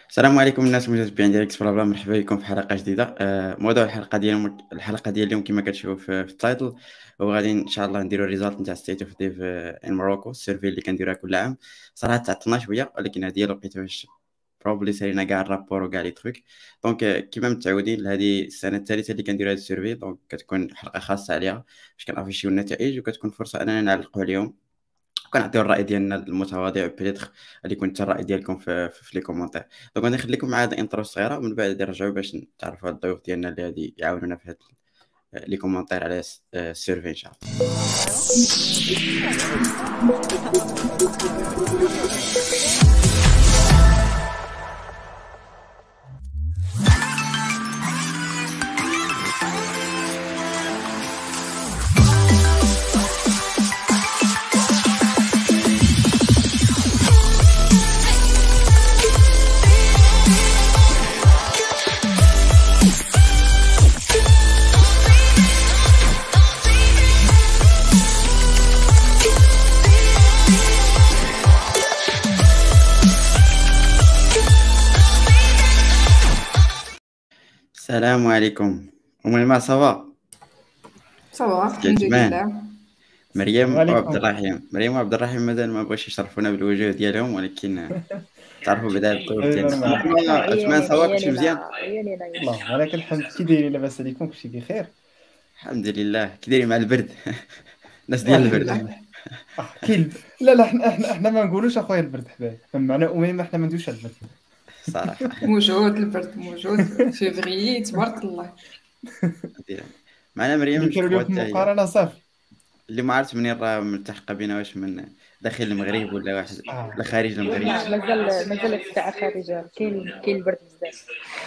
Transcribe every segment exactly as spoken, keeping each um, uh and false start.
السلام عليكم الناس المتابعين ديال اكس بلا بلا، مرحبا بكم في حلقه جديده. آه، موضوع الحلقه ديال اليوم الحلقه ديال اليوم كما كتشوفوا في في التايتل، وغادي ان شاء الله نديروا الريزالت نتاع ستيت اوف ديف ان موروكو، السيرفي اللي كنديروها كل عام. صراحه تعطلنا شويه، ولكن هذه هي الوقيته باش بروبلي سالينا كاع الرابور وكاع لي تروك. دونك آه، كما متعودين، هذه السنه الثالثه اللي كنديروا هذا السيرفي، دونك كتكون حلقه خاصه عليها باش كنافيشيو النتائج، وكتكون فرصه اننا نعلقوا عليهم وكنعطيو الرأي ديالنا المتواضع. بيتيتر غادي يكون حتى الرأي ديالكم في في في لي كومونتير. دونك غادي نخليكم مع هاد الانترو الصغيره، ومن بعد غادي نرجعوا باش نتعرفوا على الضيوف ديالنا اللي غادي يعاونونا في هاد لي كومونتير على الس- آه، السيرفي ان شاء الله. السلام عليكم. ام ما صافا؟ صباح الحمد كيعجبان لله. مريم وعبد وعليكم. الرحيم. مريم وعبد الرحيم مازال ما بغاوش يشرفونا بالوجوه ديالهم، ولكن تعرفوا بعدا الضيوف ايوا ديالنا. معك. عثمان عثمان عيوني صافا، كلشي مزيان؟ عيونينا عيونينا يا الله ولك الحمد. كي دايرين؟ لاباس عليكم؟ كلشي بخير؟ الحمد لله. كي دايرين مع البرد؟ الناس آه، ديال الحمد البرد. لله. اه كاين. لا لا احنا احنا احنا ما نقولوش اخويا البرد حبايب، معنا اميمه احنا ما ندويش على البرد. صراحه موجود البرد موجود فيفري تبارك الله. ديال- معنا مريم اللي كانوا جو اليوم في حتى هي، المقارنه صافي. اللي ما عرفت منين راه ملتحقه بينا، واش من داخل المغرب ولا واحد آه. ولا خارج المغرب. لا مازال مازال الساعة خارجة، كاين كاين البرد بزاف.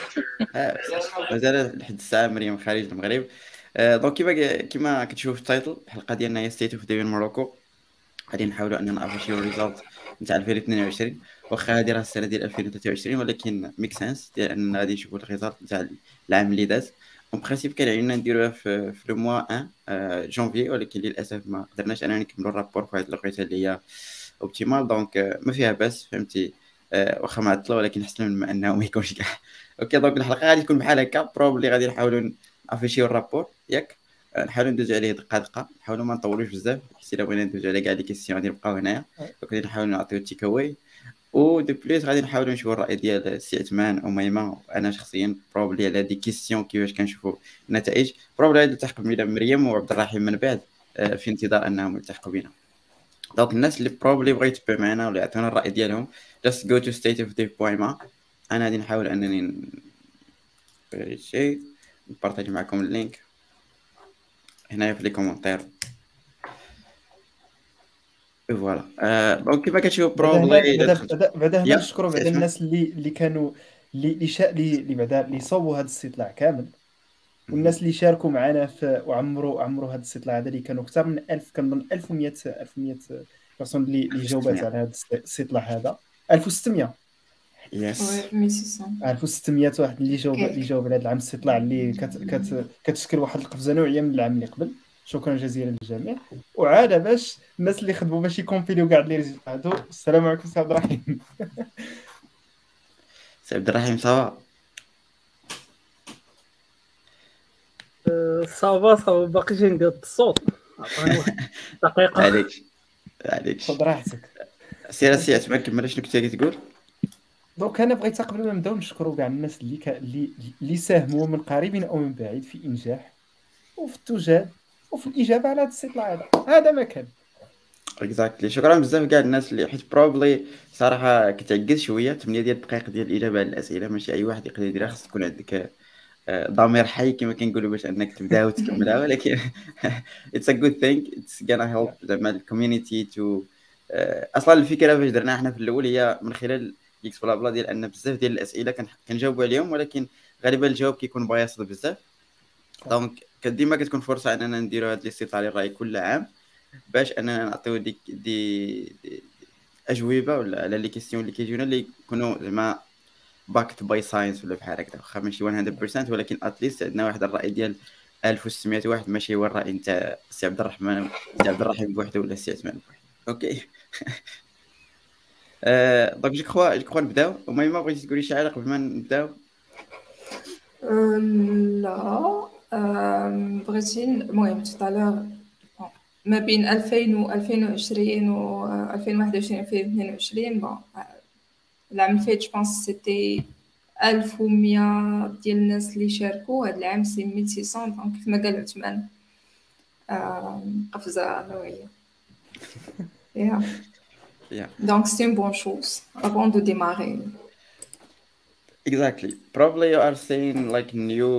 اه بصح مازال لحد الساعه مريم خارج المغرب. آه، دونك كيما كيما كتشوف في التايتل، الحلقه ديالنا هي ستيت اوف ديفين موروكو. غادي نحاولوا اننا نافيشيو الريزالت نتاع ألفين واثنين وعشرين، واخا هذه راه السنه ديال ألفين وثلاثة وعشرين، ولكن ميك سنس ديال اننا غادي نشوفوا الريزالت نتاع العام اللي داز. اون برينسيپ كان علينا نديروها في في لو موا واحد آه، جونفي، ولكن للاسف ما قدرناش اننا نكملوا الرابور في هذه الوقيته اللي هي اوبتيمال. دونك آه، ما فيها باس، فهمتي؟ آه، واخا معطله، ولكن احسن من ما انه ما يكونش كاع. اوكي، دونك الحلقه غادي تكون بحال هكا، بروبلي غادي نحاولوا نافيشيو الرابور ياك. آه، نحاولوا ندوزو عليه دقه دقه، نحاولوا ما نطولوش بزاف، حيت الا بغينا ندوزو على كاع لي كيسيون غادي نبقاو هنايا. دونك غادي نحاولوا نعطيو تيك اواي، و دو بليس غادي نحاولوا نشوفوا الراي ديال سي عثمان وميمه وانا شخصيا بروبلي على دي كيسيون كيفاش كنشوفوا النتائج. بروبلي غادي نلتحق بينا مريم وعبد الرحيم من بعد، آه، في انتظار انهم يلتحقوا بنا. دونك الناس اللي بروبلي بغا يتبع معنا ولا يعطيونا الراي ديالهم، just go to state of dev point ma. انا غادي نحاول انني شيء نبارطاجي معكم اللينك هنايا في لي كومونتير. فوالا. آه، دونك كيما كتشوف بعدا هنا بروبلي بعدا بعدا بعدا هنا يا نشكروا بعدا اسمع. الناس اللي اللي كانوا اللي اللي شا اللي اللي بعدا اللي صوبوا هذا الاستطلاع كامل، والناس اللي شاركوا معنا في وعمروا عمروا هذا الاستطلاع هذا، اللي كانوا اكثر من ألف، كنظن ألف ومئة ألف ومئة بيرسون اللي اللي جاوبات على هذا الاستطلاع هذا. ألف وستمئة يس وي مية وستمية. ألف وستمئة واحد اللي جاوب كيك. اللي جاوب على هذا العام الاستطلاع، اللي كت كت كتشكل واحد القفزه نوعيه من العام اللي قبل. شكرا جزيلا للجميع. وعاد باش الناس اللي خدموا باش يكومبيليو كاع لي ريزلت هادو، السلام عليكم سي عبد الرحيم. سي عبد الرحيم صافا؟ صافا صافا باقي جنقاد الصوت. عطاني واحد دقيقة. عليك عليك خذ راحتك. سير سي عثمان، كمل شنو كنتي كتقول. دونك انا بغيت قبل ما نبداو نشكروا كاع الناس اللي كا... اللي اللي ساهموا من قريب او من بعيد في انجاح وفي التجاد وفي الاجابه على هذا الاستطلاع هذا. هذا ما كان. اكزاكتلي. شكرا بزاف كاع الناس اللي حيت بروبلي صراحه كتعجز شويه ثمانية ديال الدقائق ديال الاجابه على الاسئله، ماشي اي واحد يقدر يديرها. خص تكون عندك آه، ضمير حي كما كنقولوا باش انك تبدا وتكملها، ولكن اتس ا جود ثينك، اتس غانا هيلب زعما الكوميونيتي تو. اصلا الفكره فاش درناها حنا في الاول هي من خلال اكس بلا بلا، ديال ان بزاف ديال الاسئله كن- كنجاوبوا عليهم، ولكن غالبا الجواب كيكون بايص بزاف. دونك ديما كتكون فرصه اننا نديروا هذا الاستطلاع الراي كل عام، باش اننا نعطيو دي دي, دي اجوبه ولا على لي كيسيون اللي كيجيونا اللي يكونوا زعما باكت باي ساينس ولا بحال هكذا، واخا ماشي مية بالمية، ولكن اتليست عندنا واحد الراي ديال ألف وستمئة واحد، ماشي هو الراي نتاع سي عبد الرحمن سي عبد الرحيم بوحده ولا سي عثمان بوحده. اوكي. آه، دونك جو كخوا جو كخوا نبداو. وميمة بغيتي تقولي شي حاجه قبل ما نبداو؟ أه، لا أه، بغيتي المهم توتالور ما بين ألفين و ألفين وعشرين و ألفين وواحد وعشرين ألفين واثنين وعشرين بون العام اللي فات جو بونس سيتي ألف ومية ديال الناس اللي شاركوا. هاد العام سي ألف وستمية دونك كيف ما قال عثمان أه، قفزه نوعيه. Yeah. Yeah. Donc c'est une bonne chose avant de démarrer. Exactly. Probably you are saying like new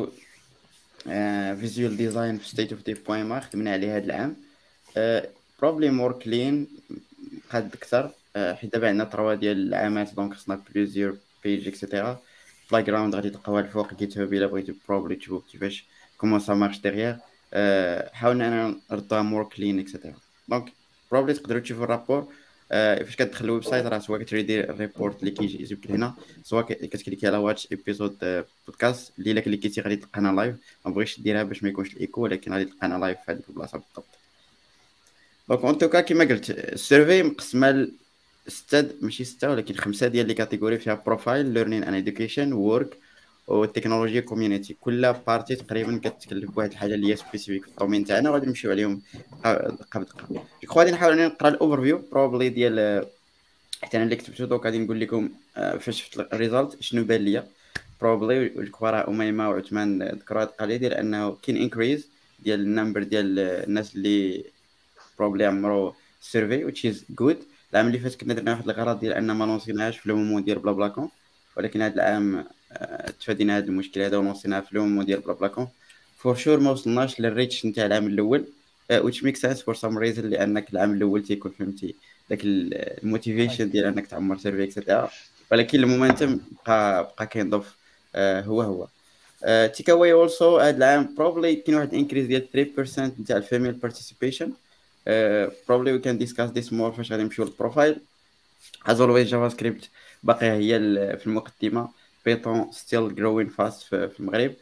uh, visual design في state of dev بوين ما خدمنا عليه هذا العام. uh, probably more clean قد اكثر. uh, حيت دابا عندنا تروا ديال العامات دونك خصنا plusieurs page اكسيتيرا. playground غادي تلقاوها الفوق جيت هاب الا بغيتو probably تشوفوا كيفاش كومون سا مارش ديغيغ. uh, حاولنا انا نردوها more clean اكسيتيرا. دونك probably تقدروا تشوفوا الرابور. آه، فاش كتدخل الويب سايت راه سواء كتريدي الريبورت اللي كيجي يجيب لك هنا، سواء كتكليكي على واتش ايبيزود بودكاست اللي الا كليكيتي غادي تلقانا لايف. ما بغيتش ديرها باش ما يكونش الايكو، ولكن غادي تلقانا لايف في هذيك البلاصه بالضبط. دونك اون توكا كيما قلت السيرفي مقسمه لسته ماشي سته ولكن خمسه ديال لي كاتيجوري فيها بروفايل ليرنين اند اديوكيشن وورك والتكنولوجيا كوميونيتي. كل بارتي تقريبا كتكلف بواحد الحاجه اللي هي سبيسيفيك في الدومين تاعنا وغادي نمشيو عليهم دقه بدقه. جو غادي نحاول اني نقرا الاوفر فيو بروبلي ديال حتى انا اللي كتبتو. دوك غادي نقول لكم فاش شفت الريزلت شنو بان ليا بروبلي. والكوارا اميمه وعثمان ذكروا هاد القضيه ديال انه كاين انكريز ديال النمبر ديال الناس اللي بروبلي عمرو سيرفي which is good. العام اللي فات كنا درنا واحد الغرض ديال ان ما لونسيناهاش في المومو ديال بلا بلا كون، ولكن هذا العام تفادينا هذا المشكل هذا ونوصيناها في المومو ديال بلا بلا كون. فور شور ما وصلناش للريتش نتاع العام الاول which makes sense for some reason، لانك العام الاول تيكون فهمتي داك الموتيفيشن ديال انك تعمر سيرفي اكسيتيرا، ولكن المومنتم بقى بقى كينضاف هو هو. تيك اواي اولسو هذا العام بروبلي كاين واحد انكريز ديال ثلاثة بالمية نتاع الفيميل بارتيسيبيشن. بروبلي وي كان ديسكاس ذيس مور فاش غادي نمشيو للبروفايل. از اولويز جافا سكريبت باقي هي في المقدمه، بيتون ستيل جروين فاست في المغرب.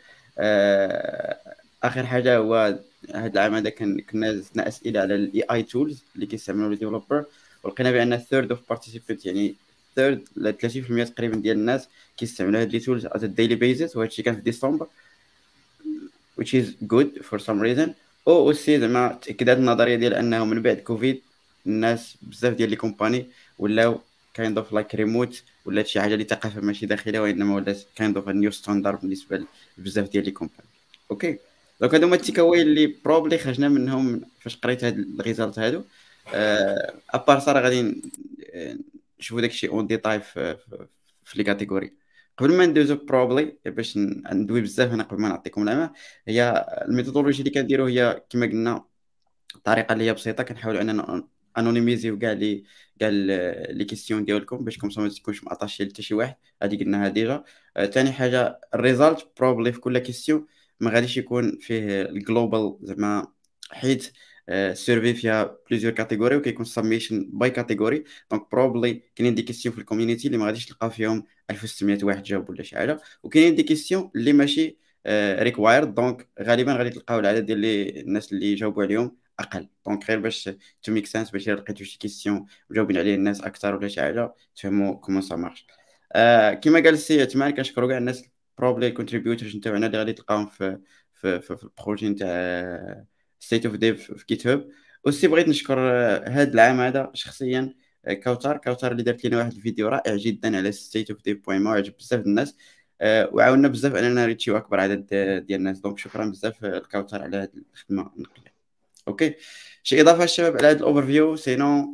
اخر حاجه هو هذا العام هذا كنا زدنا اسئله على الاي اي تولز اللي كيستعملوا الديفلوبر، ولقينا بان ثيرد اوف بارتيسيبنت يعني ثيرد ل ثلاثين بالمية تقريبا ديال الناس كيستعملوا هاد لي تولز على الديلي بيزيس، وهذا الشيء كان في ديسمبر which is good for some reason. او اوسي زعما تاكدت النظريه ديال انه من بعد كوفيد الناس بزاف ديال لي كومباني ولاو كايند اوف لايك ريموت، ولا شي حاجه اللي ثقافه ماشي داخليه وانما ولات كايند اوف نيو ستاندرد بالنسبه لبزاف ديال لي كومباني. اوكي دونك هادو هما التيكاوي اللي بروبلي خرجنا منهم فاش قريت هاد الريزالت هادو. ابار صار غادي نشوفوا داكشي اون ديتاي في في لي كاتيجوري. قبل ما ندوزو بروبلي باش ندوي بزاف هنا قبل ما نعطيكم العلامه، هي الميثودولوجي اللي كنديرو هي كما قلنا الطريقه اللي هي بسيطه، كنحاولوا اننا انونيميزيو كاع لي كاع لي كيسيون ديالكم باش كومسا ما تكونش معطاشي لحتى شي واحد. هذه قلناها ديجا. ثاني حاجه الريزالت بروبلي في كل كيسيون ما غاديش يكون فيه الجلوبال زعما، حيت السيرفي فيها بليزيور كاتيجوري وكيكون سبميشن باي كاتيجوري. دونك بروبلي كاينين دي كيسيون في الكوميونيتي اللي ما غاديش تلقاو فيهم ألف وستمية واحد جاوب ولا شي حاجه، وكاينين دي كيسيون اللي ماشي ريكوايرد دونك غالبا غادي تلقاو العدد ديال الناس اللي جاوبوا عليهم اقل. دونك غير باش تو ميك سنس باش لقيتو شي كيسيون وجاوبين عليه الناس اكثر ولا شي حاجه تفهموا كومون سا مارش. آه كما قال السي عثمان كنشكروا كاع الناس بروبلي كونتريبيوتورز نتاعنا اللي غادي تلقاهم في في في, في البروجي نتاع ستيت اوف ديف في جيت هاب. وسي بغيت نشكر هذا العام هذا شخصيا كوثر كوثر اللي دارت لنا واحد الفيديو رائع جدا على ستيت اوف ديف بوين ما وعجب بزاف الناس، أه وعاوننا بزاف اننا ريتشيو اكبر عدد ديال الناس. دونك شكرا بزاف الكوثر على هذه الخدمه النقيه. اوكي شي اضافه الشباب على هذا الاوفر فيو؟ سينو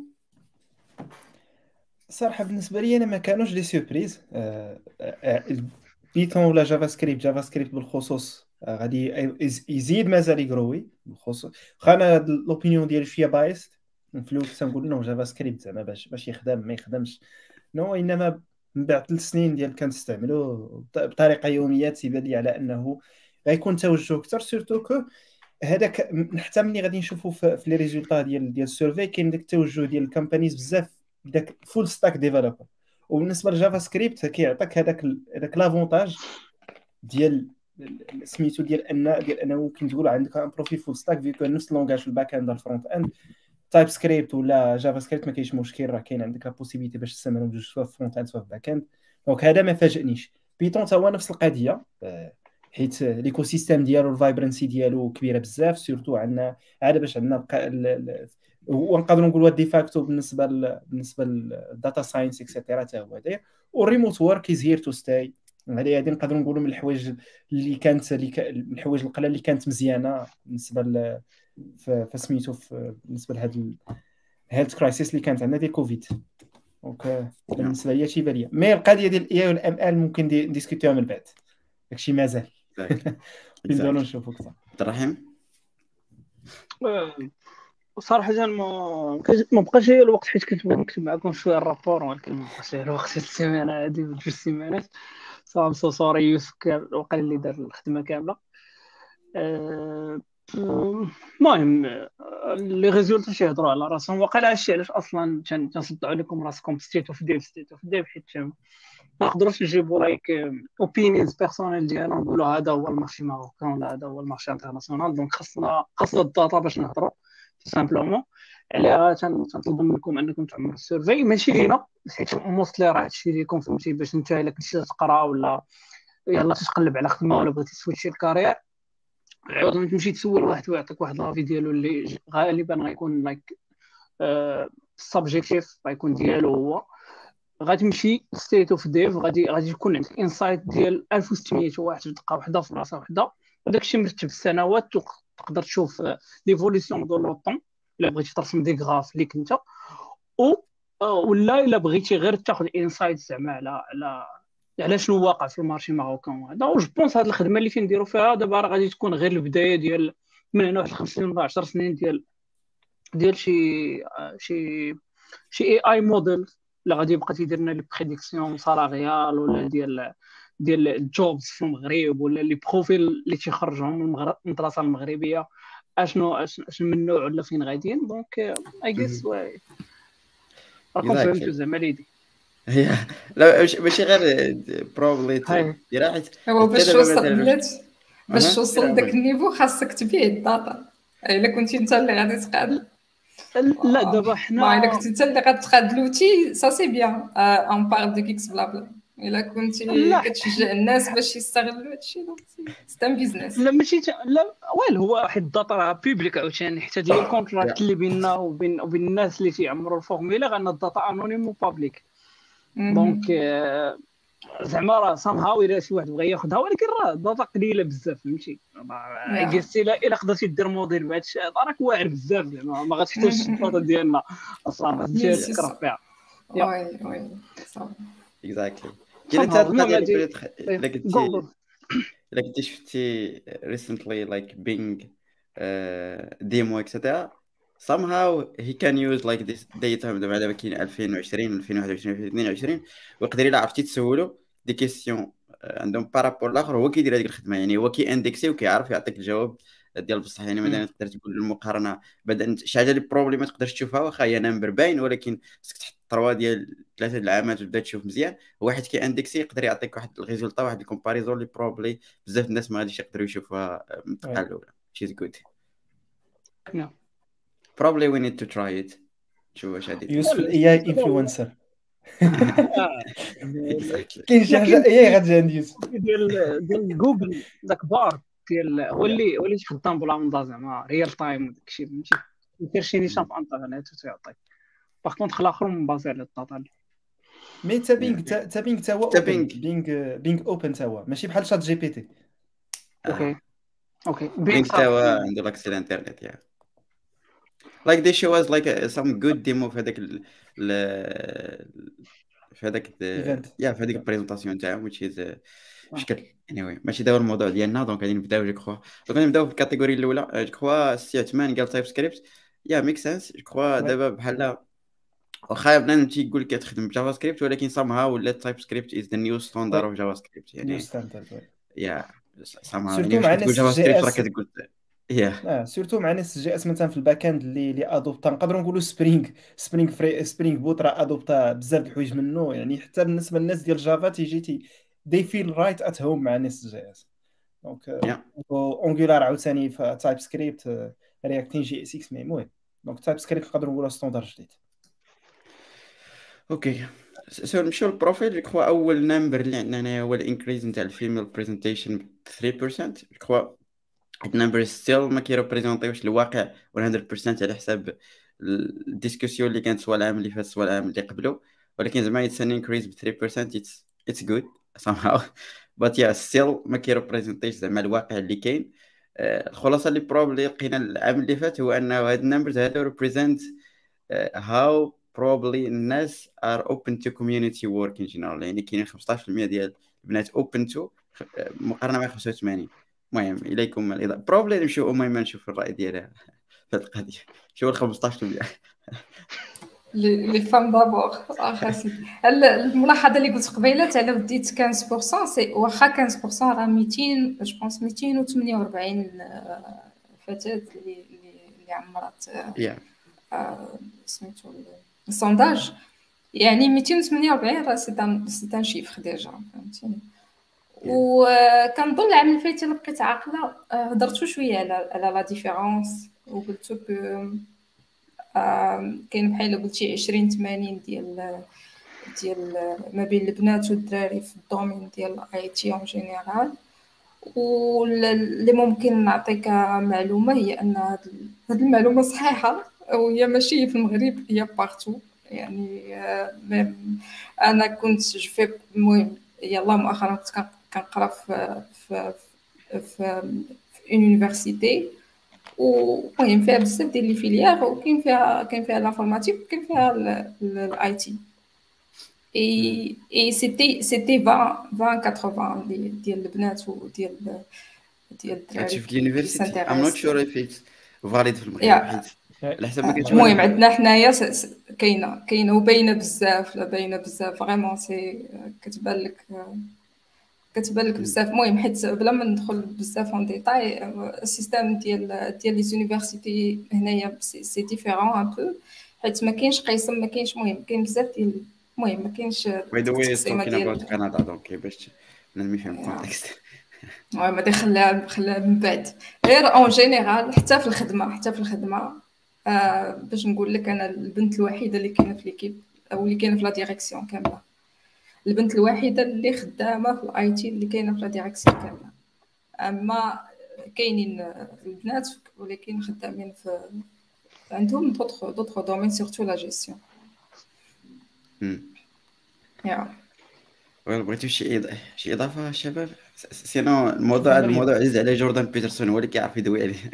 صراحه بالنسبه لي انا ما كانوش لي سيربريز. أه أه بيتون ولا جافا سكريبت جافا سكريبت بالخصوص أه غادي يزيد مازال يقروي بالخصوص. خانا لوبينيون ديالي شويه بايست في الاول كنت نقول انه جافا سكريبت زعما باش باش يخدم ما يخدمش نو، انما من بعد ثلاث سنين ديال كنستعملو بطريقه يوميه تيبان لي على انه غيكون توجه اكثر. سورتو كو هذاك حتى ملي غادي نشوفوا في لي ريزولطا ديال ديال السيرفي كاين داك التوجه ديال الكامبانيز بزاف داك فول ستاك ديفلوبر. وبالنسبه للجافا سكريبت كيعطيك هذاك هذاك لافونتاج ديال سميتو ديال ان ديال انه ممكن تقول عندك ان بروفيل فول ستاك فيكو نفس اللونغاج في الباك اند والفرونت اند. تايب سكريبت ولا جافا سكريبت ما كاينش مشكل، راه كاين عندك لا بوسيبيتي باش تستعملهم بجوج سواء في فرونت اند سواء في باك اند. دونك هذا ما فاجئنيش. بيتون تا هو نفس القضيه، آه، حيت ليكو سيستيم ديالو الفايبرنسي ديالو كبيره بزاف، سورتو عندنا عاد باش عندنا الق- ال- ال- ونقدروا نقولوا ديفاكتو بالنسبه ل... بالنسبه للداتا ساينس اكسيتيرا تا هو داير. والريموت ورك از هير تو ستاي. هذه هذه نقدروا نقولوا من الحوايج اللي كانت اللي ك... من الحوايج القليله اللي كانت مزيانه بالنسبه ل... ف- فسميتو في بالنسبه لهاد الهيلث كرايسيس اللي كانت عندنا ديال كوفيد. دونك آه، بالنسبه ليا شي باليه، مي القضيه ديال الاي والام ال ممكن دي- نديسكوتيوها من بعد، داكشي مازال نبداو نشوفوا اكثر. عبد الرحيم آه، صراحة ما كاش- ما بقاش ليا الوقت، حيت كنت بغيت نكتب معكم شوية الرابور، ولكن ما بقاش ليا الوقت هاد السيمانة هادي ولا جوج سيمانات. صافي سو سوري يوسف، كان وقال اللي دار الخدمة كاملة. آه، آه، المهم آه، لي ريزولتا تيهضروا على راسهم. وقال هادشي علاش اصلا تن- تنصدعوا لكم راسكم ستيت اوف ديف ستيت اوف ديف، حيت ما نقدروش نجيبوا لايك اوبينيونز بيرسونيل ديالنا ونقولوا هذا هو المارشي ماروكان ولا هذا هو المارشي انترناسيونال. دونك خاصنا خاصنا الداتا باش نهضروا سامبلومون عليها. تن- تنطلب منكم انكم تعملوا السيرفي، ماشي لينا حيت موستلي راه هادشي ليكم، فهمتي، باش انت الا كنتي تقرا ولا يلا تتقلب على خدمه ولا بغيتي تسويتشي الكارير، عوض ما تمشي تسول واحد ويعطيك واحد لافي ديالو اللي ج- غالبا غيكون لايك سبجيكتيف، غيكون ديالو هو. غتمشي ستيت اوف ديف، غادي غادي يكون عندك انسايت ديال ألف وستمية واحد في دقه واحده في بلاصه واحده، وداك الشيء مرتب في السنوات. تقدر تشوف ليفوليسيون دو لو طون الا بغيتي ترسم دي غراف ليك انت، و آه، ولا الا بغيتي غير تاخذ انسايت زعما على على على شنو واقع في المارشي ماروكان هذا. و جو بونس هاد الخدمه اللي كنديروا فيها دابا راه غادي تكون غير البدايه ديال من هنا واحد خمس سنين ولا عشر سنين ديال ديال شي آه، شي شي اي اي موديل اللي غادي يبقى تيدير لنا لي بريديكسيون سالاريال ولا ديال ديال الجوبز في المغرب، ولا لي بروفيل اللي تيخرجهم من المغرب من المدرسه المغربيه اشنو اشنو اشنو من النوع ولا فين غاديين. دونك اي جيس راكم Exactly. فهمتوا زعما ليدي. هي لا مش- ماشي غير بروبلي هاي. ديرها، حيت هو حتى باش دابا توصل مثلا واش- بلاتي باش أها، توصل ديرها لذاك أول. النيفو خاصك تبيع الداتا. الا كنتي انت اللي غادي تقاد، لا دابا ما حنا الا كنتي انت اللي غتقاد لوتي سا سي بيان اون بار دو كيكس بلا بلا. الا كنتي لا. كتشجع الناس باش يستغلوا هادشي دونك سي ان بيزنس. لا ماشي ت... لا ويل هو واحد الداتا راه بيبليك عاوتاني، حتى ديال الكونتراكت اللي بيننا وبين وبين الناس اللي تيعمروا الفورميلا غان الداتا انونيم وبابليك. دونك آه، زعما راه سام هاو الا شي واحد بغى ياخذها، ولكن راه الداتا قليله بزاف، فهمتي. قلتي لا الا قدرتي دير موديل بهذا الشيء راك واعر بزاف، زعما ما غاتحتاجش الداتا ديالنا اصلا غادي Yes, تكره yes. فيها. وي وي صافي. اكزاكتلي. كاين حتى هاد القضيه اللي بدات الا كنتي الا كنتي شفتي ريسنتلي لايك بينغ ديمو اكسترا somehow he can use like this data. دابا دابا كاين ألفين وعشرين ألفين وواحد وعشرين ألفين واثنين وعشرين، ويقدر الا عرفتي تسولو دي كيسيون عندهم بارابور الاخر، هو كيدير هذيك الخدمه. يعني هو كي اندكسي وكيعرف يعطيك الجواب ديال بصح. يعني مثلا تقدر تقول المقارنه بعدا شي حاجه اللي بروبلي ما تقدرش تشوفها واخا هي نمبر باين، ولكن خصك تحط تروا ديال ثلاثه د العامات وتبدا تشوف مزيان. واحد كي اندكسي يقدر يعطيك واحد الريزولتا، واحد الكومباريزون اللي بروبلي بزاف الناس ما غاديش يقدروا يشوفوها من الدقه الاولى. شيز جود. No. probably we need to try it. شوف واش غادي يوسف الاي اي انفلونسر. exactly. كاين شي حاجه اي غادي عند يوسف ديال ديال جوجل داك بار ديال هو اللي هو اللي خدام بلا مندا زعما ريال تايم وداك الشيء، فهمتي. يدير شي نيشان في الانترنت وتعطيك. باغ كونطخ الاخر مبازي على الداتا. مي تا بينغ تا بينغ تا هو تا اوبن بينغ. بينغ بينغ اوبن تا هو ماشي بحال شات جي بي تي. اوكي اوكي بينغ تا هو عنده لاكسي الانترنت يا like they show us like a, some good demo في هذاك ال في هذاك يا في هذيك البريزونطاسيون تاعهم which is شكل anyway. ماشي دابا الموضوع ديالنا، دونك غادي نبداو جو كخوا دونك نبداو في الكاتيجوري الاولى. جو كخوا سي عثمان قال تايب سكريبت يا ميك سنس. جو كخوا دابا بحال واخا بنادم تيقول لك كتخدم بجافا سكريبت، ولكن somehow ولا تايب سكريبت is the new standard of جافا سكريبت. يعني يا somehow يعني واش كتقول جافا سكريبت راه كتقول يا اه سورتو مع ناس جي اس مثلا في الباك اند اللي اللي ادوبتا نقدروا نقولوا سبرينغ سبرينغ فري سبرينغ بوت راه ادوبتا بزاف د الحوايج منه. يعني حتى بالنسبه للناس ديال جافا تيجي تي دي فيل رايت ات هوم مع ناس جي اس. دونك اونغولار عاوتاني في تايب سكريبت رياكتين جي اس اكس. مي المهم دونك تايب سكريبت نقدروا نقولوا ستاندر جديد. اوكي سو نمشيو للبروفيل. جو كخوا اول نمبر اللي عندنا هنا هو الانكريز نتاع الفيميل بريزنتيشن ثلاثة بالمية. جو كخوا هاد النمبر ستيل ما كيريبريزونطيوش الواقع مية بالمية على حساب الديسكسيون اللي كانت سواء العام اللي فات سواء العام اللي قبله، ولكن زعما اتس ان انكريز ب ثلاثة بالمية. اتس اتس جود somehow but yeah still ما كيريبريزونطيش زعما الواقع اللي كاين. آه، الخلاصه اللي بروبلي لقينا العام اللي فات هو انه هاد النمبرز هادو ريبريزنت how probably الناس are open to community work in general. يعني كاينين خمسطاش بالمية ديال البنات open to آه، مقارنه مع خمسة وثمانين. المهم اليكم الاضاءه probably نمشيو المهم نشوف الراي ديالها في هاد القضيه. شو ال خمسطاش بالمية لي فام دابور واخا سيدي. الملاحظه اللي قلت قبيله تاع لو ديت خمسة بالمية سي واخا خمسة بالمية راه ميتين جو بونس ميتين وثمانية وأربعين فتاه اللي اللي عمرات yeah سميتو السونداج. يعني ميتين وثمانية وأربعين راه سي ان سي ان شيفر ديجا فهمتيني. وكنظن العام اللي فات لقيت عاقله هضرتو شويه على على لا ديفيرونس وقلتو ك كاين بحال قلتي عشرين ثمانين ديال ديال ما بين البنات والدراري في الدومين ديال الاي تي اون جينيرال. واللي ممكن نعطيك معلومه هي ان هذه المعلومه صحيحه وهي ماشي في المغرب هي بارتو. يعني انا كنت جفي المهم يلا مؤخرا كنت كنقرا في في في يونيفرسيتي ومهم فيها بزاف ديال لي فيليير وكاين فيها كاين فيها لافورماتيك وكاين فيها الاي تي اي اي سيتي سيتي عشرين ثمانين ديال البنات وديال ديال الدراري شوف اليونيفرسيتي ام نوت شور اف ات فاليد في المغرب حيت على حسب ما كنت المهم عندنا حنايا كاينه كاينه وباينه بزاف لا باينه بزاف فريمون سي كتبان لك كتبان لك بزاف. المهم حيت بلا ما ندخل بزاف اون ديتاي السيستم ديال ديال لي زونيفرسيتي هنايا سي ديفيرون ان بو حيت ما كاينش قسم ما كاينش المهم كاين بزاف ديال المهم ما كاينش باي ذا واي توكين اباوت كندا دونك باش نفهم الكونتكست. المهم ما خليها خليها من بعد غير اون جينيرال حتى في الخدمه حتى في الخدمه آه باش نقول لك انا البنت الوحيده اللي كاينه في ليكيب او اللي كاينه في لا ديريكسيون كامله. البنت الوحيده اللي خدامه في الاي تي اللي كاينه في لا ديريكسيون كامله. اما كاينين البنات ولكن خدامين في عندهم دوطخ دوطخ دومين سورتو لا جيستيون. امم يا ويل بغيتو شي إض... شي اضافه شباب؟ سينو الموضوع الموضوع عزيز على جوردان بيترسون هو اللي كيعرف يدوي عليه.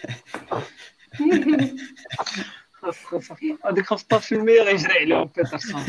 هذيك خمسطاش بالمية غيجري عليهم بيترسون.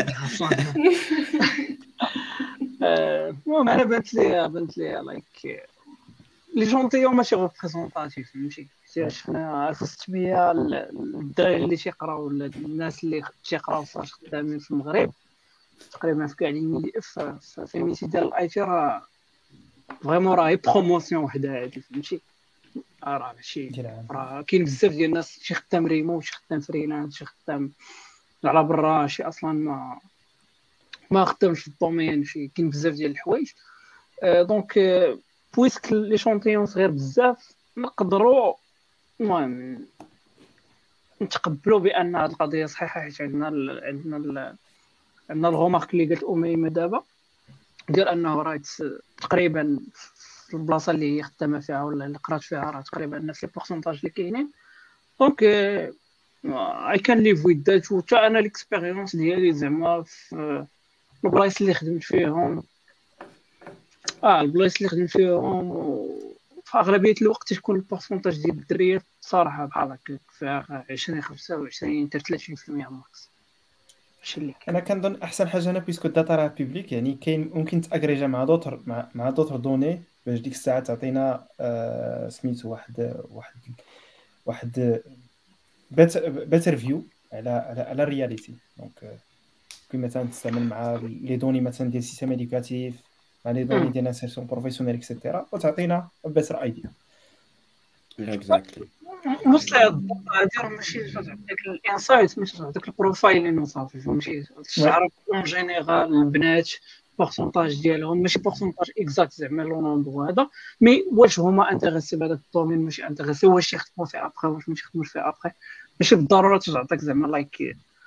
المهم انا بانت لي بانت لي لايك لي جونتيون ماشي ريبريزونطاتيف فهمتي. شفنا ألف وستمية الدراري اللي تيقراو ولا الناس اللي تيقراو صاج خدامين في المغرب تقريبا في كاع لي في الميتي ديال الاي تي راه فريمون راه بروموسيون وحده هادي فهمتي. راه ماشي راه كاين بزاف ديال الناس شي خدام ريمو شي خدام فريلانس شي خدام على برا شي اصلا ما ما خدامش في الدومين شي كاين بزاف ديال الحوايج. دونك بويسك لي شونطيون صغير بزاف نقدروا المهم نتقبلوا بان هذه القضيه صحيحه حيت عندنا ال عندنا ال عندنا الغومارك اللي قالت اميمه دابا ديال انه راه تقريبا في البلاصه اللي هي خدامه فيها ولا اللي قرات فيها راه تقريبا نفس البورسونتاج اللي كاينين. دونك اي كان ليف ويز ذات. وتا انا ليكسبيريونس ديالي زعما في البلايص اللي خدمت فيهم اه البلايص اللي خدمت فيهم في اغلبيه الوقت تكون البورسونتاج ديال الدريات صراحه بحال هكا فيها عشرين خمسة وعشرين حتى ثلاثين بالمية ماكس. انا كنظن احسن حاجه هنا بيسكو الداتا راه بيبليك يعني كاين ممكن تاغريجا مع دوطر مع, مع دوطر دوني باش ديك الساعه تعطينا آه سميتو واحد واحد واحد بيتر فيو على على على الرياليتي. دونك كي مثلا تستعمل مع لي دوني مثلا ديال السيستم ادوكاتيف مع لي دوني ديال انسيرسيون بروفيسيونيل اكسيتيرا وتعطينا بيتر ايديا. اكزاكتلي وصل هذا ماشي داك الانسايت ماشي داك البروفايل اللي صافي فهمتي تعرف اون جينيرال البنات بورسونتاج ديالهم ماشي بورسونتاج اكزاكت زعما لو نومبر هذا مي واش هما انتريسي بهذا الدومين ماشي انتريسي واش يخدموا فيه ابخي واش ماشي يخدموش فيه ابخي. ماشي بالضروره تعطيك زعما لايك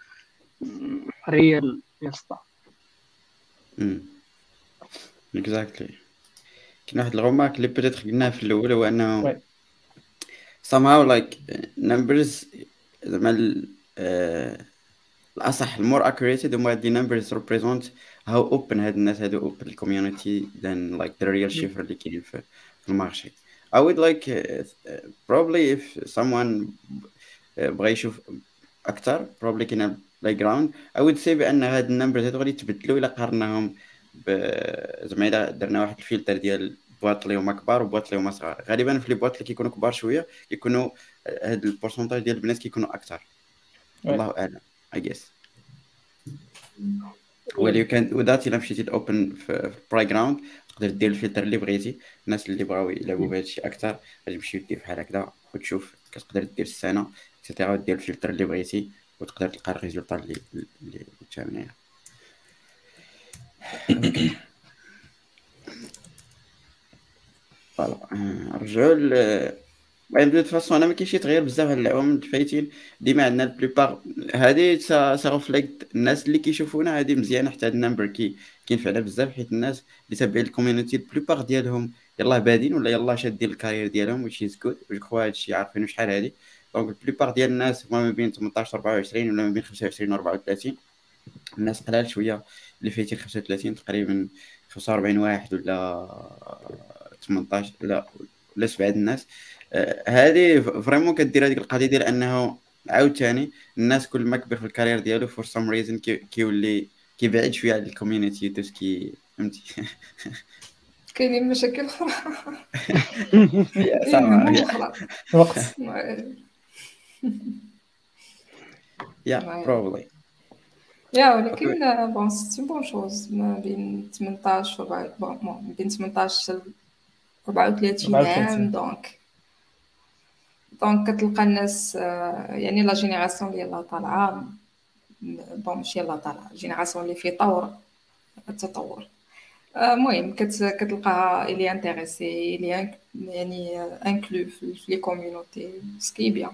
ريال يسطا. امم اكزاكتلي. كاين واحد الغومارك اللي بدات قلناها في الاول، هو انه وي. somehow like numbers زعما ال- آه، الاصح المور accurate هما دي numbers represent how open هاد الناس هادو open community than like the real شيفر اللي كاين في في المارشي. I would like uh, uh, probably if someone uh, بغى يشوف اكثر probably كاين بلاي جراوند. I would say بان هاد النمبرز هادو غادي يتبدلوا الا قارناهم ب- زعما الا درنا واحد الفلتر ديال بواط اللي هما كبار وبواط اللي هما صغار. غالبا في لي بواط اللي كيكونوا كبار شويه كيكونوا هاد البورسونتاج ديال البنات كيكونوا اكثر. وي. الله اعلم I guess. ولي كان وذات الا مشيتي الاوبن في البلاي جراوند تقدر دير الفلتر اللي بغيتي. الناس اللي بغاو يلعبوا بهذا الشيء اكثر غادي يمشيو دير بحال هكذا وتشوف كتقدر دير السنه اكسيتيرا ودير الفلتر اللي بغيتي وتقدر تلقى الريزولطا اللي اللي تامنيه. فوالا رجعوا ل المهم دو فاسون انا ما كاينش شي تغيير بزاف هاد العوام الفايتين. ديما عندنا البلوبار هادي سا ريفليكت الناس اللي كيشوفونا هادي مزيانه حتى هاد النمبر كي كينفعنا بزاف حيت الناس اللي تابعين الكوميونيتي البلوبار ديالهم يلاه بادين ولا يلاه شادين الكارير ديالهم which is good جو كخوا هادشي عارفينو شحال هادي. دونك البلوبار ديال الناس هما ما بين ثمنطاش أربعة وعشرين ولا ما بين خمسة وعشرين و أربعة وثلاثين. الناس قلال شويه اللي فايتين خمسة وثلاثين تقريبا خمسة وأربعين واحد ولا ثمنطاش لا ولا سبعة الناس. هذه فريمون كدير هذيك القضيه ديال انه عاوتاني الناس كل ما كبر في الكارير ديالو فور سام ريزن كيولي كيبعد شويه على الكوميونيتي دوسكي فهمتي. كاينين مشاكل اخرى يا كاين صح هموم يا اخرى الوقت. يا بروبلي يا ولكن بون سي بون شوز ما بين ثمنطاش و بون ما بين ثمنطاش ل أربعة وثلاثين عام. دونك دونك كتلقى الناس يعني لا جينيراسيون اللي يلاه طالعه بون ماشي يلاه طالعه جينيراسيون اللي في طور التطور. المهم كتلقاها اللي انتريسي اللي يعني انكلو في لي كوميونيتي سكي بيان.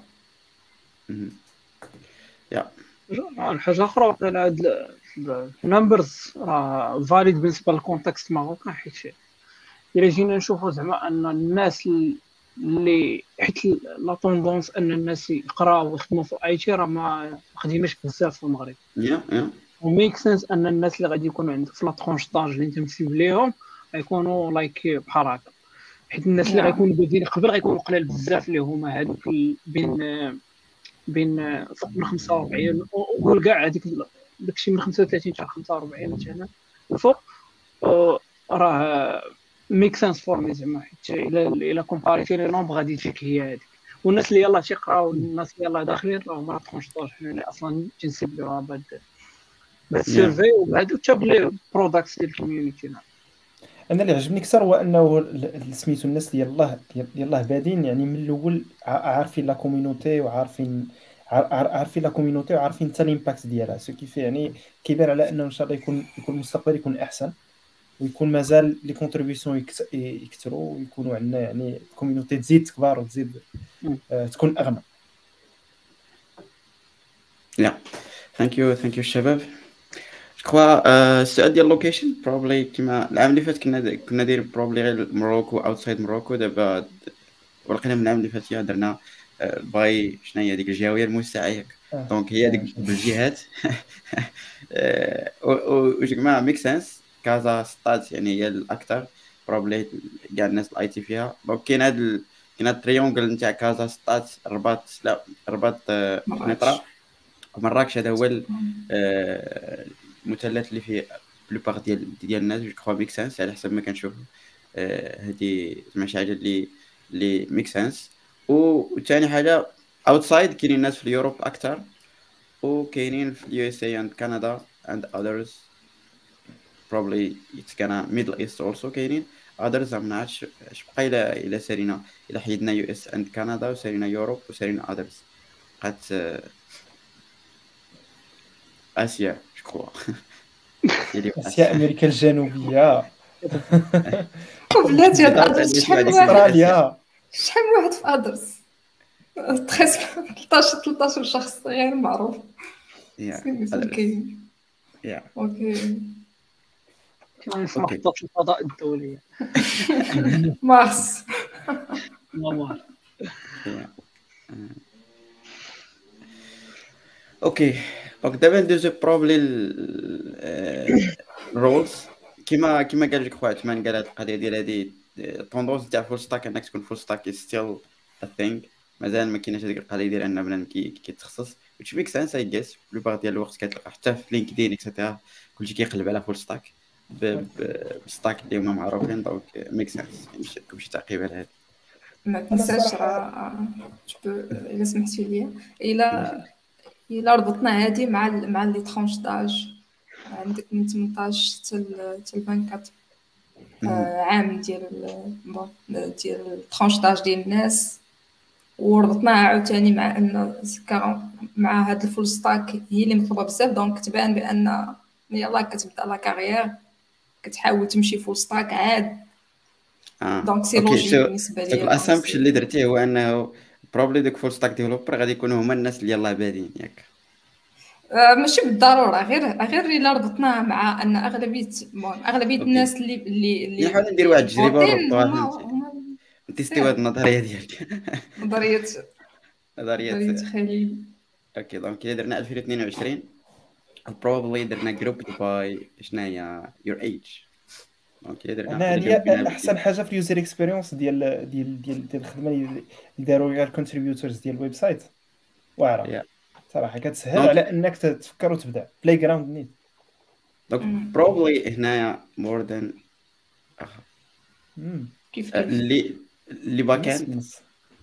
يا الحاجه اخرى على هاد النمبرز راه فاليد بالنسبه للكونتكست ماروكان، حيت الا جينا نشوفوا زعما ان الناس اللي حيت لا طوندونس ان الناس يقراو ويخدموا في اي تي راه ما خديماش بزاف في المغرب. يا يا وميك سنس ان الناش اللي غادي يكونوا عندك في لا ترونش طاج اللي انت مسيب ليهم غيكونوا لايك بحال هكا، حيت الناس اللي غيكونوا بادين قبل غيكونوا قلال بزاف اللي هما هذوك بين بين فوق من خمسة وأربعين وقول كاع هذيك داكشي من خمسة وثلاثين حتى خمسة وأربعين مثلا الفوق راه ميك سنس فور مي زعما، حيت الا الا كومباريتي لي نومبر غادي تجيك هي هذيك. والناس اللي يلاه تيقراو الناس اللي يلاه داخلين راه هما ترونش طاج حنا اصلا تنسيبلوها بهاد بالسيرفي وبهادو حتى بلي بروداكتس ديال الكوميونيتي. انا اللي عجبني اكثر هو انه سميتو الناس اللي يلاه يلاه بادين يعني من الاول عارفين لا كوميونيتي وعارفين عارفين لا كوميونيتي وعارفين حتى الامباكت ديالها، سو كيف يعني كيبان على انه ان شاء الله يكون يكون المستقبل يكون احسن ويكون مازال لي كونتريبيسيون يكثروا ويكونوا عندنا يعني الكوميونيتي تزيد تكبر وتزيد آه تكون اغنى. يا ثانك يو ثانك يو الشباب. كوا السؤال ديال اللوكيشن بروبلي كيما العام اللي فات كنا كنا دايرين بروبلي غير موروكو اوتسايد موروكو. دابا ولقينا من العام اللي فات درنا باي شنو هي هذيك الجهويه الموسعه ياك دونك هي هذيك بالجهات و جماعه ميك سنس كازا ستات يعني هي الاكثر بروبلي كاع الناس الاي تي فيها. دونك كاين هذا كاين هذا التريونغل نتاع كازا ستات الرباط لا الرباط نطرا مراكش. هذا هو المثلث اللي فيه بلوبار ديال ديال الناس جو كخوا ميك سنس على حسب ما كنشوف. هذه زعما شي حاجه اللي اللي ميك سنس. وثاني حاجه اوتسايد كاينين الناس في اليوروب اكثر وكاينين في اليو اس اي اند كندا اند others probably it's gonna middle east also كاينين others ما نعرفش اش بقى الى الى سالينا الى حيدنا يو اس اند كندا وسالينا يوروب وسالينا others بقات اسيا شكرا اسيا امريكا الجنوبيه بلاتي هاد ادرس شحال من واحد استراليا شحال من واحد في ادرس تخيس ثلاثة عشر ثلاثة عشر شخص غير معروف يا سميتو هذا كاين يا اوكي كما في أوكي. محطة الفضاء الدولية مارس والله. يا اوكي دونك دابا ندوزو بروبلي الرولز كيما كيما قال لك خويا عثمان، قال هاد القضيه ديال هادي طوندونس تاع فول ستاك، انك تكون فول ستاك ستيل ا ثينغ، مازال ما كايناش هذيك القضيه ديال ان بنادم كي كيتخصص which makes sense I guess. بلوبار ديال الوقت كتلقى حتى في لينكدين اكسيتيرا كلشي كيقلب على فول ستاك بستاك اللي هما معروفين، دونك ميك سنس ماشي تكون شي تعقيب على هذا. ما تنساش راه جو الا سمحتي لي الا الا ربطنا هادي مع ال- مع لي ترونش داج عندك من ثمنطاش حتى ل حتى ل أربعة وعشرين آه، عام ديال ال- بون ديال الترونش داج ديال الناس، وربطناها عاوتاني مع ان زكا مع هاد الفول ستاك هي اللي مطلوبه بزاف، دونك تبان بان يلاه كتبدا لا كارير كتحاول تمشي فول ستاك عاد، اه دونك سي اوكي لوجيك سو بالنسبه سو ليا. دونك الاسامبشن سي اللي درتيه هو انه بروبلي دوك فول ستاك ديفلوبر غادي يكونوا هما الناس اللي يلاه بادين ياك. آه، ماشي بالضروره، غير غير الا ربطناها مع ان اغلبيه المهم اغلبيه اوكي الناس اللي اللي اللي نحاول ندير واحد اللي التجربه فوتين ونربطوها هما فهمتي هما نتيستيو هاد النظريه ديالك نظريه نظريه. نظريه خليل. اوكي دونك الا درنا ألفين واثنين وعشرين بروبلي درنا جروب باي شنو هي يور ايج. دونك الا درنا انا واحد هذه الجروب بين احسن حاجه في اليوزر اكسبيرينس ديال ديال ديال ديال الخدمه اللي داروا غير الكونتريبيوتورز ديال الويب سايت واعره Yeah. صراحه كتسهل دونك- على انك تفكر وتبدا بلاي جراوند نيت. دونك مم. بروبلي هنايا مور ذان مم. كيف كيف اللي اللي باك نص اند نص.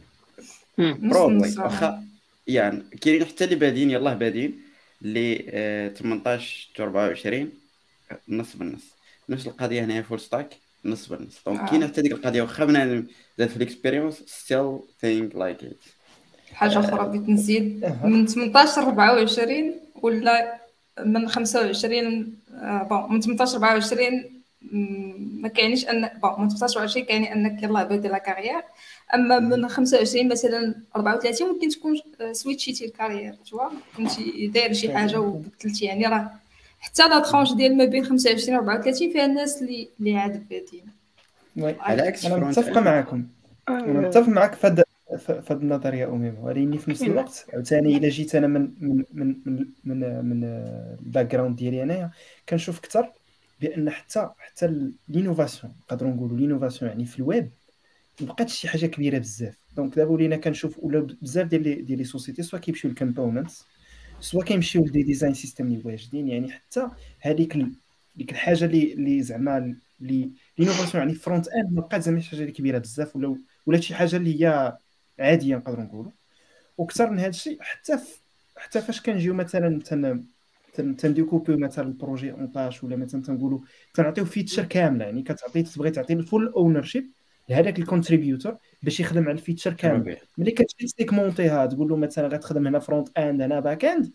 نص بروبلي نص واخا يعني كاينين حتى اللي بادين يلاه بادين اللي آه، ثمنطاش حتى أربعة وعشرين نص بالنص. نفس القضيه هنايا فول ستاك نص بالنص. دونك آه. كاينه حتى ديك القضيه واخا بنادم زاد في الاكسبيريونس ستيل ثينك لايك ات. حاجه اخرى بغيت نزيد أها. من ثمنطاش ل أربعة وعشرين ولا من خمسة وعشرين آه، بون من ثمنطاش ل أربعة وعشرين مم، ما كاينش ان بون من ثمنطاش ل أربعة وعشرين كاين انك يلاه بادي لا كارير، اما من خمسة وعشرين مثلا أربعة وثلاثين ممكن تكون آه، سويتشيتي الكارير توا كنتي داير شي حاجه وبدلتي، يعني راه حتى لا ترونش ديال ما بين خمسة وعشرين و أربعة وثلاثين فيها الناس اللي اللي عاد بادين. وي. على عكس انا فرونت متفقه معكم انا متفق معك في هاد في هاد النظريه اميمه، ولكن في نفس الوقت عاوتاني الا جيت انا من من من من من, من الباك جراوند ديالي انايا كنشوف اكثر بان حتى حتى لينوفاسيون نقدروا نقولوا لينوفاسيون يعني في الويب مبقاتش شي حاجه كبيره بزاف. دونك دابا ولينا كنشوف ولا بزاف ديال لي ديال لي سوسيتي سوا كيمشيو للكومبوننتس سوا كيمشيو لدي ديزاين سيستم اللي واجدين، يعني حتى هذيك ال... ديك الحاجه اللي اللي زعما اللي لينوفاسيون يعني فرونت اند ما بقات زعما شي حاجه اللي كبيره بزاف ولا ولا شي حاجه اللي هي عاديه نقدروا نقولوا. وكثر من هذا الشيء حتى ف... حتى فاش كنجيو مثلا تن تن تنديكوبيو مثلا البروجي اون طاش ولا مثلا تنقولوا تنعطيو فيتشر كامله، يعني كتعطي تبغي تعطي الفول اونرشيب لهذاك الكونتريبيوتور باش يخدم على الفيتشر كامل. ملي كتجي تسيكمونتيها تقول له مثلا غتخدم هنا فرونت اند هنا باك اند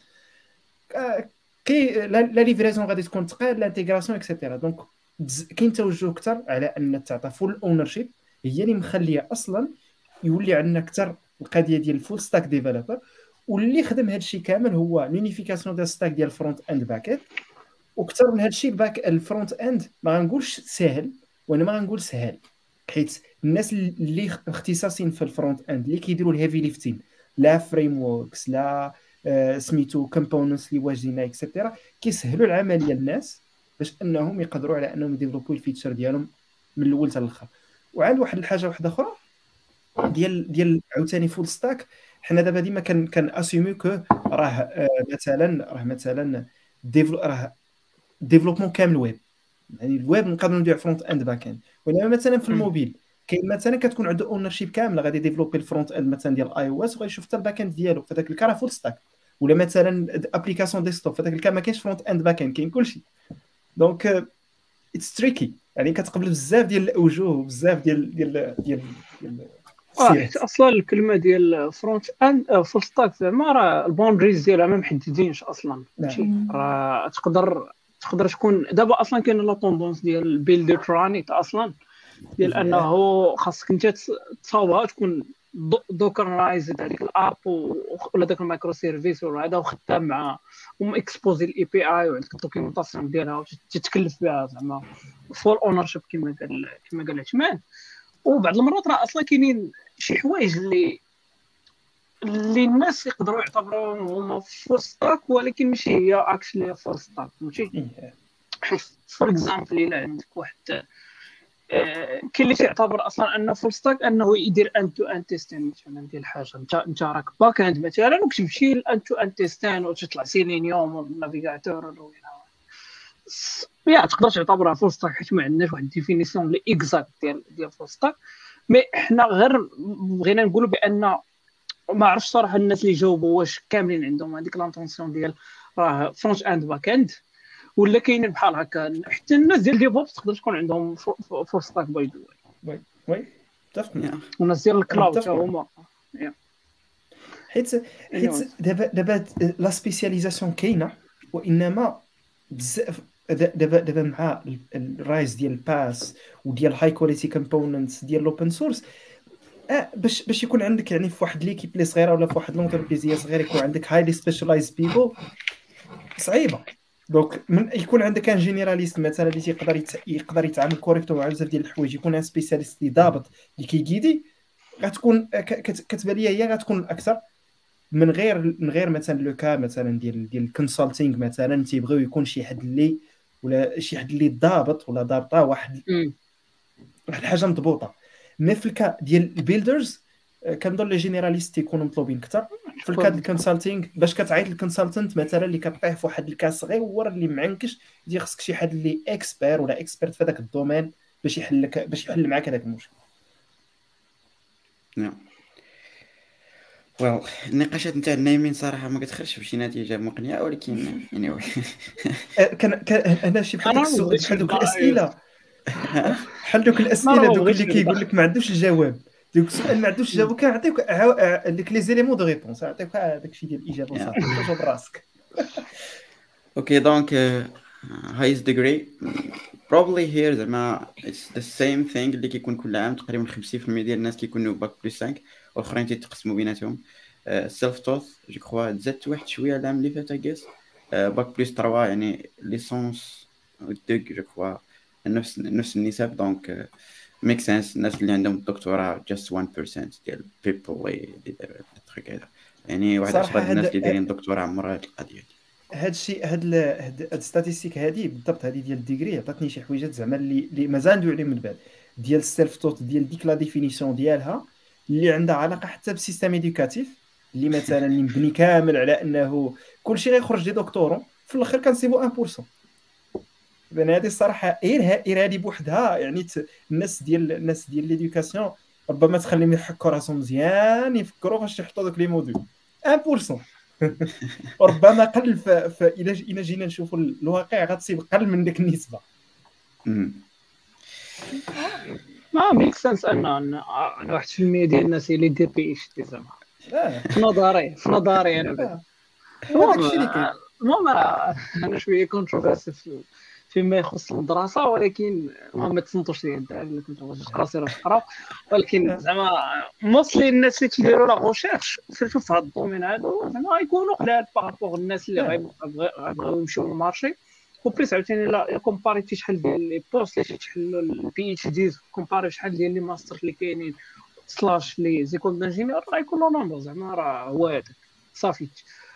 آه، كي لا لا ليفريزون غادي تكون ثقيل لانتيغراسيون اكسيتيرا. دونك بز- كاين توجه اكثر على ان تعطى فول اونرشيب هي اللي مخليه اصلا يولي عندنا اكثر القضيه ديال الفول ستاك ديفلوبر، واللي خدم هذا الشيء كامل هو لونيفيكاسيون ديال ستاك ديال فرونت اند باك اند. وكثر من هذا الشيء الباك الفرونت اند ما غنقولش ساهل وانا ما غنقول سهل، حيت الناس اللي اختصاصين في الفرونت اند اللي كيديروا الهيفي ليفتين لا فريم ووركس لا آه سميتو كومبوننتس اللي واجدين اكسيتيرا كيسهلوا العمليه للناس باش انهم يقدروا على انهم يديفلوبوا الفيتشر ديالهم من الاول حتى الاخر. وعند واحد الحاجه واحده اخرى ديال ديال عاوتاني فول ستاك، حنا دابا ديما كان كان اسيمي كو راه آه مثلا راه مثلا ديفلو راه ديفلوبمون كامل ويب، يعني الويب نقدروا نديروا فرونت اند باك اند. ولما مثلا في الموبيل كاين مثلا كتكون عنده اونرشيب كامله غادي ديفلوبي الفرونت اند مثلا ديال اي او اس وغيشوف حتى الباك اند ديالو فداك الكا راه فول ستاك. ولا مثلا ابليكاسيون ديسكتوب فداك الكا ما كاينش فرونت اند باك اند كاين كلشي. دونك اتس تريكي، يعني كتقبل بزاف ديال الاوجه وبزاف ديال ديال ديال ديال اه حيت اصلا الكلمه ديال فرونت اند فول ستاك زعما راه البوندريز ديالها ما محددينش اصلا. ماشي راه تقدر تقدر تكون دابا اصلا كاين لا طوندونس ديال بيلد رانيت اصلا ديال انه خاصك انت تصاوبها تكون دوكرايزد هذيك الاب ولا داك المايكرو سيرفيس ولا هذا وخدام مع وم اكسبوزي الاي بي اي وعندك الدوكيومونطاسيون ديالها وتتكلف بها زعما فول اونر شيب كما قال كما قال عثمان. وبعض المرات راه اصلا كاينين شي حوايج اللي اللي الناس يقدروا يعتبروهم هما فول ستاك ولكن ماشي هي اكشلي فول ستاك فهمتي. فور اكزامبل الا عندك واحد آه، كاين اللي تيعتبر اصلا انه فول ستاك انه يدير ان تو ان تيستين مثلا ديال الحاجه. انت انت راك باك اند مثلا وكتمشي لان تو ان تيستين وتطلع سيلينيوم والنافيغاتور ولا يا تقدر تعتبرها فول ستاك حيت ما عندناش واحد ديفينيسيون لي اكزاكت ديال ديال فول ستاك. مي حنا غير بغينا نقولوا بان ما عرفتش صراحه الناس اللي جاوبوا واش كاملين عندهم هذيك لانتونسيون ديال راه فرونت اند باك اند ولا كاينين بحال هكا. حتى الناس ديال ديفوبس تقدر تكون عندهم فول ستاك باي ذا وي وي متفق. والناس ديال الكلاود متفق. حتى هما حيت حيت دابا دابا لا سبيسياليزاسيون كاينه وانما بزاف دابا دابا مع الرايز ديال الباس وديال هاي كواليتي كومبوننتس ديال الاوبن سورس اه باش باش يكون عندك يعني في واحد ليكيب اللي صغيره ولا في واحد لونتربريز صغير يكون عندك هايلي سبيشالايز بيبل صعيبه. دونك من يكون عندك ان جينيراليست مثلا اللي يقدر يت... يقدر يتعامل كوريكتو مع بزاف ديال الحوايج يكون ان سبيسياليست اللي ضابط اللي كيغيدي غتكون كتبان ليا هي غتكون الاكثر من غير من غير مثلا لو كا مثلا ديال ديال الكونسلتينغ مثلا تيبغيو يكون شي حد اللي ولا شي حد اللي ضابط ولا ضابطه واحد واحد الحاجه مضبوطه. مي في الكا ديال البيلدرز كنظن لي جينيراليست تيكونوا مطلوبين اكثر. في الكاد الكونسلتينغ باش كتعيط للكونسلتنت مثلا اللي كطيح في واحد الكاس صغير اللي معنكش دي خصك شي حد اللي اكسبير ولا اكسبيرت في هذاك الدومين باش يحل لك باش يحل معك هذاك المشكل. نعم ويل النقاشات نتاع النايمين صراحه ما كتخرجش بشي نتيجه مقنعه ولكن يعني كان كان انا شي بحال داك السؤال بحال دوك الاسئله بحال دوك الاسئله دوك اللي كيقول لك ما عندوش الجواب دوك السؤال ما عندوش الجواب كنعطيوك ديك لي زيليمون دو ريبونس نعطيوك داك الشيء ديال الاجابه صافي توجو براسك. اوكي دونك highest degree probably here زعما it's the same thing اللي كيكون كل عام تقريبا خمسين بالمية ديال الناس كيكونوا باك بلس خمسة والاخرين تيتقسموا بيناتهم. سيلف توث جو كخوا تزادت واحد شويه العام اللي فات اكيس باك بلس ثلاثة يعني ليسونس دوغ جو كخوا نفس نفس النسب دونك ميك سنس. الناس اللي عندهم الدكتوراه just one percent ديال people اللي داروا التريك هذا يعني واحد عشرة ديال الناس اللي دايرين دكتوراه عمرها هاد القضيه. هاد الشيء هاد هاد الستاتيستيك هادي بالضبط هادي ديال الديغري عطاتني شي حويجات زعما اللي اللي مازال ندوي عليهم من بعد ديال السيلف توت ديال ديك لا ديفينيسيون ديالها اللي عندها علاقه حتى بالسيستم ايدوكاتيف اللي مثلا اللي مبني كامل على انه كلشي غيخرج دي دكتورون في الاخر كنسيبو واحد بالمية. بان هذه الصراحه غير غير هذه بوحدها يعني الناس ديال الناس ديال ليدوكاسيون ربما تخليهم يحكوا راسهم مزيان يفكروا فاش يحطوا دوك لي موديل واحد بالمية. وربما قل فإلا إلا جينا نشوفوا الواقع غتصيب قل من ديك النسبه. ما ميك سنس ان واحد في المية ديال الناس اللي دير بي اتش دي زعما في نظري في نظري انا المهم انا شويه كونتروفيرسي فيما يخص الدراسه ولكن ما تصنتوش ليا الدراري اللي كنت نقرا سير نقرا ولكن زعما موصلي الناس اللي تيديروا لا ريشيرش سيرتو في هذا الدومين هذا زعما يكونوا قلال باغابوغ الناس اللي غيبغيو يمشيو للمارشي وبريس عاوتاني لا كومباريتي شحال ديال لي بوست اللي تيحلوا البي اتش دي كومباري شحال ديال لي ماستر اللي كاينين سلاش لي زيكول دانجينيور راه يكونوا نومبر زعما راه هو هذاك صافي.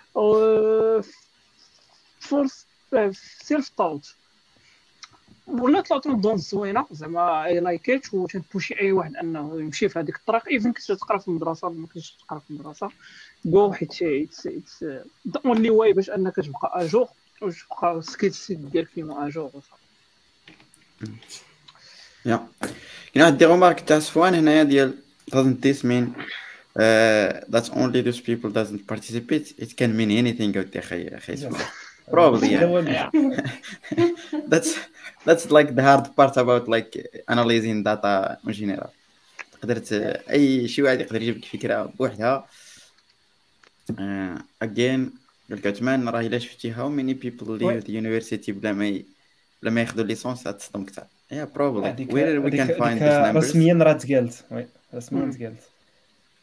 فورس سيلف توت ولا طلعتو نظن زوينه زعما اي لايكيت وتنبوشي اي واحد انه يمشي في هذيك الطريق ايفن كنت تقرا في المدرسه ما كنتش تقرا في المدرسه جو حيت اتس ذا اونلي واي باش انك تبقى اجور وتبقى سكيل سيت ديالك فيما اجور. يا كاين واحد دي رومارك تاع صفوان هنايا ديال doesn't this mean uh, that only those people doesn't participate it can mean anything out there خي خي اسمع probably yeah. that's that's like the hard part about like analyzing data in general. قدرت اي شي واحد يقدر يجيب لك فكره بوحدها. uh, again قلت عثمان راه الا شفتي how many people leave the university بلا ما بلا ما ياخذوا ليسونس غتصدم كثر. yeah probably where we can find these numbers رسميا راه تقالت وي رسميا تقالت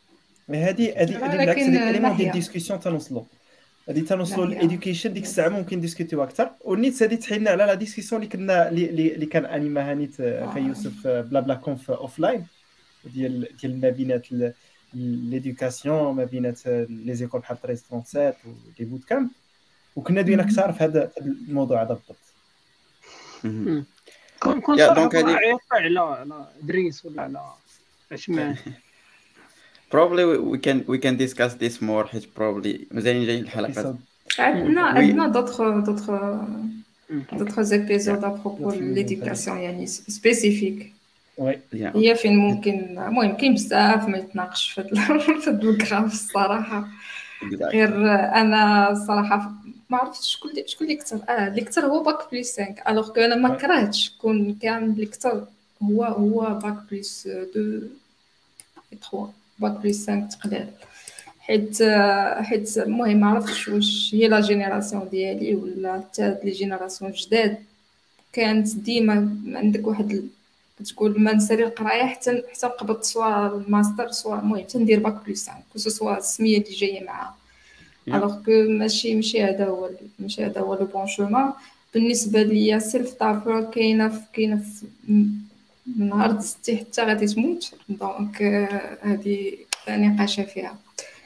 هذه هذه هذه بالعكس ولكن هذه اليمون ديال ناحية الديسكسيون تنوصلوا هذه تنوصلوا ناحية للإديوكيشن ديك الساعه ممكن ديسكوتيو اكثر والنيت هذه تحيلنا على لا ديسكسيون اللي كنا اللي اللي اللي كان انيماها نيت اخي يوسف بلا بلا كونف اوف لاين ديال ديال ما بينات ليدوكاسيون ما بينات لي زيكول بحال ثلاثة وثلاثين ولي بوت كامب وكنا دوينا اكثر في هذا الموضوع هذا بالضبط. مهم. كون كون يا صراحه دونك هذه عيط على على دريس ولا على عثمان. probably we we can we can discuss this more حيت probably مزالين جايين الحلقات. Episode. عندنا Oui. عندنا d'autres d'autres d'autres épisodes à propos de D'autres l'éducation يعني سبيسيفيك وي Yeah. هي فين ممكن المهم كاين بزاف ما يتناقش في هاد في هاد الكراف الصراحه. Exactly. غير انا الصراحه ما عرفتش شكون اللي شكون اللي كثر اه اللي كثر هو باك بليس خمسة الوغ كو انا ما Ouais. كرهتش كون كان اللي كثر هو هو باك بليس اثنين ثلاثة باك بليس خمسة تقلال حيت حيت المهم ما عرفتش واش هي لا جينيراسيون ديالي ولا حتى هاد لي جينيراسيون جداد كانت ديما عندك واحد ال- تقول ما نسالي القرايه حتى حتى نقبض سوا الماستر سوا المهم حتى ندير باك بليس خمسة كو سوا السميه اللي جايه معاه Yeah. الوغ كو ماشي ماشي هذا هو ماشي هذا هو لو بون شومان بالنسبه ليا سيلف تافر كاينه في كاينه في من نهار دزتي حتى غادي تموت دونك آه، هذه نقاشه فيها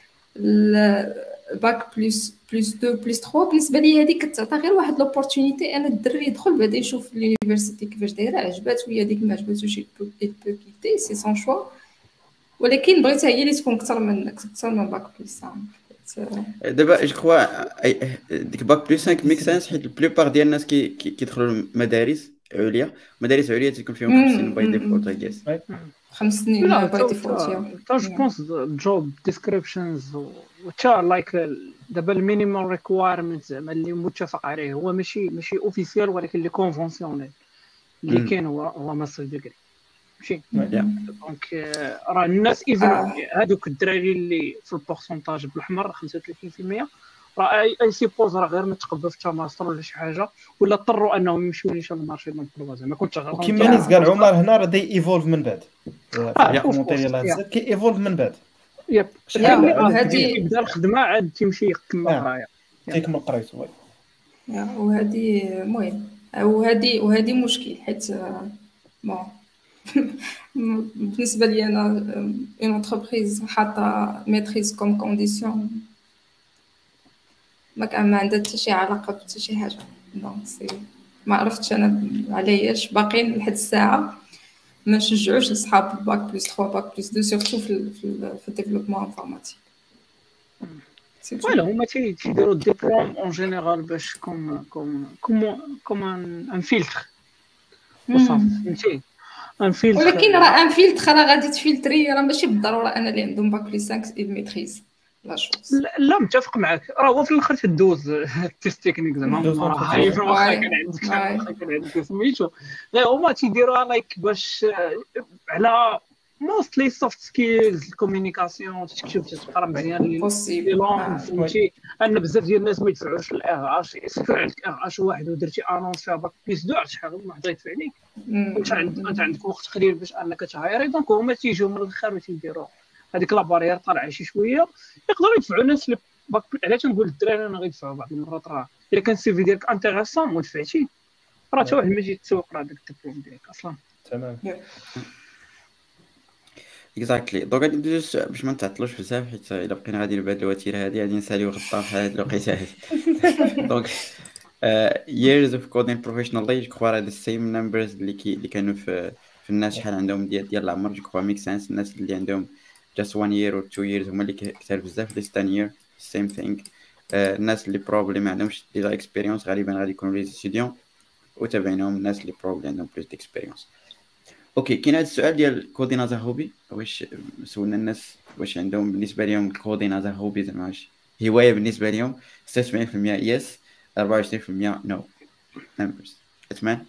الباك بلس بلس اثنين بلس ثلاثة بالنسبه لي هذيك كتعطي غير واحد لوبورتونيتي انا الدري يدخل بعدا يشوف اليونيفرسيتي كيفاش دايره عجباتو هي ديك ما عجباتوش يبو كيتي سي سون شوا ولكن بغيتها هي اللي تكون اكثر من اكثر من باك بلس دابا جو كخوا ديك باك بلس خمسة ميك سنس حيت البلوبار ديال الناس كي كي- كيدخلوا المدارس عليا مدارس عليا تيكون فيهم خمس سنين باي مم. ديفولت اي جيس. خمس سنين لا باي تا ديفولت تا جو بونس جوب ديسكريبشنز وتا لايك دابا المينيمال ريكوايرمنت زعما اللي متفق عليه هو ماشي ماشي اوفيسيال ولكن اللي كونفونسيونيل اللي مم. كاين هو هو ماستر ديجري ماشي Yeah. دونك آه، راه الناس ايفن آه. هادوك الدراري اللي في البورسونتاج بالاحمر خمسة وثلاثين بالمية راه اي اي سيبوز راه غير ما تقبلوا في تا ماستر ولا شي حاجه ولا اضطروا انهم يمشيو نيشان المارشي دونك زعما كنت شغال وكيما نيت قال عمر هنا راه داي ايفولف من بعد آه، في of الكومونتير course. ديال هاد Yeah. الزاد كي ايفولف من بعد يب شحال يا عدد هادي كبير يبدا الخدمه عاد تيمشي يكمل آه. قرايه تيكمل قرايته وي يا وهذه المهم وهذه وهذه مشكل حيت آه، بون بالنسبه لي انا اون انتربريز حاطه ميتريز كوم كونديسيون ما كان ما عندها حتى شي علاقه بحتى شي حاجه دونك سي ما عرفتش انا علاش باقيين لحد الساعه ما نشجعوش اصحاب الباك بلس ثلاثة باك بلس اثنين سورتو في ال في ال في الديفلوبمون انفورماتيك سي تو فوالا هما تي- تيديروا الدبلوم اون جينيرال باش كوم كوم كوم كوم ان ان فيلتر وصافي فهمتي ان فيلتر ولكن راه ان فيلتر راه غادي تفلتري راه ماشي بالضروره انا اللي عندهم باك بلس خمسة الميتريز لا شوز لا, لا متفق معك راه هو في الاخر تدوز التيست تكنيك زعما دوز هما راه التيست. عارفين واخا واي. كان عندك واي. واخا كان عندك سميتو غير هما تيديروها لايك باش آه، على موستلي سوفت سكيلز الكوميونيكاسيون تكتب تقرا مزيان لي بوسيبل لي لونغ فهمتي ان بزاف ديال الناس ما يدفعوش الاغ اش يسكر عندك اغ اش واحد ودرتي انونس فيها باك بليس دو شحال واحد يدفع عليك انت عندك انت عندك وقت قليل باش انك تهايري دونك هما تيجيو من الاخر وتيديروا هذيك لا بارير طالعه شي شويه يقدروا يدفعوا الناس اللي باك علاش نقول الدراري انا غيدفعوا بعض المرات راه الا كان السي في ديالك انتيريسون ودفعتي راه حتى واحد ما يجي يتسوق راه داك الدبلوم ديالك اصلا تمام اكزاكتلي دونك غادي ندوز باش ما نتعطلوش بزاف حيت الا بقينا غادي بهاد الوتيره هادي غادي نساليو غطا في هاد الوقيته هادي دونك years of coding professionally جو كخوا راه the same numbers اللي كي اللي كانوا في في الناس شحال عندهم ديال ديال العمر جو كخوا ميك سنس الناس اللي عندهم just one year or two years هما اللي كثار بزاف less than year same thing آه، الناس اللي probably ما عندهمش ديجا experience غالبا غادي يكونوا les étudiants وتابعينهم الناس اللي probably عندهم plus d'experience. اوكي كاين هذا السؤال ديال كودين از هوبي واش سولنا الناس واش عندهم بالنسبه لهم الكودين از هوبي زعما واش هوايه بالنسبه لهم ستة وسبعين بالمية يس أربعة وعشرين بالمية نو نمبرز اتمان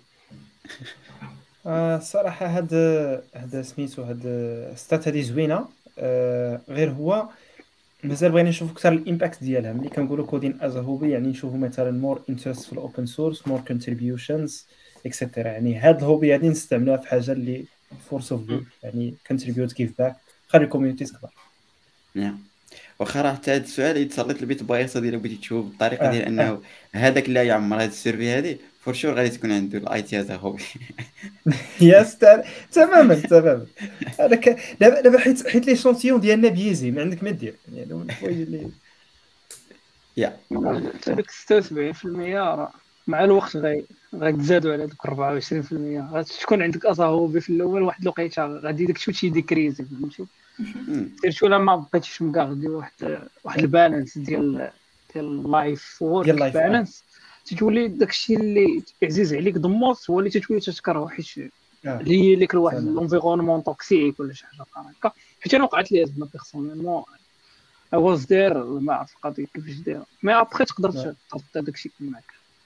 آه صراحه هاد هاد سميتو هاد ستات هادي زوينه آه غير هو مازال بغينا نشوفوا اكثر الامباكت ديالها ملي كنقولوا كودين از هوبي يعني نشوفوا مثلا مور انترست في الاوبن سورس مور كونتريبيوشنز اكسيتيرا يعني هاد الهوبي هادي نستعملوها في حاجه اللي فورس اوف جود يعني كونتريبيوت كيف باك خلي الكوميونيتي تكبر نعم. واخا راه حتى هذا السؤال إذا تسلط البيت بلايصه ديالو بغيتي تشوف بالطريقه اه ديال اه انه هذاك اللي يعمر هذا السيرفي هذه فور شور غادي تكون عنده الاي تي هذا هوبي. يا ستار تماما تماما. هذا ك- دابا دابا حيت حيت لي شونتيون ديالنا بيزي ما عندك ما دير، يعني هذا من الحوايج اللي يا هذاك ستة وسبعين بالمية راه مع الوقت غي غتزادوا على دوك أربعة وعشرين بالمية، غتكون عندك اصاحبي في الاول واحد الوقيته غادي داك الشيء ديكريزي فهمتي. مم. سيرتو لما بقيتيش مكاردي واحد واحد البالانس ديال ديال اللايف ديال وورك اللايف اه بالانس، تتولي داكشي اللي عزيز عليك دموس هو اللي تتولي تتكره، حيت اه اللي هي لك لواحد تمام. لونفيرونمون توكسيك ولا شي حاجه بحال هكا. حيت انا وقعت لي زعما بيرسونيلمون I was there ما عرفت القضيه كيفاش دايره، مي ابخي تقدر نعم. تحط داكشي معاك.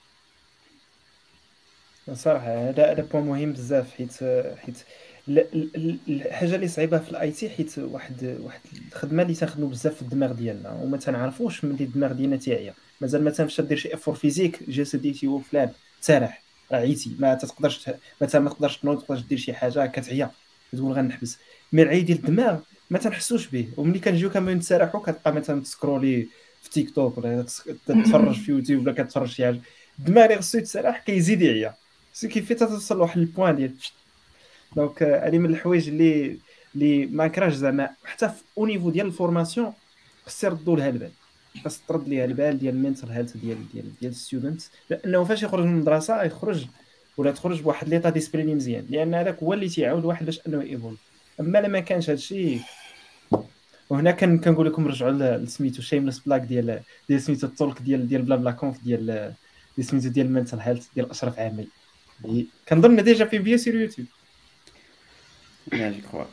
صراحه هذا هذا بوين مهم بزاف، حيت حيت ال- ال- ال- الحاجه اللي صعيبه في الاي تي، حيت واحد واحد الخدمه اللي تنخدموا بزاف في الدماغ ديالنا وما تنعرفوش ملي الدماغ ديالنا تيعيا. مازال ما تنمشي دير شي افور فيزيك جسدي هو فلان تسرح راه عييتي، ما تقدرش ت- مثلا ما تقدرش تنوض، تقدرش دير شي حاجه كتعيا كتقول غنحبس. مي العي ديال الدماغ ما تنحسوش به، وملي كنجيو كنبغيو نتسرحوا كتبقى مثلا تسكرولي في تيك توك ولا تس- تتفرج في يوتيوب ولا كتفرج شي حاجه. الدماغ اللي خصو يتسرح كيزيد يعيا، سي كيف توصل لواحد البوان ديال دونك هذه من الحوايج اللي اللي ما كراش زعما حتى في او نيفو ديال الفورماسيون خص يردوا لها البال، خاص ترد ليها البال ديال المينتال هيلث ديال ديال ديال الستودنت، لانه فاش يخرج من المدرسه يخرج ولا تخرج بواحد ليطا ديسبريني مزيان، لان هذاك هو اللي تيعاود الواحد باش انه ايفولف. اما لما كانش هادشي، وهنا كان كنقول لكم رجعوا لسميتو شيمليس بلاك ديال ديال سميتو التولك ديال ديال بلا بلا كونف ديال ديال سميتو ديال المينتال هيلث ديال اشرف عامل، اللي كنظن ديجا في فيديو سير يوتيوب. يا جو كخوا.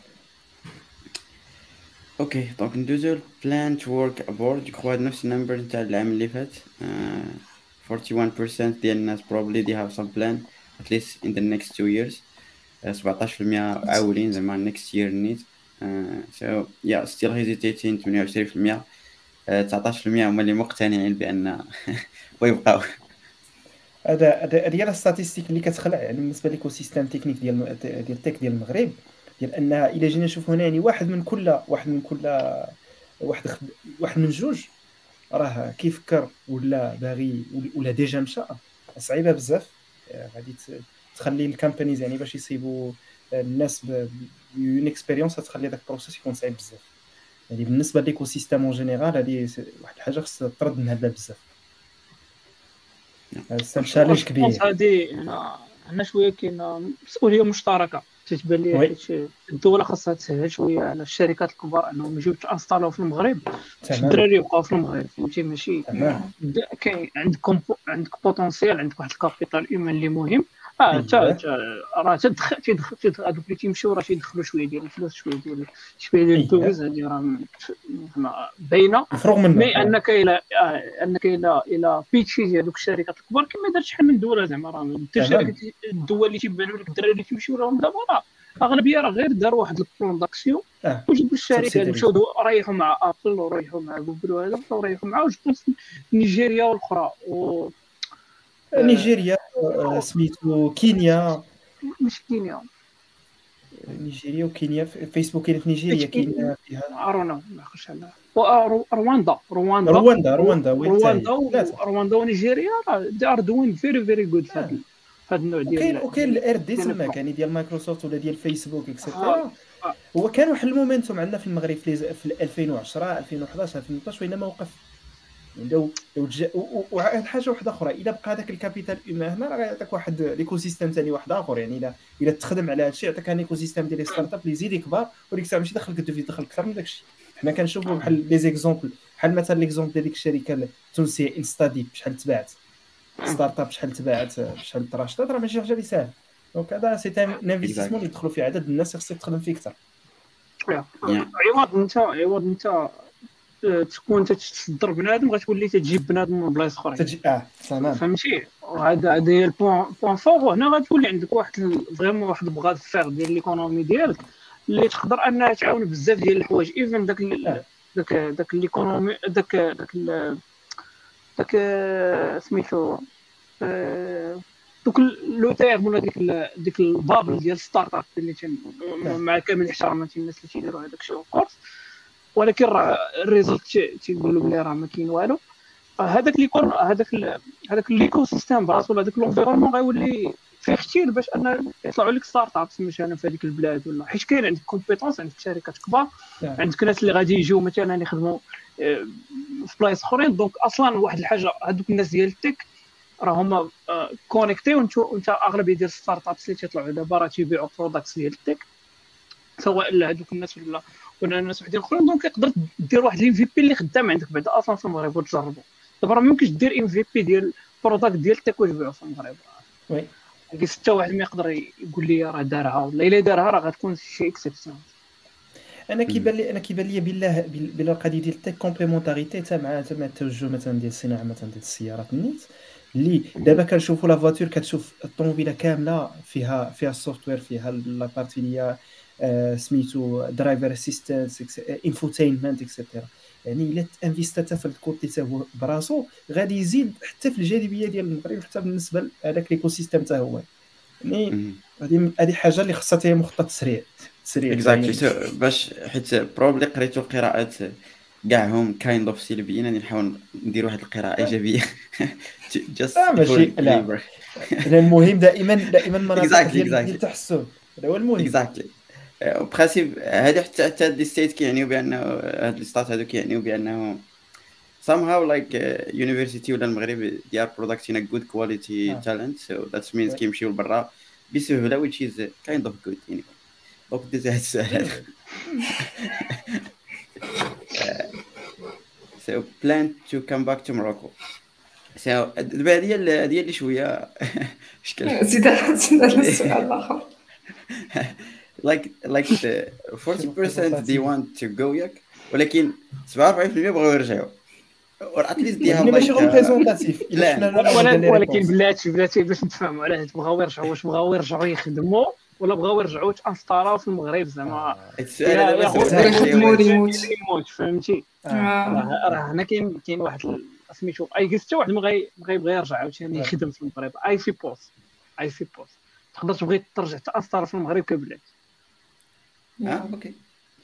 اوكي دونك ندوزو بلان تو ورك ابورد. جو كخوا نفس النمبر نتاع العام اللي فات. آه، واحد وأربعين بالمية ديال الناس probably they have some plan at least in the next two years. آه، سبعطاش بالمية عاولين زعما next year need. آه، so yeah still hesitating. ثمانية وعشرين بالمية آه، تسعطاش بالمية هما اللي مقتنعين بان ويبقاو. هذا هذا هذه هي الستاتيستيك اللي كتخلع يعني بالنسبه للايكو سيستيم تكنيك ديال ديال التك ديال المغرب، ديال ان الا جينا نشوفوا هنا يعني واحد من كل واحد من كل واحد خد... واحد من جوج راه كيفكر ولا باغي ولا ديجا مشى. صعيبه بزاف، غادي تخلي الكامبانيز يعني باش يصيبوا الناس بيون اكسبيريونس، تخلي داك البروسيس يكون صعيب بزاف. يعني بالنسبه للايكو سيستيم اون جينيرال هذه واحد الحاجه خص ترد من هذا بزاف. هذا تشالنج كبير. هذه عندنا شويه كاينه مسؤوليه مشتركه تتبان لي، وي. حيت الدوله خاصها تسهل شويه على الشركات الكبار انهم يجيو تانستالو في المغرب باش تمام الدراري يبقاو في المغرب فهمتي. ماشي تمام بدا- كاين عندكم عندك بوتونسيال، عندك واحد الكابيتال ايمان اللي مهم. اه تا اييه تا- راه تدخل تيدخل تيدخل- هذوك اللي تيمشيو راه تيدخلوا شويه ديال الفلوس، شويه ديال شويه ديال اييه الدوز، هذه راه زعما باينه. مفروغ منه. مي آه. انك الى آه، انك الى الى بيتشي ديال دوك الشركات الكبار كما دارت شحال من دوله زعما راه دير تمام شركات الدول اللي تيبانوا لك الدراري اللي تيمشيو لهم دابا راه اغلبيه راه غير داروا واحد البلان داكسيون اه وجبوا الشركات سبسيديري مشاو دو- ريحوا مع ابل وريحوا مع جوجل وهذا وريحوا مع وجبوا نيجيريا والاخرى و آه، نيجيريا، آه، سميتو كينيا. مش كينيا نيجيريا وكينيا، فيسبوك كاين في نيجيريا، كاين فيها ارونا ما عرفتش على و- رواندا رواندا رواندا. رواندا وين رواندا تاهي ثلاثه. ورواندا ونيجيريا راه they are doing very very good في آه. هذا في هذا النوع وكاين ديال وكاين الار دي ديال تما البلان. يعني ديال مايكروسوفت ولا ديال فيسبوك آه. اكسيتيرا. آه. هو كان واحد المومنتوم عندنا في المغرب في لي- في ألفين وعشرة ألفين وحداش ألفين وثلاثطاش وإنما وقف. يعني لو لو تجا وواحد حاجه واحده اخرى، اذا بقى هذاك الكابيتال هيومان هنا راه غيعطيك واحد ليكو سيستيم ثاني واحد اخر. يعني اذا اذا تخدم على هذا الشيء يعطيك ان ايكو سيستيم ديال لي ستارت اب اللي يزيد يكبر، وديك الساعه ماشي دخلك الدوفي دخل اكثر من داك الشيء. حنا كنشوفوا بحال لي زيكزومبل، بحال مثلا ليكزومبل ديال ديك الشركه التونسيه انستاديب شحال تباعت، ستارت اب شحال تباعت، شحال تراشطات، راه ماشي حاجه اللي ساهله. دونك هذا سي ان انفستيسمون اللي يدخلوا فيه عدد الناس خصك تخدم فيه اكثر. عوض انت عوض انت تكون تتصدر بنادم غتولي تجيب بنادم من بلايص اخرين تجي اه تمام فهمتي. وهذا هذا هي البوان بوان فور. هنا غتولي عندك واحد فريمون واحد البغاد فير ديال ليكونومي ديالك اللي تقدر انها تعاون بزاف ديال الحوايج. ايفن داك آه. داك داك ليكونومي داك داك داك سميتو دوك لو تيرم ولا ديك ديك البابل ديال ستارت اب اللي تن مع كامل احتراماتي الناس اللي تيديروا هذاك الشيء كورس ولكن راه الريزلت تيقولوا بلي راه ما كاين والو. هذاك اللي يكون هذاك ال- هذاك ليكو سيستيم براسو، هذاك لونفيرونمون غيولي فيه كثير باش ان يطلعوا لك ستارت ابس مثلا في هذيك البلاد، ولا حيت كاين عندك كومبيتونس، عندك شركات كبار، نعم. عندك ناس اللي غادي يجيو مثلا يخدموا آه، في بلايص اخرين. دونك اصلا واحد الحاجه، هذوك الناس ديال التك راه هما كونيكتي، وانت وانت اغلبيه ديال الستارت ابس اللي تيطلعوا دابا راه تيبيعوا برودكتس ديال التك، سواء لهذوك الناس ولا ولا الناس وحدين اخرين. دونك تقدر دير واحد الام في بي اللي خدام عندك بعدا اصلا في المغرب وتجربه. دابا راه ما يمكنش دير ام في بي ديال برودكت ديال التك وتبيعو في المغرب، وي كاين حتى واحد ما يقدر يقول لي راه دارها، ولا الا دارها راه غتكون شي اكسبسيون. انا كيبان لي انا كيبان لي بالله بال- بلا القضيه ديال التك كومبليمونتاريتي حتى مع حتى مع التوجه مثلا ديال الصناعه مثلا ديال السيارات النيت، اللي دابا كنشوفوا لا فواتور، كتشوف الطوموبيله كامله فيها فيها السوفتوير، فيها لا بارتي اللي هي آه، سميتو درايفر اسيستنس، انفوتينمنت اكسيتيرا. يعني الا انفيستات في الكوتي حتى هو براسو غادي يزيد حتى في الجاذبيه ديال المغرب، حتى بالنسبه لهذاك ليكو سيستيم حتى هو. يعني هذه هذه حاجه اللي خصها تاهي مخطط تسريع تسريع اكزاكتلي. يعني. باش حيت بروبلي قريتو قراءات كاعهم كايند اوف سلبيين، راني نحاول ندير واحد القراءه ايجابيه. جاست اه ماشي لا لا، المهم دائما دائما مناطق Exactly, ديال ديال exactly. التحسن، هذا هو المهم. اكزاكتلي. برانسيب هذه حتى حتى هاد ستيت كيعنيو بانه هاد الستات هادو كيعنيو بانه somehow like uh, university ولا المغرب they are producing a good quality آه. talent, so that means Ouais. كيمشيو لبرا بسهوله which is kind of good anyway. دونك دوز هاد السؤال هذا. So plan to come back to Morocco. So دابا هذه هي هذه اللي شويه اشكال. زيد زيد على السؤال الاخر. like like the forty percent they want to go ياك، ولكن سبعة وأربعين بالمية بغاو يرجعوا. or at least they have يعني ماشي like ريبريزونطاتيف plan. الا شفنا ولكن ولكن بلاتي بلاتي باش نتفاهموا على هاد بغاو يرجعوا، واش بغاو يرجعوا يخدموا ولا بغاو يرجعوا تانستاراو في المغرب زعما السؤال هذا يا بس خويا سؤال يخدموا شوية. ريموت. ريموت، فهمتي؟ آه. راه راه هنا كاين كاين واحد ال- سميتو اي جيس، حتى واحد ما غي ما غيبغي يرجع عاوتاني يخدم في المغرب. اي سي بوس اي سي بوس تقدر تبغي ترجع تانستار في المغرب كبلاد. اه اوكي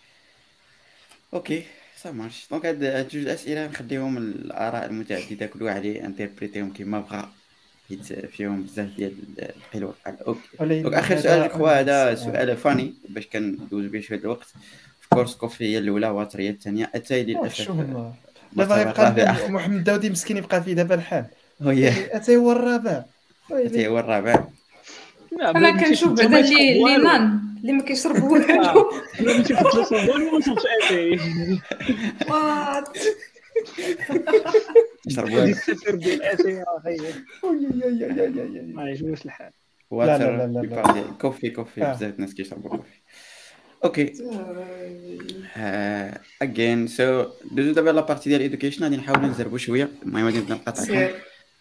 اوكي سا مارش. دونك هاد هاد جوج اسئله نخليهم الاراء المتعدده، كل واحد انتربريتيهم كما بغى، حيت فيهم بزاف ديال القيل والقال. اوكي دونك اخر سؤال الاخوه، هذا سؤال فاني باش كندوز به شويه الوقت. في كورس كوفي هي الاولى، واتر هي الثانيه، اتاي للاسف شو هما المرتبة دابا يبقى الرابعة. محمد داودي مسكين يبقى في دابا الحال، هو هي اتاي هو الرابع. اتاي هو الرابع. انا كنشوف بعدا اللي اللي نان اللي ما كيشرب والو. انا ماشي في الثلاثه والو ما نشوفش اتاي وات يشربوا هادي السفر ديال اتاي راه غير ما لا يعجبوش الحال. واتر لا لا لا لا. يبقى ديال كوفي كوفي آه. بزاف الناس كيشربوا كوفي. اوكي اجين سو دوزو دابا لا بارتي ديال ايدوكيشن، غادي نحاولوا نزربوا شويه. المهم غادي نبدا نقاطعكم. سير.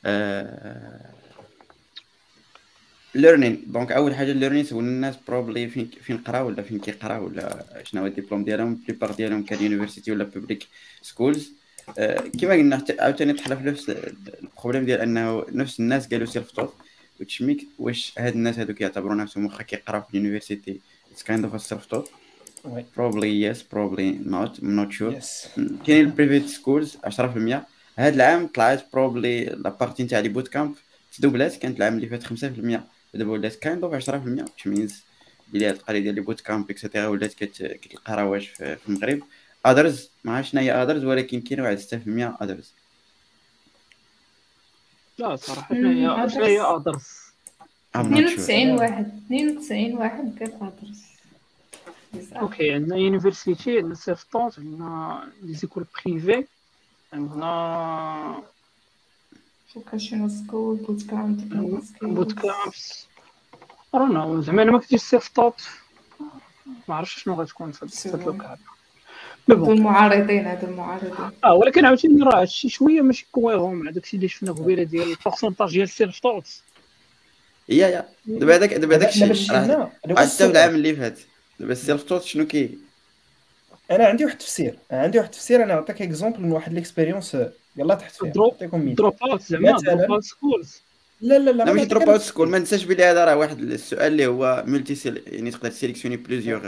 ليرنين. دونك اول حاجه ليرنين، سولنا الناس بروبلي فين فين قراو ولا فين كيقراو ولا شنو هو الدبلوم ديالهم. بليبار ديالهم كان يونيفرسيتي ولا بوبليك سكولز. كما قلنا حتى عاوتاني طحنا في نفس البروبليم ديال انه نفس الناس قالوا سيلف توت، which make واش هاد الناس هادو كيعتبروا نفسهم واخا كيقراو في اليونيفرسيتي it's kind of a self taught. وي probably yes probably not I'm not sure. يس كاين البريفيت سكولز عشرة بالمية. هاد العام طلعت بروبلي لا بارتي نتاع لي بوت كامب تدوبلات، كانت العام اللي فات خمسة بالمية، دابا ولات كاين دوف عشرة بالمية، which means بلي هاد القضيه ديال لي بوت كامب اكسيتيرا ولات كتلقى رواج في في المغرب. اذرز ما عرفتش شنو هي اذرز، ولكن كاين واحد ستة بالمية اذرز. لا صراحه شنو هي شنو هي ادرس اثنين وتسعين واحد اثنين وتسعين واحد قال ادرس. اوكي. عندنا يونيفرسيتي، عندنا سيلف طونت، عندنا لي زيكول بريفي، عندنا فوكاشنال سكول بوت كامب بوت كامبس. رانا زعما انا ما كنتش سيلف طونت، ما عرفتش شنو غتكون في هاد اللوكال. مي هادو بون المعارضين هادو المعارضين. اه ولكن عاوتاني راه هادشي شويه ماشي كويرون مع داكشي اللي شفنا قبيله ديال البورسونتاج ديال السيلف طونت. يا يا دابا هذاك دابا داك دابا الشيء شفنا حتى في العام اللي فات. دابا السيلف توت شنو كي انا عندي واحد التفسير انا عندي واحد التفسير انا نعطيك اكزومبل من واحد ليكسبيريونس يلاه تحت فيها. دروب نعطيكم مثال. دروب اوت زعما مثلاً. دروب اوت سكولز. لا لا لا لا ما ماشي نعطيك دروب أنا اوت سكول. ما ننساش بلي هذا راه واحد السؤال اللي هو ملتي سيل... يعني تقدر تسيليكسيوني بليزيوغ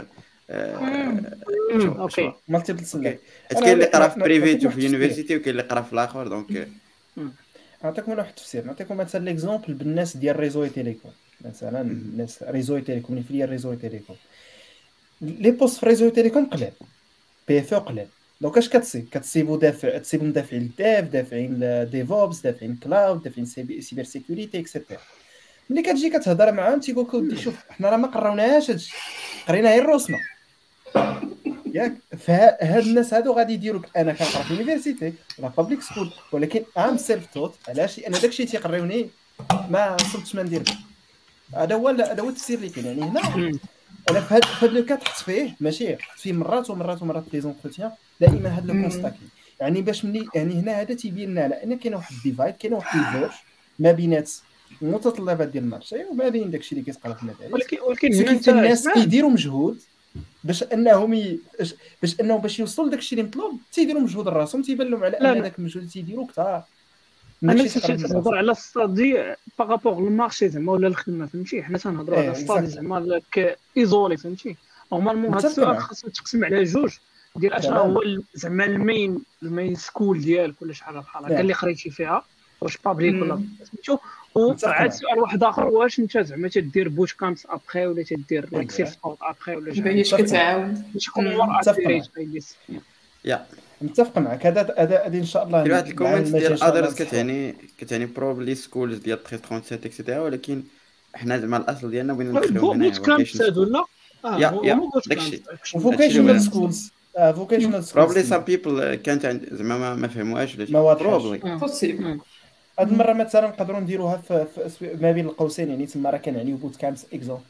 آه، مم، شو اوكي شو مالتيبل سيلكت. حيت كاين اللي قرا في بريفيت وفي يونيفرسيتي وكاين اللي قرا في الاخر دونك نعطيكم واحد التفسير، نعطيكم مثلا ليكزومبل بالناس ديال ريزو تيليكوم. مثلا مهم. الناس ريزو تيليكوم اللي فيا ريزو تيليكوم، لي بوست في ريزو تيليكوم قلال، بي اف او قلال. دونك اش كتصيب؟ كتصيبوا دافع، تصيبوا مدافعين الديف، دافعين ديفوبس، دافعين كلاود، دافعين سيبر سيكوريتي اكسيتيرا. ملي كتجي كتهضر معاهم تيقول لك ودي شوف حنا راه ما قراوناش هادشي، قرينا غير الرسمه ياك. فهاد الناس هادو غادي يديروك انا كنقرا في يونيفرسيتي ولا بابليك سكول ولكن ام سيلف توت. علاش؟ لان داكشي تيقريوني ما وصلتش ما ندير به. هذا هو هذا هو التفسير اللي كاين. يعني هنا مم. انا في هاد في هاد لو كات حط فيه، ماشي حط فيه مرات ومرات ومرات في لي زونتروتيان دائما هاد لو مم. كونستا كاين. يعني باش مني يعني هنا هذا تيبين لنا على ان كاين واحد الديفايد، كاين واحد الفيرج ما بينات المتطلبات ديال المارشي وما بين داكشي اللي كيتقرا في المدارس. ولكن ولكن سو هنا كيف انت الناس اسمع كيديروا مجهود باش انهم ي... باش- باش انهم باش يوصلوا لداكشي اللي مطلوب، تيديروا مجهود راسهم، تيبان لهم على لا ان لا داك المجهود اللي تيديروا كثار من انا داكشي تيقرا في تهضر المدرسه. على الستادي باغابوغ للمارشي زعما ولا الخدمه، فهمتي؟ حنا تنهضروا ايه على الستادي exactly. زعما لك ايزولي، فهمتي؟ نورمالمون هذا متفق السؤال معك خاصو يتقسم على جوج ديال اشنا تماما. هو ال- زعما المين المين سكول ديالك ولا شحال بحال هكا نعم اللي قريتي فيها، واش بابليك ولا مم. سميتو. متفق وعاد معك سؤال واحد اخر، واش انت زعما تدير بوت كامبس ابخي ولا تدير لايك اييه سيلف توت ابخي ولا شحال باش متفق معك كتعاود. باش يكون مم. مور متفق اكيوريت معك بايليس. يا متفق معك. هذا هذا هذه ان شاء الله كاين واحد مع الكومنت المجال ديال ان شاء الله اذرز نصحوا. كتعني كتعني بروبلي سكولز ديال تلتمية وسبعة وثلاثين اكسيتيرا، ولكن حنا زعما الاصل ديالنا بغينا ندخلوهم هنايا بوت كامبس فوكيشن هادو سكول. لا اه يا هو يا هما بوت داكشي كامبس هادشي اللي وفوكيشنال بغينا سكولز اه فوكيشنال سكولز بروبلي سام تما بيبل كانت عند زعما ما, ما فهموهاش ولا شي ما واضحاش. بروبلي. بوسيبل. هاد المره مثلا نقدروا نديروها في, في أسو- ما بين القوسين، يعني تما راه كنعنيو بوت كامبس اكزومبل.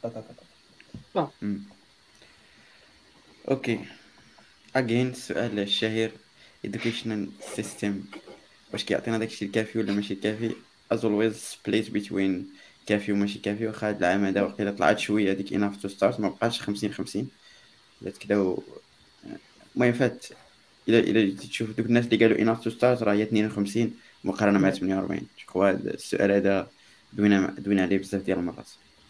اوكي اجين السؤال الشهير educational system واش كيعطينا داكشي الكافي ولا ماشي كافي؟ as always split between كافي وماشي كافي. واخا هاد العام هذا وقيلا طلعت شويه ديك enough to start ما بقاش خمسين خمسين ولات كدا و... المهم فات الى الى جيتي تشوف دوك الناس اللي قالوا enough to start راه هي اثنين وخمسين مقارنه مع ثمانية وأربعين. جو السؤال هذا دوينا دوينا عليه بزاف ديال المرات.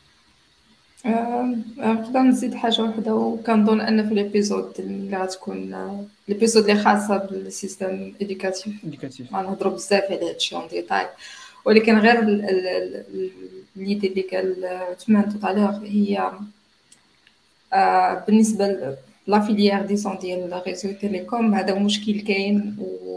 آه، نقدر نزيد حاجة واحدة، وكنظن أن في الإبيزود اللي غتكون آه، الإبيزود اللي خاصة بالسيستم إديوكاتيف انديكاتيف. ما نهضروا بزاف على هادشي اون ديتاي، ولكن غير ال- ال- ال- الليدي اللي قال عثمان توطالور هي آه، بالنسبة ل- لا فيليير ديسون ديال ريزو تيليكوم. هذا مشكل كاين،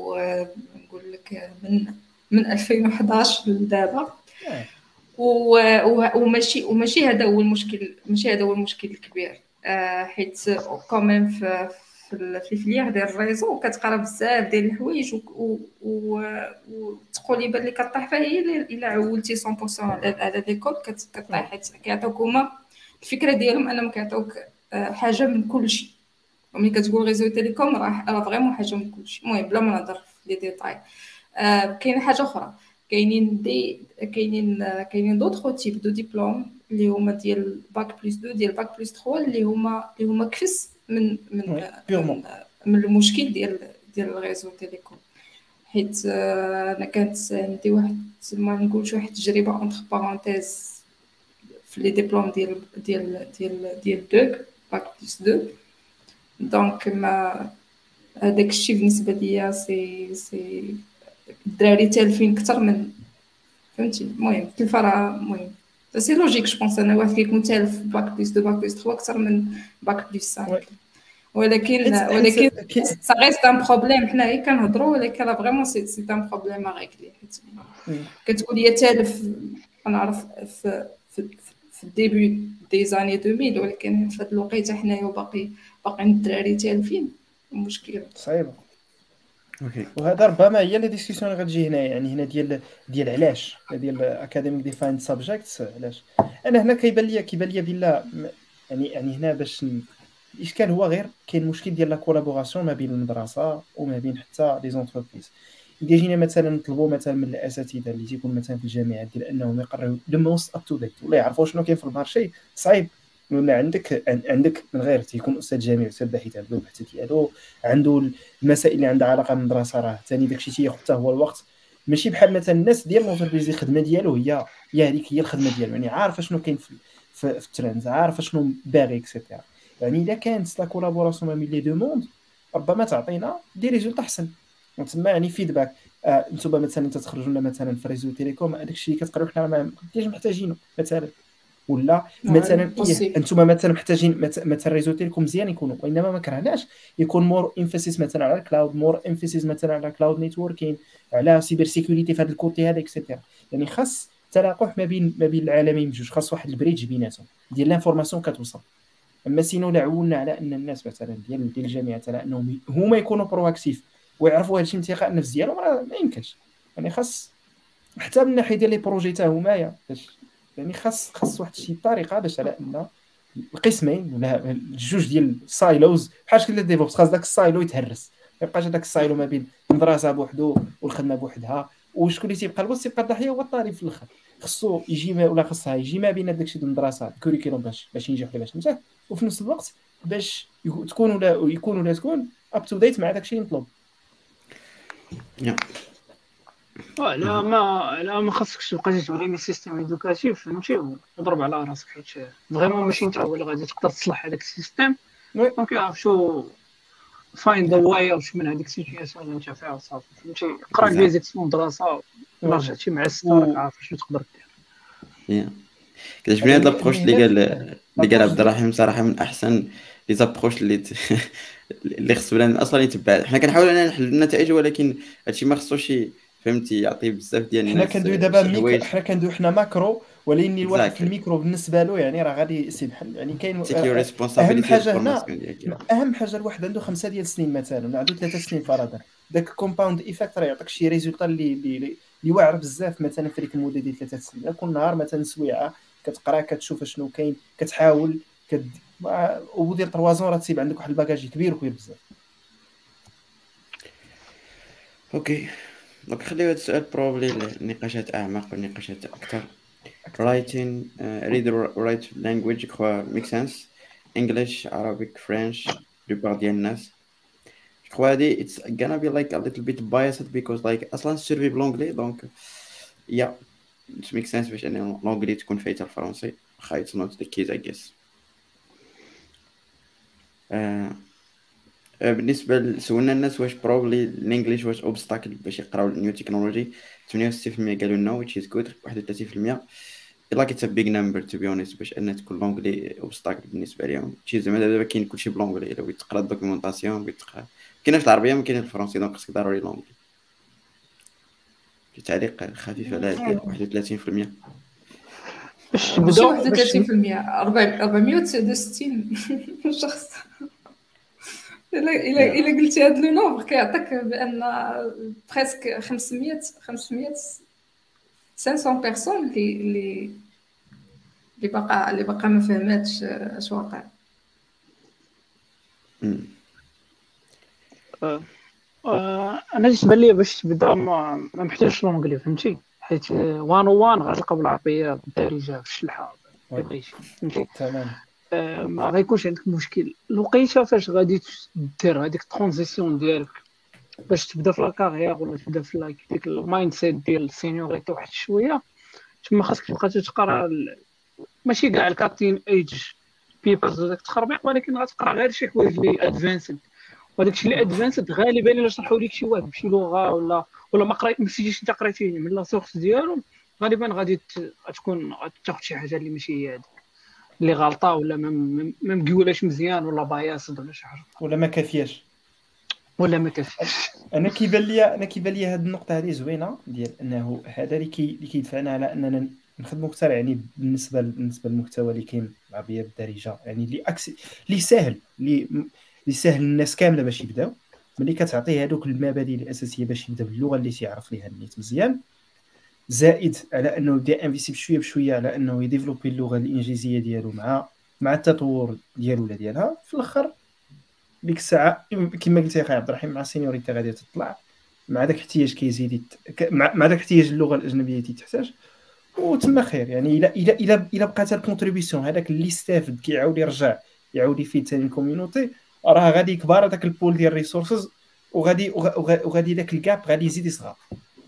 ونقول لك من من ألفين وحداش لدابا. آه. و- و- وماشي وماشي هذا هو المشكل، ماشي هذا هو المشكل الكبير. آه، حيت كوميم في في ال- في الفليير ديال الريزو كتقرا بزاف ديال الحوايج، و- و- وتقول لي بان لي كطيح فيها هي الا- الا عولتي مية بالمية على على ليكول كت- كطيح، حيت كيعطيوك هما الفكره ديالهم انهم كيعطيوك آه، حاجه من كل شيء. وملي كتقول ريزو تيليكوم راه راه فريمون حاجه من كل شيء. المهم بلا ما نهضر في لي ديتاي. آه، كاينه حاجه اخرى، كاينين دي كاينين آه، كاينين دوطخ تيب دو ديبلوم اللي هما ديال باك بلس اثنين ديال باك بلس ثلاثة اللي هما اللي هما كفس من من وي، آه، purement. من, آه، من المشكل ديال ديال الريزو تيليكوم. حيت آه، انا كانت عندي واحد ما نقولش واحد التجربه اونتر بارونتيز في لي ديبلوم ديال ديال ديال ديال دوك باك بلس اثنين. دونك ما هذاك الشيء بالنسبه ليا سي سي الدراري تالفين اكثر من فهمتي. المهم التلفه راه المهم سي لوجيك. جو بونس انا واحد كيكون تالف باك بلس اثنين باك بلس ثلاثة اكثر من باك بلس خمسة. وي. ولكن حيت- حيت ولكن كي- سا ريست ان بروبليم. حنايا كنهضروا ولكن راه فريمون سي سي ان بروبليم ريغلي. حيت مم. كتقول لي تالف نعرف في في في الديبي دي زاني ألفين ولكن في هذا الوقيته حنايا باقي باقيين الدراري تالفين مشكل. صعيبه. اوكي وهذا ربما هي لي ديسكسيون اللي غتجي هنا، يعني هنا ديال ديال علاش ديال اكاديميك ديفايند سابجيكتس. علاش انا هنا كيبان لي كيبان لي بلا م- يعني يعني هنا باش ن- الاشكال هو غير كاين مشكل ديال لا كولابوراسيون ما بين المدرسه وما بين حتى لي زونتربريز. اذا جينا مثلا نطلبوا مثلا من الاساتذه اللي تيكونوا مثلا في الجامعات ديال انهم يقريو لو موست اب تو ديت ولا يعرفوا شنو كاين في المارشي، صعيب. ولا عندك عن- عندك من غير تيكون استاذ جامعي استاذ باحث عنده البحث ديالو، عنده المسائل اللي عندها علاقه بالمدرسه، راه ثاني داكشي تياخذ حتى هو الوقت. ماشي بحال مثلا الناس ديال لونتربريز الخدمه ديالو هي هي هذيك هي الخدمه ديالو، يعني عارفه شنو كاين في في, في الترند، عارفه شنو باغي اكسيتيرا. يعني الا كانت لا كولابوراسيون ما بين لي دو موند ربما تعطينا دي ريزولت احسن. تما يعني فيدباك. آه انتم مثلا تتخرجوا لنا مثلا في ريزو تيليكوم هذاك الشيء كتقراو حنا ما كاينش محتاجينه مثلا، ولا مثلا ايه انتم مثلا محتاجين مثلا ريزو تيليكوم مزيان يكونوا، وانما ما كرهناش يكون مور انفاسيس مثلا على الكلاود، مور انفاسيس مثلا على كلاود نيتوركين، على سيبر سيكوريتي في هذا الكوتي هذا اكسيتيرا. يعني خاص تلاقح ما بين ما بين العالمين بجوج، خاص واحد البريدج بيناتهم ديال لانفورماسيون كتوصل. اما سينو لا عولنا على ان الناس مثلا ديال ديال الجامعه على انهم هما يكونوا برواكتيف ويعرفوا هادشي انتقاء النفس ديالهم، راه ما يمكنش. يعني خاص حتى من ناحيه ديال لي بروجي حتى هما باش يعني خاص خاص واحد شي طريقه باش على ان القسمين ولا الجوج ديال سايلوز بحال شكل ديفوبس خاص داك السايلو يتهرس، ما يبقاش هذاك السايلو ما بين المدرسه بوحدو والخدمه بوحدها، وشكون اللي تيبقى الوسط تيبقى الضحيه هو الطالب في الاخر. خصو يجي ما ولا خصها يجي ما بين داكشي ديال المدرسه الكوريكولوم باش باش ينجح ولا باش ينجح، وفي نفس الوقت باش تكون ولا يكون ولا تكون اب تو ديت مع داكشي اللي مطلوب. لا ما لا ما خاصكش تبقى تبغي سيستيم ايدوكاتيف فهمتي وتضرب على راسك، حيت فريمون ماشي انت هو اللي غادي تقدر تصلح هذاك السيستيم. دونك يعرف شو فاين ذا واي واش من هذيك السيتوياسيون اللي انت فيها وصافي فهمتي. قرا بيزيكس من المدرسه رجعتي مع الستار عارف شنو تقدر دير. كتعجبني هاد لابروش اللي قال اللي قال عبد الرحيم صراحه من احسن لي زابروش اللي اللي خص بلا اصلا يتبع. حنا كنحاولوا اننا نحلوا النتائج ولكن هادشي ما خصوش فهمتي يعطي بزاف ديال الناس. حنا كندوي دابا ميكرو، حنا كندوي حنا ماكرو، ولكن الواحد في الميكرو بالنسبه له يعني راه غادي يسبحل. يعني كاين اهم حاجه هنا، اهم حاجه الواحد عنده خمسه ديال السنين مثلا ولا عنده ثلاثه سنين فرضا، داك كومباوند ايفيكت راه يعطيك شي ريزولطا اللي اللي اللي واعر بزاف مثلا في ديك المده ديال ثلاثه سنين. كل نهار مثلا سويعه كتقرا كتشوف شنو كاين كتحاول كد ودير طروازون راه تصيب عندك واحد الباكاج كبير وكبير بزاف. اوكي دونك خليو هذا السؤال بروبلي النقاشات اعمق والنقاشات اكثر. writing uh, read or write language crois make sense English Arabic French plupart ديال الناس je crois هادي it's gonna be like a little bit biased because like اصلا سيرفي بلونجلي دونك yeah it makes sense باش ان لونجلي تكون فايته الفرنسي واخا it's not the case I guess. uh, بالنسبه لسولنا الناس واش بروبلي الانجليش واش اوبستاكل باش يقراو النيو تكنولوجي ثمانية وستين بالمية قالوا نو which is good. واحد وثلاثين بالمية like it's a big number to be honest باش ان تكون لونجلي اوبستاكل بالنسبه لهم. شي زعما دابا كاين كلشي بلونجلي الا بغيت تقرا الدوكيومونطاسيون بغيت تقرا كاينه في العربيه ما كاينه في الفرنسي دونك خصك ضروري لونجلي. تعليق خفيف على هاد واحد وثلاثين بالمية باش ماشي واحد وثلاثين بالمية أربعمية وتسعة وستين شخص. الا الا الا قلتي هذا لو نومبر كيعطيك بان بريسك خمسمية خمسمية خمسمية بيرسون اللي اللي اللي باقا اللي باقا ما فهماتش اش واقع. انا بالنسبه لي باش تبدا ما محتاجش لونجلي فهمتي، حيت وان وان غتلقى بالعربيه دارجه في الشلحه بغيتي فهمتي تمام. ما غيكونش عندك مشكل. الوقيته فاش غادي دير هذيك الترانزيسيون ديالك باش تبدا في لاكارير ولا تبدا في لايك ديك المايند سيت ديال السينيوريتي واحد شويه، تما خاصك تبقى تقرا ماشي كاع الكاتين ايج بيبرز داك التخربيق، ولكن غتقرا غير شي حوايج اللي ادفانسد، وداك الشيء اللي ادفانسد غالبا الا شرحوا لك شي واحد بشي لغه ولا ولا ما قريت ما سيتيش انت قريتي من لا سورس ديالهم غالبا غادي تكون تاخذ شي حاجه اللي ماشي هي هذيك اللي غلطه ولا ما ما مقولاش مزيان ولا باياصد ولا شي حاجه ولا ما كافياش ولا ما كافياش. انا كيبان لي انا كيبان لي هذه النقطه هذه زوينه ديال انه هذا اللي كي اللي كيدفعنا على اننا نخدموا اكثر يعني بالنسبه بالنسبه للمحتوى اللي كاين العربيه بالدارجه، يعني اللي اكسي اللي سهل اللي اللي سهل الناس كامله باش يبداو، ملي كتعطيه هذوك المبادئ الاساسيه باش يبدا باللغه اللي تيعرف ليها النيت مزيان، زائد على انه يبدا انفيسي بشويه بشويه على انه يديفلوبي اللغه الانجليزيه ديالو مع مع التطور ديالو ولا ديالها. في الاخر ديك الساعه كما قلتي اخي عبد الرحيم مع السينيوريتي غادي تطلع مع داك الاحتياج كيزيد يت... مع, مع داك الاحتياج اللغه الاجنبيه اللي تحتاج وتما خير. يعني الا الا الا الا بقات الكونتريبيسيون هذاك اللي استافد كيعاود يرجع يعاود يفيد ثاني الكوميونيتي راه غادي يكبر هذاك البول ديال الريسورسز وغادي وغادي داك الكاب غادي يزيد يصغر.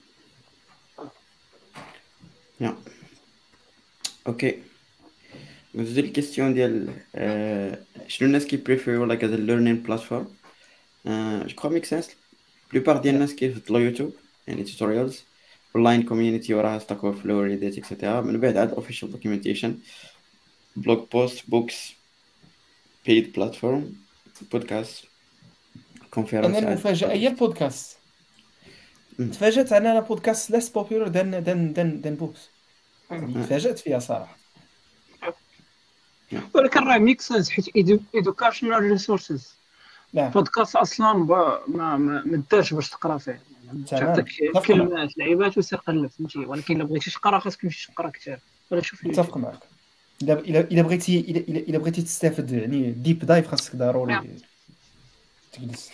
يا اوكي ندوزو الكيستيون ديال آه، شنو الناس كي بريفيرو لايك از ليرنين بلاتفورم. جو كخوا ميك سنس. بلوبار ديال الناس كيفضلوا يوتيوب، يعني توتوريالز اونلاين كوميونيتي وراها ستاك اوفر فلو ريديت اكسيتيرا. من بعد عاد اوفيشال دوكيومنتيشن، بلوج بوست، بوكس، بيد بلاتفورم، بودكاست، انا كونفيرنس. المفاجاه هي البودكاست. مم. تفاجأت انا انا بودكاست ليس بوبولار دان دان دان دان بوكس، يعني آه. تفاجأت فيها صراحه. ولكن راه ميك سنس حيت ايدوكاشنال ريسورسز. نعم بودكاست اصلا با- ما ما ما دارش باش تقرا فيه، يعني تمام تعطيك متفق معك كلمات لعيبات وسير قلب، فهمتي. ولكن الا بغيتي تقرا خاصك تمشي تقرا كتاب ولا شوف متفق اليوتيوب. معك. الا الا الا بغيتي الا الا إلا بغيتي تستافد يعني ديب دايف خاصك ضروري تجلس.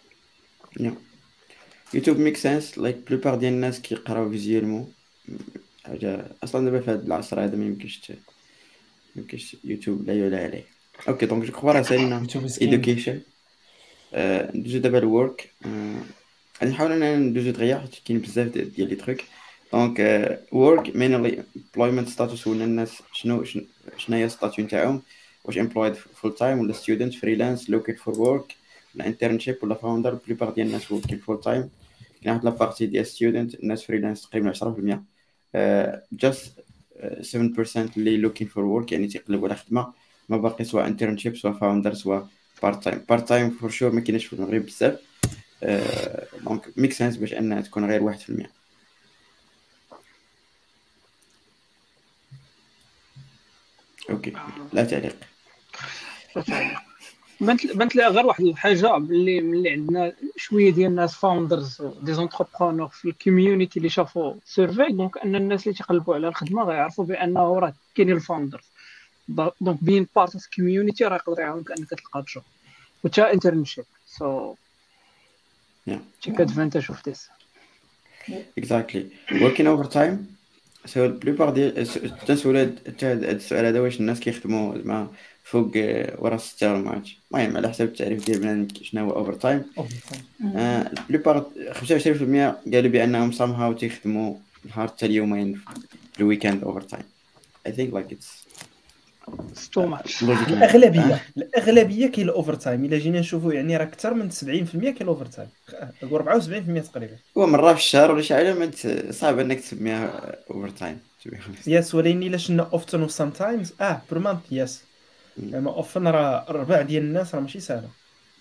يوتيوب ميك سنس لايك بلوبار ديال الناس كيقراو فيزيولمون. حاجه اصلا دابا في هذا العصر هذا ما يمكنش ت- ما يمكنش يوتيوب لا يعلى عليه. اوكي دونك جو كخوا راه سالينا يوتيوب سكين ايدوكيشن. ندوزو دابا الورك. غادي نحاول اننا ندوزو دغيا حيت كاين بزاف ديال ديال لي تروك. دونك ورك مينلي امبلويمنت ستاتوس، ولا الناس شنو شنو شنو هي ستاتيو نتاعهم، واش امبلويد فول تايم ولا ستودنت فريلانس لوكيت فور ورك ولا انترنشيب ولا فاوندر. بلوبار ديال الناس وركين فول تايم. كاين واحد لابارتي ديال ستودنت، الناس فريلانس تقريبا عشرة بالمية. جاست سبعة بالمية اللي لوكين فور ورك، يعني تيقلبوا على خدمه. ما باقي سواء انترنشيب سواء فاوندر سواء بارت تايم. بارت تايم فور شور ما كاينش في المغرب بزاف. دونك ميك سنس باش انها تكون غير واحد في المية. اوكي لا تعليق. بانت بانت لي غير واحد الحاجه، باللي ملي عندنا شويه ديال الناس فاوندرز دي زونتربرونور في الكوميونيتي اللي شافوا سيرفي، دونك ان الناس اللي تيقلبوا على الخدمه غيعرفوا بانه راه كاينين الفاوندرز. دونك بين بارت اوف كوميونيتي راه يقدر يعاونك انك تلقى جوب وتا انترنشيب. سو Yeah. تيك ادفانتاج اوف ذيس. Exactly. Working overtime. So بلوبار ديال تنسول حتى هاد السؤال هذا، واش الناس كيخدموا زعما فوق آه، ورا ستة ولا ما عرفتش. المهم على حسب التعريف ديال بنادم شنو هو اوفر تايم. بلوبار خمسة وعشرين بالمية قالوا بانهم somehow تيخدموا نهار حتى اليومين في الويكاند اوفر تايم. I think like it's تو ماتش. logical. الاغلبيه الاغلبيه كاين الاوفر تايم. الا جينا نشوفوا يعني راه اكثر من سبعين بالمية كاين الاوفر تايم، نقول أربعة وسبعين بالمية تقريبا. هو مرة في الشهر ولا شي حاجة ما ت- صعب انك تسميها اوفر تايم. يس ولكن الا شنا اوفتن و سام تايمز اه بير مانث يس. اما اوفن راه ربع ديال الناس راه ماشي سهله.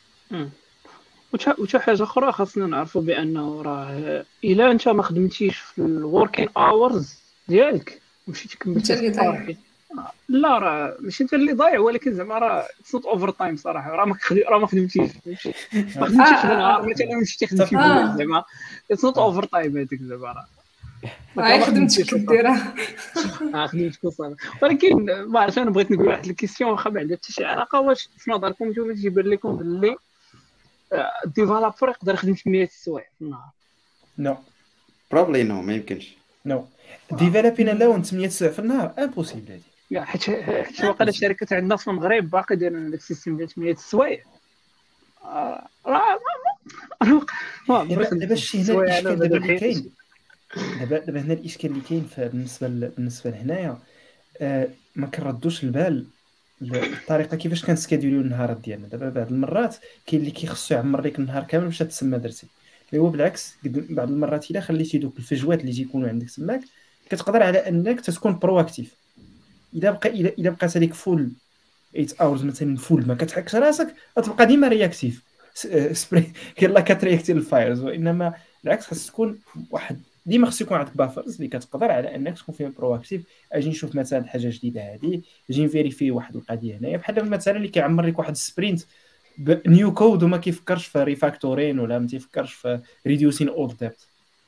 وتا وتا حاجه اخرى خاصنا نعرفوا بانه راه الا انت ما خدمتيش في الوركين اورز ديالك ومشيتي كملتي انت اللي ضايع. صافي. لا راه ماشي انت اللي ضايع، ولكن زعما راه تصوت اوفر تايم صراحه. راه ما خدي... راه ما خدمتيش فهمتي؟ ما خدمتيش في نهار مثلا مشيتي خدمتي آه. بوز زعما تصوت اوفر تايم هذيك زعما راه هاي خدمتك ديرها. اه خدمتك صافي. ولكن ما عرفتش، انا بغيت نقول واحد الكيسيون واخا ما عندها حتى شي علاقه. واش في نظركم نتوما تيبان لكم باللي الديفلوبر يقدر يخدم مية سوايع في النهار؟ نو probably no ما يمكنش. نو ديفلوبين الاون ثمانية سوايع في النهار امبوسيبل هذه. يا حيت حيت واقيلا الشركات عندنا في المغرب باقي دايرين هذاك السيستم ديال ثمانية سوايع. آه، راه ما ما دابا دابا الشيء هنا الاشكال دابا اللي كاين دابا دابا هنا الاشكال اللي كاين بالنسبه ل- بالنسبه لهنايا آه ما كنردوش البال الطريقه كيفاش كنسكادوليو النهارات ديالنا. دابا بعض المرات كاين اللي كيخصو يعمر لك النهار كامل باش تسمى درتي، اللي هو بالعكس قد- بعض المرات الا خليتي دوك الفجوات اللي تيكونوا عندك تماك كتقدر على انك تكون برو اكتيف. الا بقى الا الا بقات هذيك فول ثمانية اورز مثلا فول ما كتحكش راسك غتبقى ديما رياكتيف سبري يلا كترياكتي الفايرز. وانما بالعكس خاص تكون واحد ديما خص يكون عندك بافرز اللي كتقدر على انك تكون فيها برو اكتيف. اجي نشوف مثلا حاجه جديده هذه، اجي نفيريفي واحد القضيه هنايا بحال دابا مثلا اللي كيعمر لك واحد السبرينت بنيو كود وما كيفكرش في ريفاكتورين ولا ما تيفكرش في ريديوسين اولد ديبت.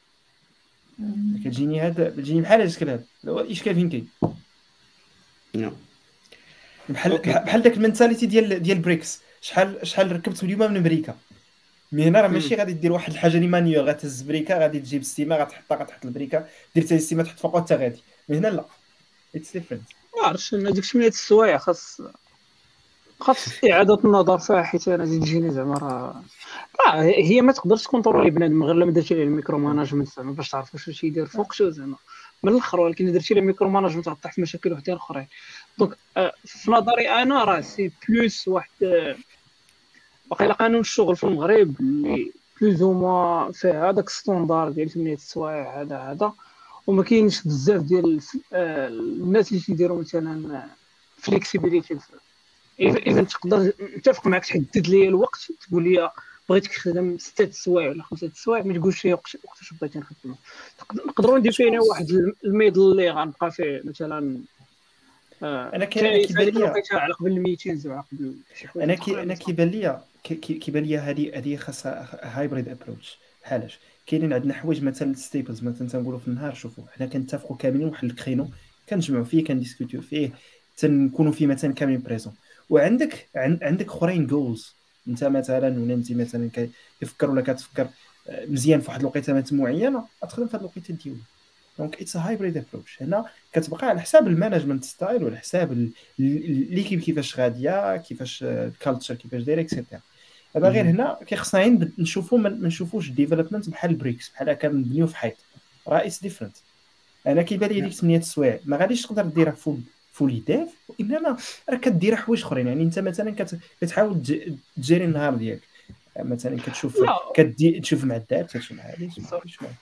كتجيني هذا كتجيني بحال الاشكال هذا. هو الاشكال فين كاين no. بحال أوكي. بحال داك المنتاليتي ديال ديال بريكس. شحال شحال ركبت اليوم من امريكا مي هنا راه ماشي غادي دير واحد الحاجه اللي مانيوال غتهز بريكا غادي تجيب ستيما غتحطها غتحط البريكا دير حتى الستيما تحط فوقها حتى غادي. مي هنا لا اتس ديفرنت. ما عرفتش انا ديك ثمانية السوايع خاص خاص اعاده النظر فيها. حيت انا زيد تجيني زعما راه راه هي ما تقدرش تكونترولي بنادم غير لما درتي ليه الميكرو ماناجمنت زعما باش تعرف واش تيدير فوق شو زعما. من الاخر، ولكن اذا درتي لي ميكرو ماناجمنت غطيح في مشاكل وحدين اخرين. دونك آه، في نظري انا راه سي بلوس واحد آه، واقيلا قانون الشغل في المغرب اللي بلوز او موا فيه هذاك ستوندار ديال ثمانية السوايع هذا هذا وما كاينش بزاف ديال الف- آه، الناس اللي تيديروا مثلا فليكسيبيليتي. اذا تقدر نتفق معك تحدد لي الوقت، تقول لي بغيتك تخدم ستة السوايع ولا خمسة السوايع، ما تقولش لي وقت وقتاش بغيتي نخدم. نقدروا نديفينيو واحد الميدل اللي غنبقى فيه مثلا آه، انا كي انا كاين كيبان هذيك لي الوقيته على قبل الميتينز وعلى قبل شي حوايج انا كي اخرين. انا كيبان لي كي- كي- كيبان لي هذه هذه خاصها هايبريد ابروتش. بحالاش كاينين عندنا حوايج مثلا ستيبلز مثلا تنقولوا في النهار، شوفوا حنا كنتفقوا كاملين واحد الكرينو كنجمعوا فيه كنديسكوتيو فيه تنكونوا فيه مثلا كاملين بريزون، وعندك عن- عندك اخرين جولز. انت مثلا ولا انت مثلا كي- كيفكر ولا كتفكر آه، مزيان في واحد الوقيته معينه غتخدم في هذه الوقيته ديالك. دونك اتس هايبريد ابروتش. هنا كتبقى على حساب المانجمنت ستايل وعلى حساب ال- ال- ليكيب كيفاش غاديه، كيفاش الكالتشر كيفاش دايره اكسيتيرا. دابا غير هنا كيخصنا غير نشوفوا ما ما نشوفوش الديفلوبمنت بحال البريكس بحال هكا نبنيو في حيط، راه اتس ديفرنت. انا كيبان لي ديك ثمانية السوايع ما غاديش تقدر ديرها فول فولي ديف، وانما راه كدير حوايج اخرين. يعني انت مثلا كت- كتحاول تج- تجيري النهار ديالك، مثلا كتشوف لا كدي تشوف معدات تشوف مع هذه تشوف مع هذه تشوف مع هذه.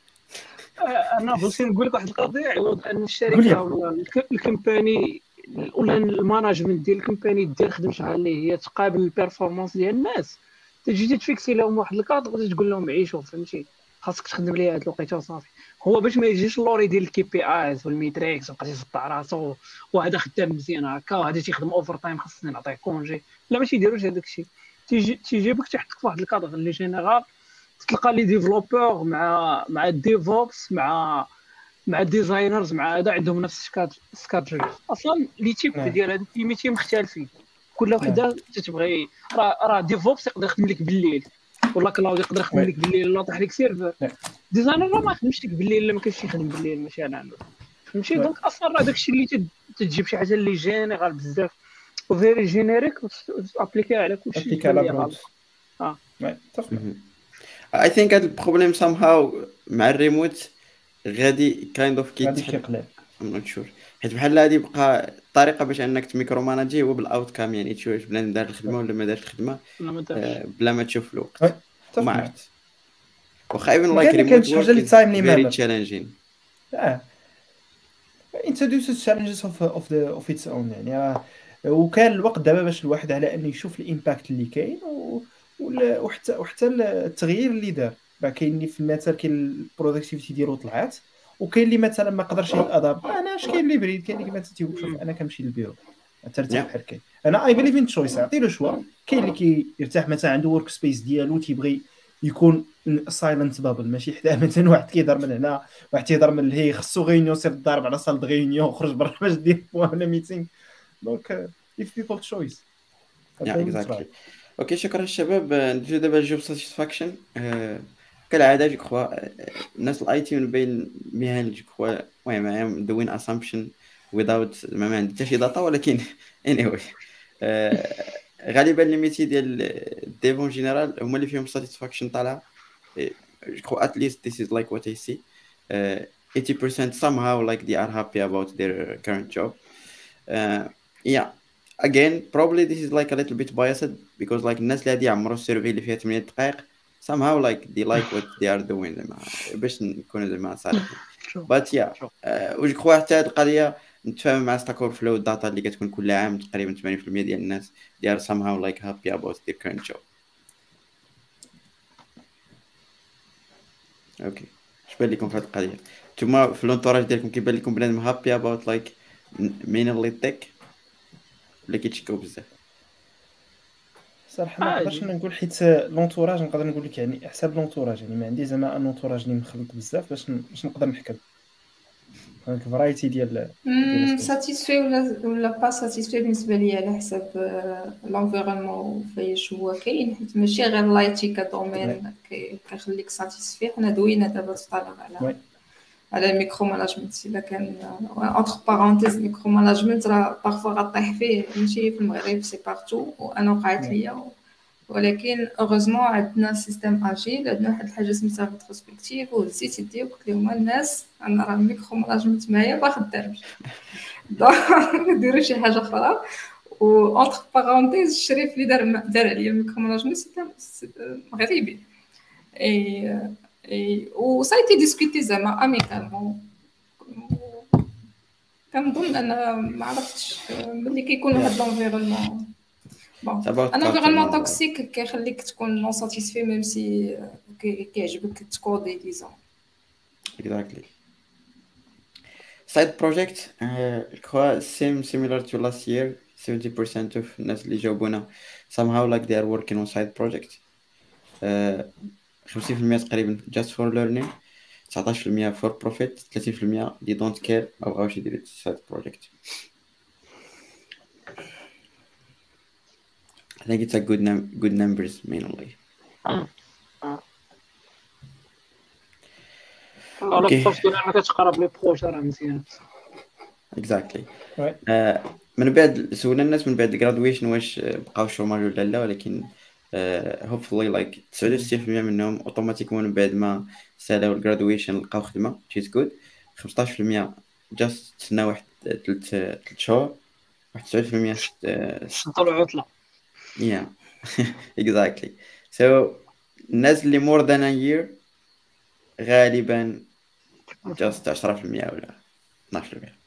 آه، انا بغيت نقول لك واحد القضيه. عوض ان قول الشركه لي. ولا الك- الكومباني ولا الماناجمنت ديال الكومباني دير خدمه شحال اللي هي تقابل البيرفورمانس ديال الناس، تجي تفيكسي لهم واحد الكادر غادي تقول لهم عيشوا فهمتي خاصك تخدم ليا هاد الوقيته وصافي. هو باش ما يجيش اللوري ديال الكي بي ايز والميتريكس وبقى يصدع راسو وهذا خدام مزيان هكا وهذا تيخدم اوفر تايم خاصني نعطيه كونجي. لا ما تيديروش هذاك الشيء. تيجي تيجيبك تيحطك في واحد الكادر اللي جينيرال، تلقى لي ديفلوبور مع مع الديفوبس مع مع الديزاينرز مع هذا عندهم نفس السكاد سكادجول. اصلا لي تيب نعم. ديال هاد التيميتي مختلفين، كل نعم. وحده تتبغي. راه راه ديفوبس يقدر يخدم لك بالليل، ولا كلاود يقدر يخدم وي. لك بالليل ولا طاح لك سيرفر. نعم. ديزاينر راه ما يخدمش لك بالليل الا ما كانش يخدم بالليل مثلا فهمتي. وي. دونك اصلا راه داكشي اللي تد- تجيب شي حاجه اللي جينيرال بزاف وفيري جينيريك وتابليكيها على كلشي ابليكي تبان على لي برود. غلط. اه وي، اتفق. اي ثينك هذا البروبليم somehow مع الريموت غادي كايند اوف غادي كيتحل. تيقلع. ام نوت شور، حيت بحال هادي بقى الطريقه باش انك تميكرو ماناجي هو بالاوت كام، يعني تشوف واش بنادم دار الخدمه ولا ما دارش الخدمه ولا ما دارش. آه، بلا ما تشوف الوقت. وي، اتفق وما معك. عرفت واخا even ما like كان كانت remote شي حاجه work اللي is تايملي very مانر. challenging. اه introduces challenges of of the of its own. يعني راه وكان الوقت دابا باش الواحد على انه يشوف الامباكت اللي كاين و... وال- وحتى وحتى التغيير اللي دار. راه كاين اللي في المثال كاين البرودكتيفيتي ديالو طلعات، وكاين اللي مثلا ما قدرش يتاداب. انا اش كاين اللي بريد، كاين اللي مثلا تيقول شوف انا كنمشي للبيرو ترتاح Yeah. بحال كاين. انا اي بليف ان تشويس، عطي له شوا. كاين اللي كيرتاح مثلا عنده ورك سبيس ديالو تيبغي يكون سايلنت بابل، ماشي حدا مثلا واحد كيهضر من هنا واحد تيهضر من لهي خصو غيونيون سير ضارب على صال غيونيون خرج برا باش دير ولا ميتينغ. دونك if people choice. Yeah, exactly. اوكي شكرا الشباب. آه، نجيو دابا الجوب ساتيسفاكشن. كالعاده جو كخوا الناس الاي تي من بين المهن جو كخوا المهم دوين اسامبشن without ما عندي حتى شي داتا، ولكن anyway آه، غالبا لي ميتي ديال الديفون جينيرال هما اللي فيهم ساتيسفاكشن طالعه. جو كخوا at least this is like what I see. uh, eighty percent somehow like they are happy about their current job. uh, yeah, again probably this is like a little bit biased because like الناس اللي هادي عمرو السيرفي اللي فيها ثمانية دقائق somehow like they like what they are doing زعما باش نكونوا زعما صالحين. but yeah uh, وجو كخوا حتى هاد القضيه نتفاهم مع ستاك اوفر فلو. الداتا اللي كتكون كل عام تقريبا ثمانين بالمية ديال الناس they are somehow like happy about their current job. اوكي اش بان لكم في هاد القضيه؟ نتوما في لونطوراج ديالكم كيبان لكم بنادم هابي اباوت لايك مينلي تك ولا كيتشكاو بزاف؟ صراحه ما عادي. نقدرش نقول حيت لونطوراج نقدر نقول لك يعني حساب لونطوراج. يعني ما عندي زعما ان لونطوراج اللي مخلط بزاف باش ن- باش نقدر نحكم. دونك فرايتي ديال ديال ساتيسفي ولا ولا با ساتيسفي بالنسبه لي على حسب لونفيرونمون فايش هو كاين، حيت ماشي غير لايتي كدومين كي- كيخليك ساتيسفي. حنا دوينا دابا تطالع على وي. على الميكرو ماناجمنت. الا كان اونتر بارونتيز ميكرو ماناجمنت راه بارفو غطيح فيه، ماشي في المغرب سي بارتو، وانا وقعت نعم. ليا ولكن اوغوزمون عندنا سيستيم اجيل، عندنا واحد الحاجه سميتها ريتروسبكتيف وهزيتي دي قلت لهم الناس انا راه الميكرو ماناجمنت معايا ما خدامش دونك نديرو شي حاجه اخرى. و اونتر بارونتيز الشريف اللي دار دار عليا الميكرو ماناجمنت سيستم مغربي اي اي و سايتي ديسكوتي زعما اميكالمون. كنظن انا ما عرفتش ملي كيكونوا هاد لونفيرونمون بون ان انفيرونمون توكسيك كيخليك تكون نون ساتيسفي ميم سي كيعجبك تكودي ديزون. Exactly. Side project, uh, je crois, same similar to last year. seventy percent of الناس اللي جاوبونا somehow like they are working on side project. uh, خمسين في المية تقريبا just for learning, تسعطاش في المية for profit, ثلاثين في المية they don't care أو بغاوش يديروا side project. I think it's a good num- good numbers mainly. على الطرف ديال انا كتقرب لي بروجي راه مزيان. Exactly. Ouais. آه، من بعد سولنا الناس من بعد graduation واش آه، بقاو شوماج ولا لا، ولكن آه، hopefully like تسعة وتسعين في المية منهم اوتوماتيكمون من بعد ما سالاو الجرادويشن لقاو خدمه which is good. خمسطاش في المية just تسنى واحد ثلاث ثلاث شهور. واحد تسعين في المية آه، شدوا العطله. yeah exactly. so الناس اللي more than a year غالبا just عشرة في المية ولا اثناش في المية.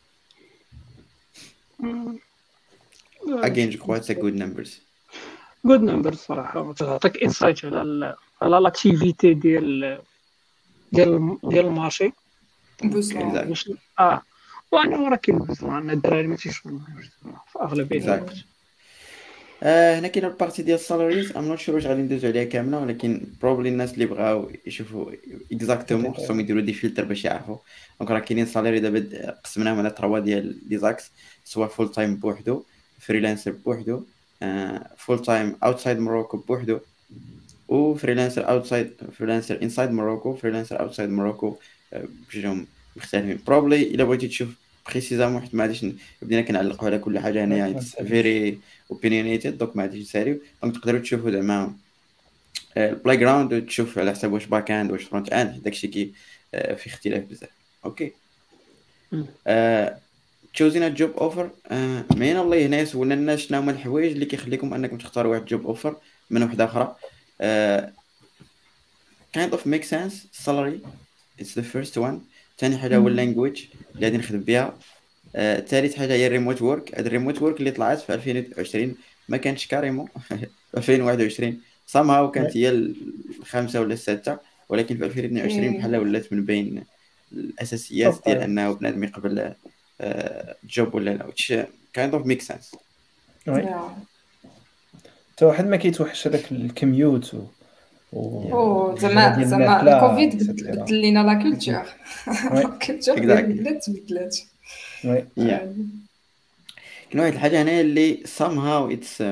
again je crois it's a good numbers. جود نمبر صراحه تعطيك انسايت على ال- على لاكتيفيتي ديال ديال ديال المارشي بوزون Exactly. واش اه وانا راه كاين بزاف عندنا الدراري ما تيشوفوا في اغلبيه Exactly. الوقت. آه، هنا كاين البارتي ديال السالاريز ام نوت شور واش غادي ندوزو عليها كامله، ولكن بروبلي الناس اللي بغاو يشوفوا اكزاكتومون خصهم يديروا دي فلتر باش يعرفوا. دونك راه كاينين سالاري دابا قسمناهم على تروا ديال لي زاكس، سواء فول تايم بوحدو، فريلانسر بوحدو، فول تايم اوتسايد موروكو بوحدو، و فريلانسر اوتسايد فريلانسر انسايد موروكو، فريلانسر اوتسايد موروكو بجوجهم مختلفين. بروبلي الا بغيتي تشوف بريسيزامون، حيت ما غاديش ن- بدينا كنعلقوا على كل حاجه هنايا اتس فيري اوبينيونيتد، دونك ما غاديش نساليو. دونك تقدروا تشوفوا زعما البلاي جراوند، تشوف على حساب واش باك اند واش فرونت اند، داكشي كي آه، في اختلاف بزاف. اوكي. مم. تشوزين جوب اوفر، مين الله هنا سولنا الناس شنو هما الحوايج اللي كيخليكم انكم تختاروا واحد جوب اوفر من وحده اخرى. آه، kind of make sense. salary it's the first one. ثاني حاجه هو اللانجويج اللي غادي نخدم بها. آه، ثالث حاجه هي الريموت وورك. هاد الريموت وورك اللي طلعت في ألفين وعشرين ما كانتش كاريمون في ألفين وواحد وعشرين somehow كانت هي الخامسه ولا السادسه، ولكن في ألفين واثنين وعشرين بحال ولات من بين الاساسيات Top ديال five. انه بنادم يقبل جوب ولا لا، which kind of make sense. وي حتى واحد ما كيتوحش هذاك الكميوت و و او ديال زعما زعما الماكلة، الكوفيد et cetera. بدل لينا لا كولتور وي الكولتور ديال Exactly. البلاد تبدلات. وي Yeah. كاين واحد الحاجه هنايا اللي somehow it's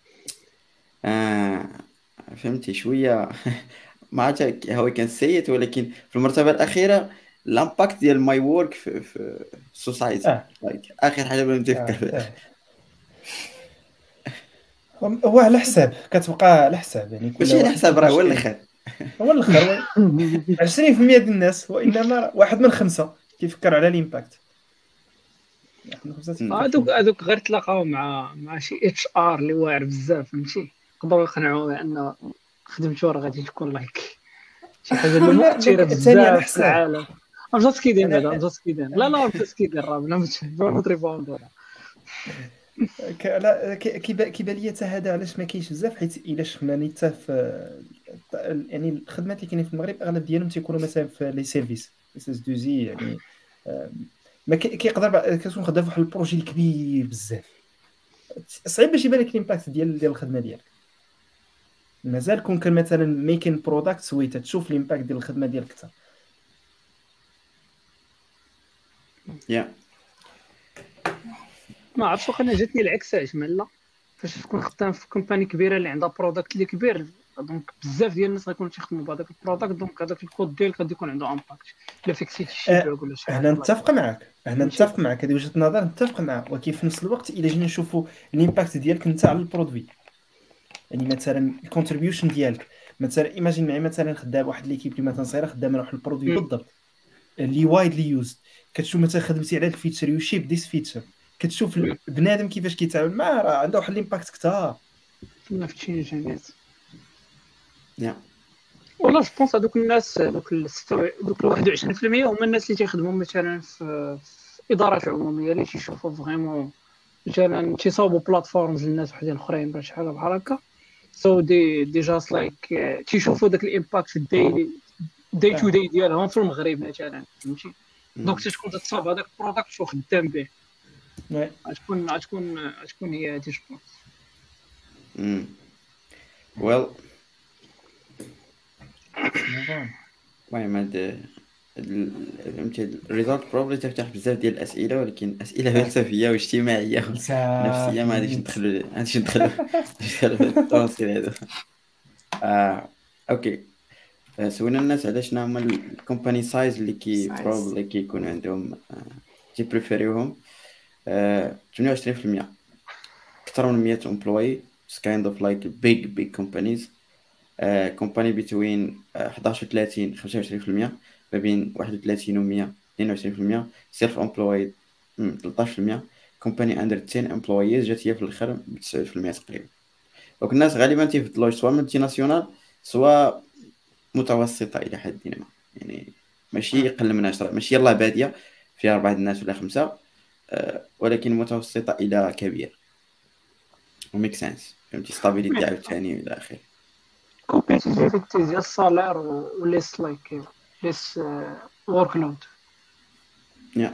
آه فهمتي شويه ما عرفتش هو كان سيء، ولكن في المرتبه الاخيره الامباكت ديال ماي وورك في في السوسايتي. اه لايك اخر حاجه بغيت نتفكر اه فيها. آه. هو على حساب كتبقى على حساب، يعني كل ماشي على واحد حساب، راه هو كيفاش كي- الاخر. هو الاخر. وي عشرين في المية ديال الناس، وانما واحد من خمسة كيفكر على الامباكت. واحد من خمسة تفكر في هذوك الإمباكت. هذوك غير تلاقاو مع مع شي اتش ار اللي واعر بزاف، فهمتي، يقدروا يقنعوه بان خدمته راه غادي تكون لايك شي حاجه اللي لا، مؤثره لك- ثاني على بزاف في حساب. العالم. رجعت كيدين أنا- بعدا رجعت كيدين لا لا رجعت كيدين راه بلا ما تريبوندو. ك- لا ك- كيبان كيبان لي حتى هذا علاش ما كاينش بزاف، حيت الا شفنا نيت في يعني الخدمات اللي كاينين في المغرب اغلب ديالهم تيكونوا مثلا في لي سيرفيس اس اس دو زي، يعني آم، ما كي- كيقدر بعد- كتكون خدام في واحد البروجي كبير بزاف، صعيب باش يبان لك الامباكت ديال ديال الخدمه ديالك. مازال كون كان مثلا ميكين برودكت سويت تشوف الامباكت ديال الخدمه ديالك حتى. يا ما عرفتش واخا انا جاتني العكس عجمل لا، فاش تكون خدام في كومباني كبيره اللي عندها برودكت اللي كبير، دونك بزاف ديال الناس غيكونوا تيخدموا بهذاك البرودكت، دونك هذاك الكود ديالك غادي يكون عنده امباكت. الا فيكسيتي شي آه، بوغ ولا شي هنا حاجه نتفق معك هنا ماشي. نتفق معك هذه وجهه نظر نتفق معها، ولكن في نفس الوقت الا جينا نشوفوا الامباكت ديالك انت على البرودوي، يعني مثلا الكونتريبيوشن ديالك مثلا ايماجين معايا مثلا خدام واحد ليكيب اللي مثلا صغيره خدامه على واحد البرودوي مم. بالضبط اللي وايدلي يوز، كتشوف مثلا خدمتي على الفيتشر يو شيب ذيس فيتشر، كتشوف مم. بنادم كيفاش كيتعامل معاه راه عنده واحد الامباكت كثار. ما فتشينش الناس يا والله. جو بونس هذوك الناس دوك ال دوك ال واحد وعشرين بالمية هما الناس اللي تيخدموا مثلا في في ادارات عموميه اللي تيشوفوا فريمون مثلا تيصاوبوا بلاتفورمز للناس وحدين اخرين باش حاجه بحال هكا. سو دي دي جاست لايك تيشوفوا داك الامباكت في الديلي داي تو داي ديالهم في المغرب مثلا، فهمتي. دونك تكون تصاوب هذاك البروداكت وخدام به، وي غتكون غتكون غتكون هي هادي جو بونس. ويل موفون المهم هاد ال- فهمتي الريزولت بروبلي تفتح بزاف ديال الاسئله، ولكن اسئله فلسفيه واجتماعيه ونفسيه ما غاديش ندخلوا ما غاديش ندخلوا ندخلوا في التفاصيل هادو. آه. اوكي. آه، سولنا الناس على شنو هما الكومباني سايز اللي كي Size. بروبلي كيكون عندهم آه، تيبريفيريوهم. آه، ثمانية وعشرين بالمية اكثر من مية امبلوي kind of like big big companies. كومباني بين احد عشر و ثلاثين خمسة وعشرين بالمية، ما بين واحد وثلاثين و مية اثنين وعشرين بالمية، سيلف امبلويد ثلاثة عشر بالمية، كومباني اندر عشرة امبلويز جات هي في الاخر ب تسعة بالمية تقريبا. دونك الناس غالبا تيفضلوا سواء مالتي ناسيونال سواء متوسطه الى حد ما، يعني ماشي اقل من عشرة، ماشي يلاه باديه فيها اربعه الناس ولا خمسه، آه، ولكن متوسطه الى كبير وميك سنس، فهمتي ستابيليتي عاوتاني الى اخره. كومبيتيتيفيتي ديال السالير وليس لايك ليس ورك لود. يا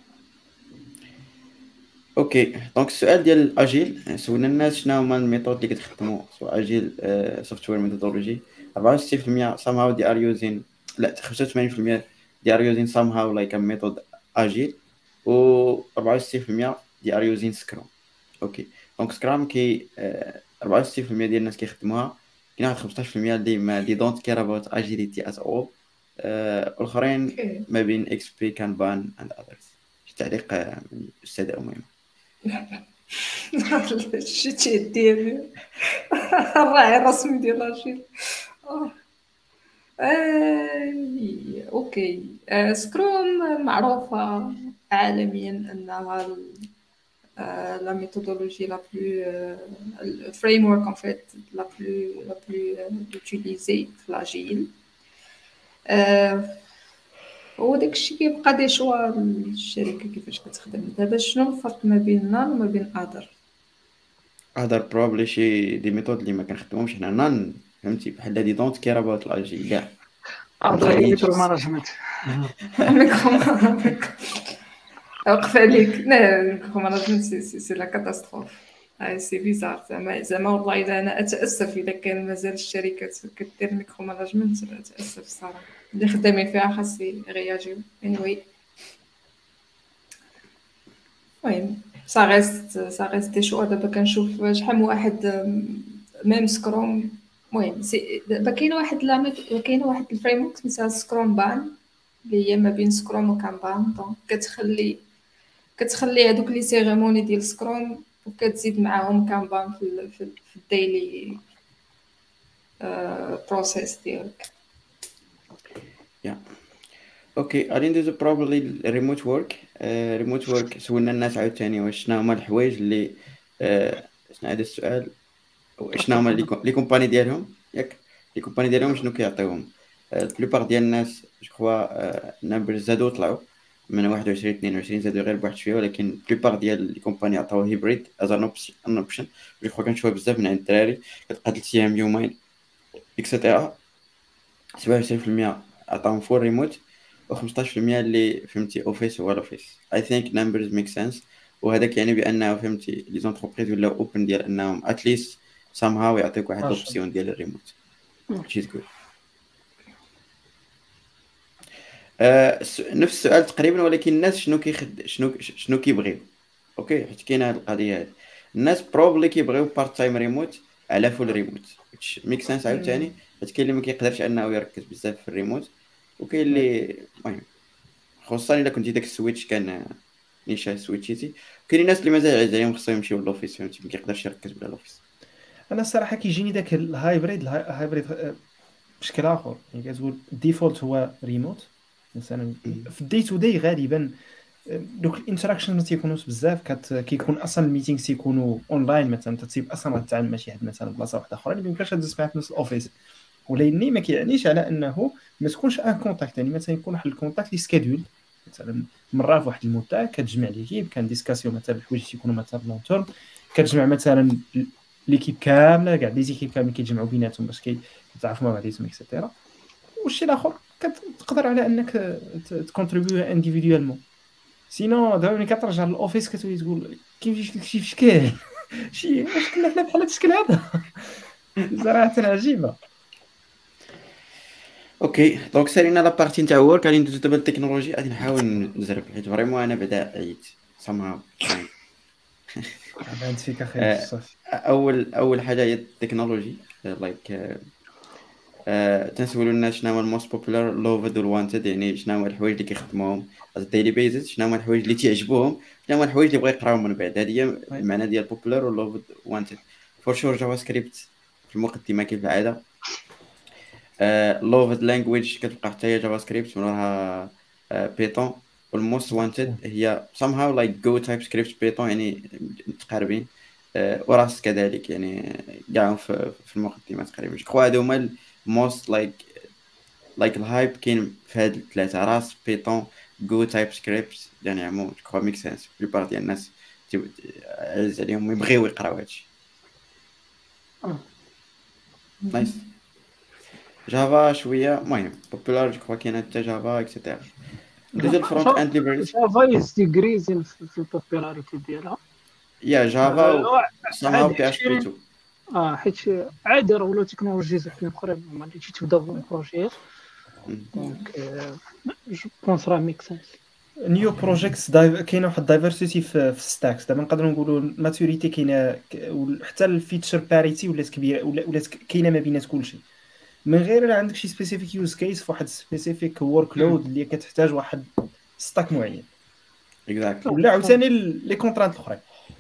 اوكي. دونك السؤال ديال الاجيل، سولنا الناس شنو هما الميثود اللي كتخدموا سواء اجيل سوفتوير ميثودولوجي. أربعة وستين بالمية somehow they are using، لا خمسة وثمانين بالمية they are using somehow like a method اجيل، و أربعة وستين بالمية they are using سكرام. اوكي. دونك سكرام كي آه، أربعة وستين بالمية ديال الناس كيخدموها، كاين واحد خمسطاش بالمية اللي ما they don't care about agility at all. آه، الاخرين اوكي. ما بين اكس بي كانبان and others. شي تعليق آه، من الاستاذه اميمه؟ شتي ديالي الراعي الرسمي ديال لاجيل. آه. آه، اوكي. آه، سكروم معروفة عالميا انها ال- آه، لا ميثودولوجي لا بلو الفريم ورك ان فيت لا بلو لا بلو يوتيليزي في لاجيل. آه، وداك الشيء كيبقى دي شوا الشركه كيفاش كتخدم. دابا شنو الفرق ما بين نان وما بين ادر؟ هذا بروبلي شي دي ميثود اللي ما كنخدمهمش حنا نان، فهمتي بحال دي دونت كير اباوت الاجي كاع. ارض ميكرو مانجمنت. وقف عليك. لا ميكرو مانجمنت سي سي سي لا كاتاستروف. هاي سي بيزار زعما زعما والله الا انا اتاسف اذا كان مازال الشركات كدير ميكرو مانجمنت، اتاسف الصراحه. اللي خدامين فيها خاص يرياجيو. anyway المهم سا ريست سا ريست دي شوا. دابا كنشوف شحال من واحد أم، ميم سكروم. المهم سي- دابا كاينه واحد لا كاينه واحد الفريم ورك سميتها سكروم بان اللي هي ما بين سكروم وكانبان. دونك كتخلي كتخلي هذوك لي سيريموني ديال سكروم وكتزيد معاهم كانبان في ال في, ال في الديلي بروسيس ديالك. يا اوكي. غادي ندوزو بروبلي الريموت ورك. ريموت ورك سولنا الناس عاوتاني واش شنو هما الحوايج اللي آه، شنو هذا السؤال، شنو هما لي لي كومباني ديالهم، ياك لي كومباني ديالهم شنو كيعطيوهم. البلوبار ديال الناس جو كخوا النمبر زادو طلعوا من واحد وعشرين اثنين وعشرين، زادو غير بواحد شويه، ولكن البلوبار ديال لي كومباني عطاو هيبريد از ان اوبشن. جو كخوا كنشوفها بزاف من عند الدراري كتبقى ثلاث ايام يومين اكسيتيرا. سبعة وعشرين بالمية عطاهم فول ريموت، و15% اللي فهمتي اوفيس هو الاوفيس. اي ثينك نمبرز ميك سنس، وهذاك يعني بانه فهمتي لي زونتربريز ولاو اوبن ديال انهم اتليست سام هاو يعطيك واحد عشرة. لوبسيون ديال الريموت. شي تقول آه س- نفس السؤال تقريبا، ولكن الناس شنو كيخد شنو شنو كيبغيو. اوكي حيت كاينه هاد القضيه هادي، الناس بروبلي كيبغيو بارت تايم ريموت على فول ريموت، ميك سنس عاوتاني، حيت كاين اللي ما كيقدرش انه يركز بزاف في الريموت، وكاين اللي المهم خصوصا الا كنتي داك السويتش كان نيشان سويتشيتي. كاين الناس اللي مازال عايز عليهم خصهم يمشيو للوفيس، فهمتي ما كيقدرش يركز بلا لوفيس. انا الصراحه كيجيني داك الهايبريد الهايبريد آه، بشكل اخر. يعني كتقول الديفولت هو ريموت مثلا. في الدي تو دي غالبا آه، دوك الانتراكشن ما تيكونوش بزاف، كت كيكون اصلا الميتينغ تيكونوا اونلاين. مثلا تتسيب اصلا غتتعامل مع شي حد مثلا بلاصه واحده اخرى اللي ما يمكنش تدوز معاه في نفس الاوفيس. ولكن ما كيعنيش على انه ما تكونش ان كونتاكت. يعني مثلا يكون واحد الكونتاكت لي سكيدول مثلا مره في واحد المده، كتجمع ليكيب كان ديسكاسيون مثلا الحوايج تيكونوا مثلا لون تيرم، كتجمع مثلا ليكيب كامله كاع لي زيكيب كاملين كيتجمعوا بيناتهم باش كيتعرفوا مع بعضياتهم اكسيتيرا. والشيء الاخر كتقدر على انك تكونتريبيو انديفيدوالمون. سينو دابا ملي كترجع للاوفيس كتولي تقول كيفاش لك شي في شكل شي واش كنا حنا بحال هذا الشكل هذا. صراحه عجيبه. اوكي دونك سالينا لا بارتي نتاع ورك، غادي ندوزو دابا للتكنولوجي. غادي نحاول نزرب حيت فريمون انا بعدا عييت somehow kind. عاد فيك اخي آه، صافي. اول اول حاجه هي التكنولوجي. لايك تنسولوا الناس شنو هو الموست بوبولار لوفد والوانتد، يعني شنو هو الحوايج اللي كيخدموهم على ديلي بيزيس، شنو هو الحوايج اللي تعجبوهم، شنو هو الحوايج اللي بغا يقراو من بعد. هذه هي المعنى ديال بوبولار ولوفد وانتد. فور شور جافا سكريبت في المقدمه كيف العاده. لوفد لانجويج كتبقى حتى هي جافا سكريبت، من وراها بيتون. والموست وانتد هي somehow like go type script بيتون، يعني متقاربين. وراس كذلك، يعني كاع في في المقدمه تقريبا. جو هادو هما موست لايك لايك الهايب كاين في هاد الثلاثه: راس، بيتون، جو تايب سكريبت. يعني عمو جو ميك سنس. بليبار ديال الناس عز عليهم يبغيو يقراو هادشي. نايس. جافا شويه مهم بوبولار، جو كاين حتى جافا اكسيتيرا. ندوزو الفرونت اند ليبريز. جافا يستيغريز في البوبولاريتي ديالها. يا جافا و somehow بي اش بي تو. اه حيت عادي راه ولاو تكنولوجيز وحدين اخرين هما اللي تبداو بروجيات. دونك جو بونس راه ميك سنس. نيو بروجيكتس كاينه واحد الدايفرسيتي في ستاكس. دابا نقدروا نقولوا الماتوريتي كاينه، حتى الفيتشر باريتي ولات كبيره، ولات كاينه ما بينات كلشي. من غير الا عندك شي سبيسيفيك يوز كيس في واحد سبيسيفيك ورك لود اللي كتحتاج واحد ستاك معين، اكزاكتلي. ولا عاوتاني لي كونترانت الاخرين.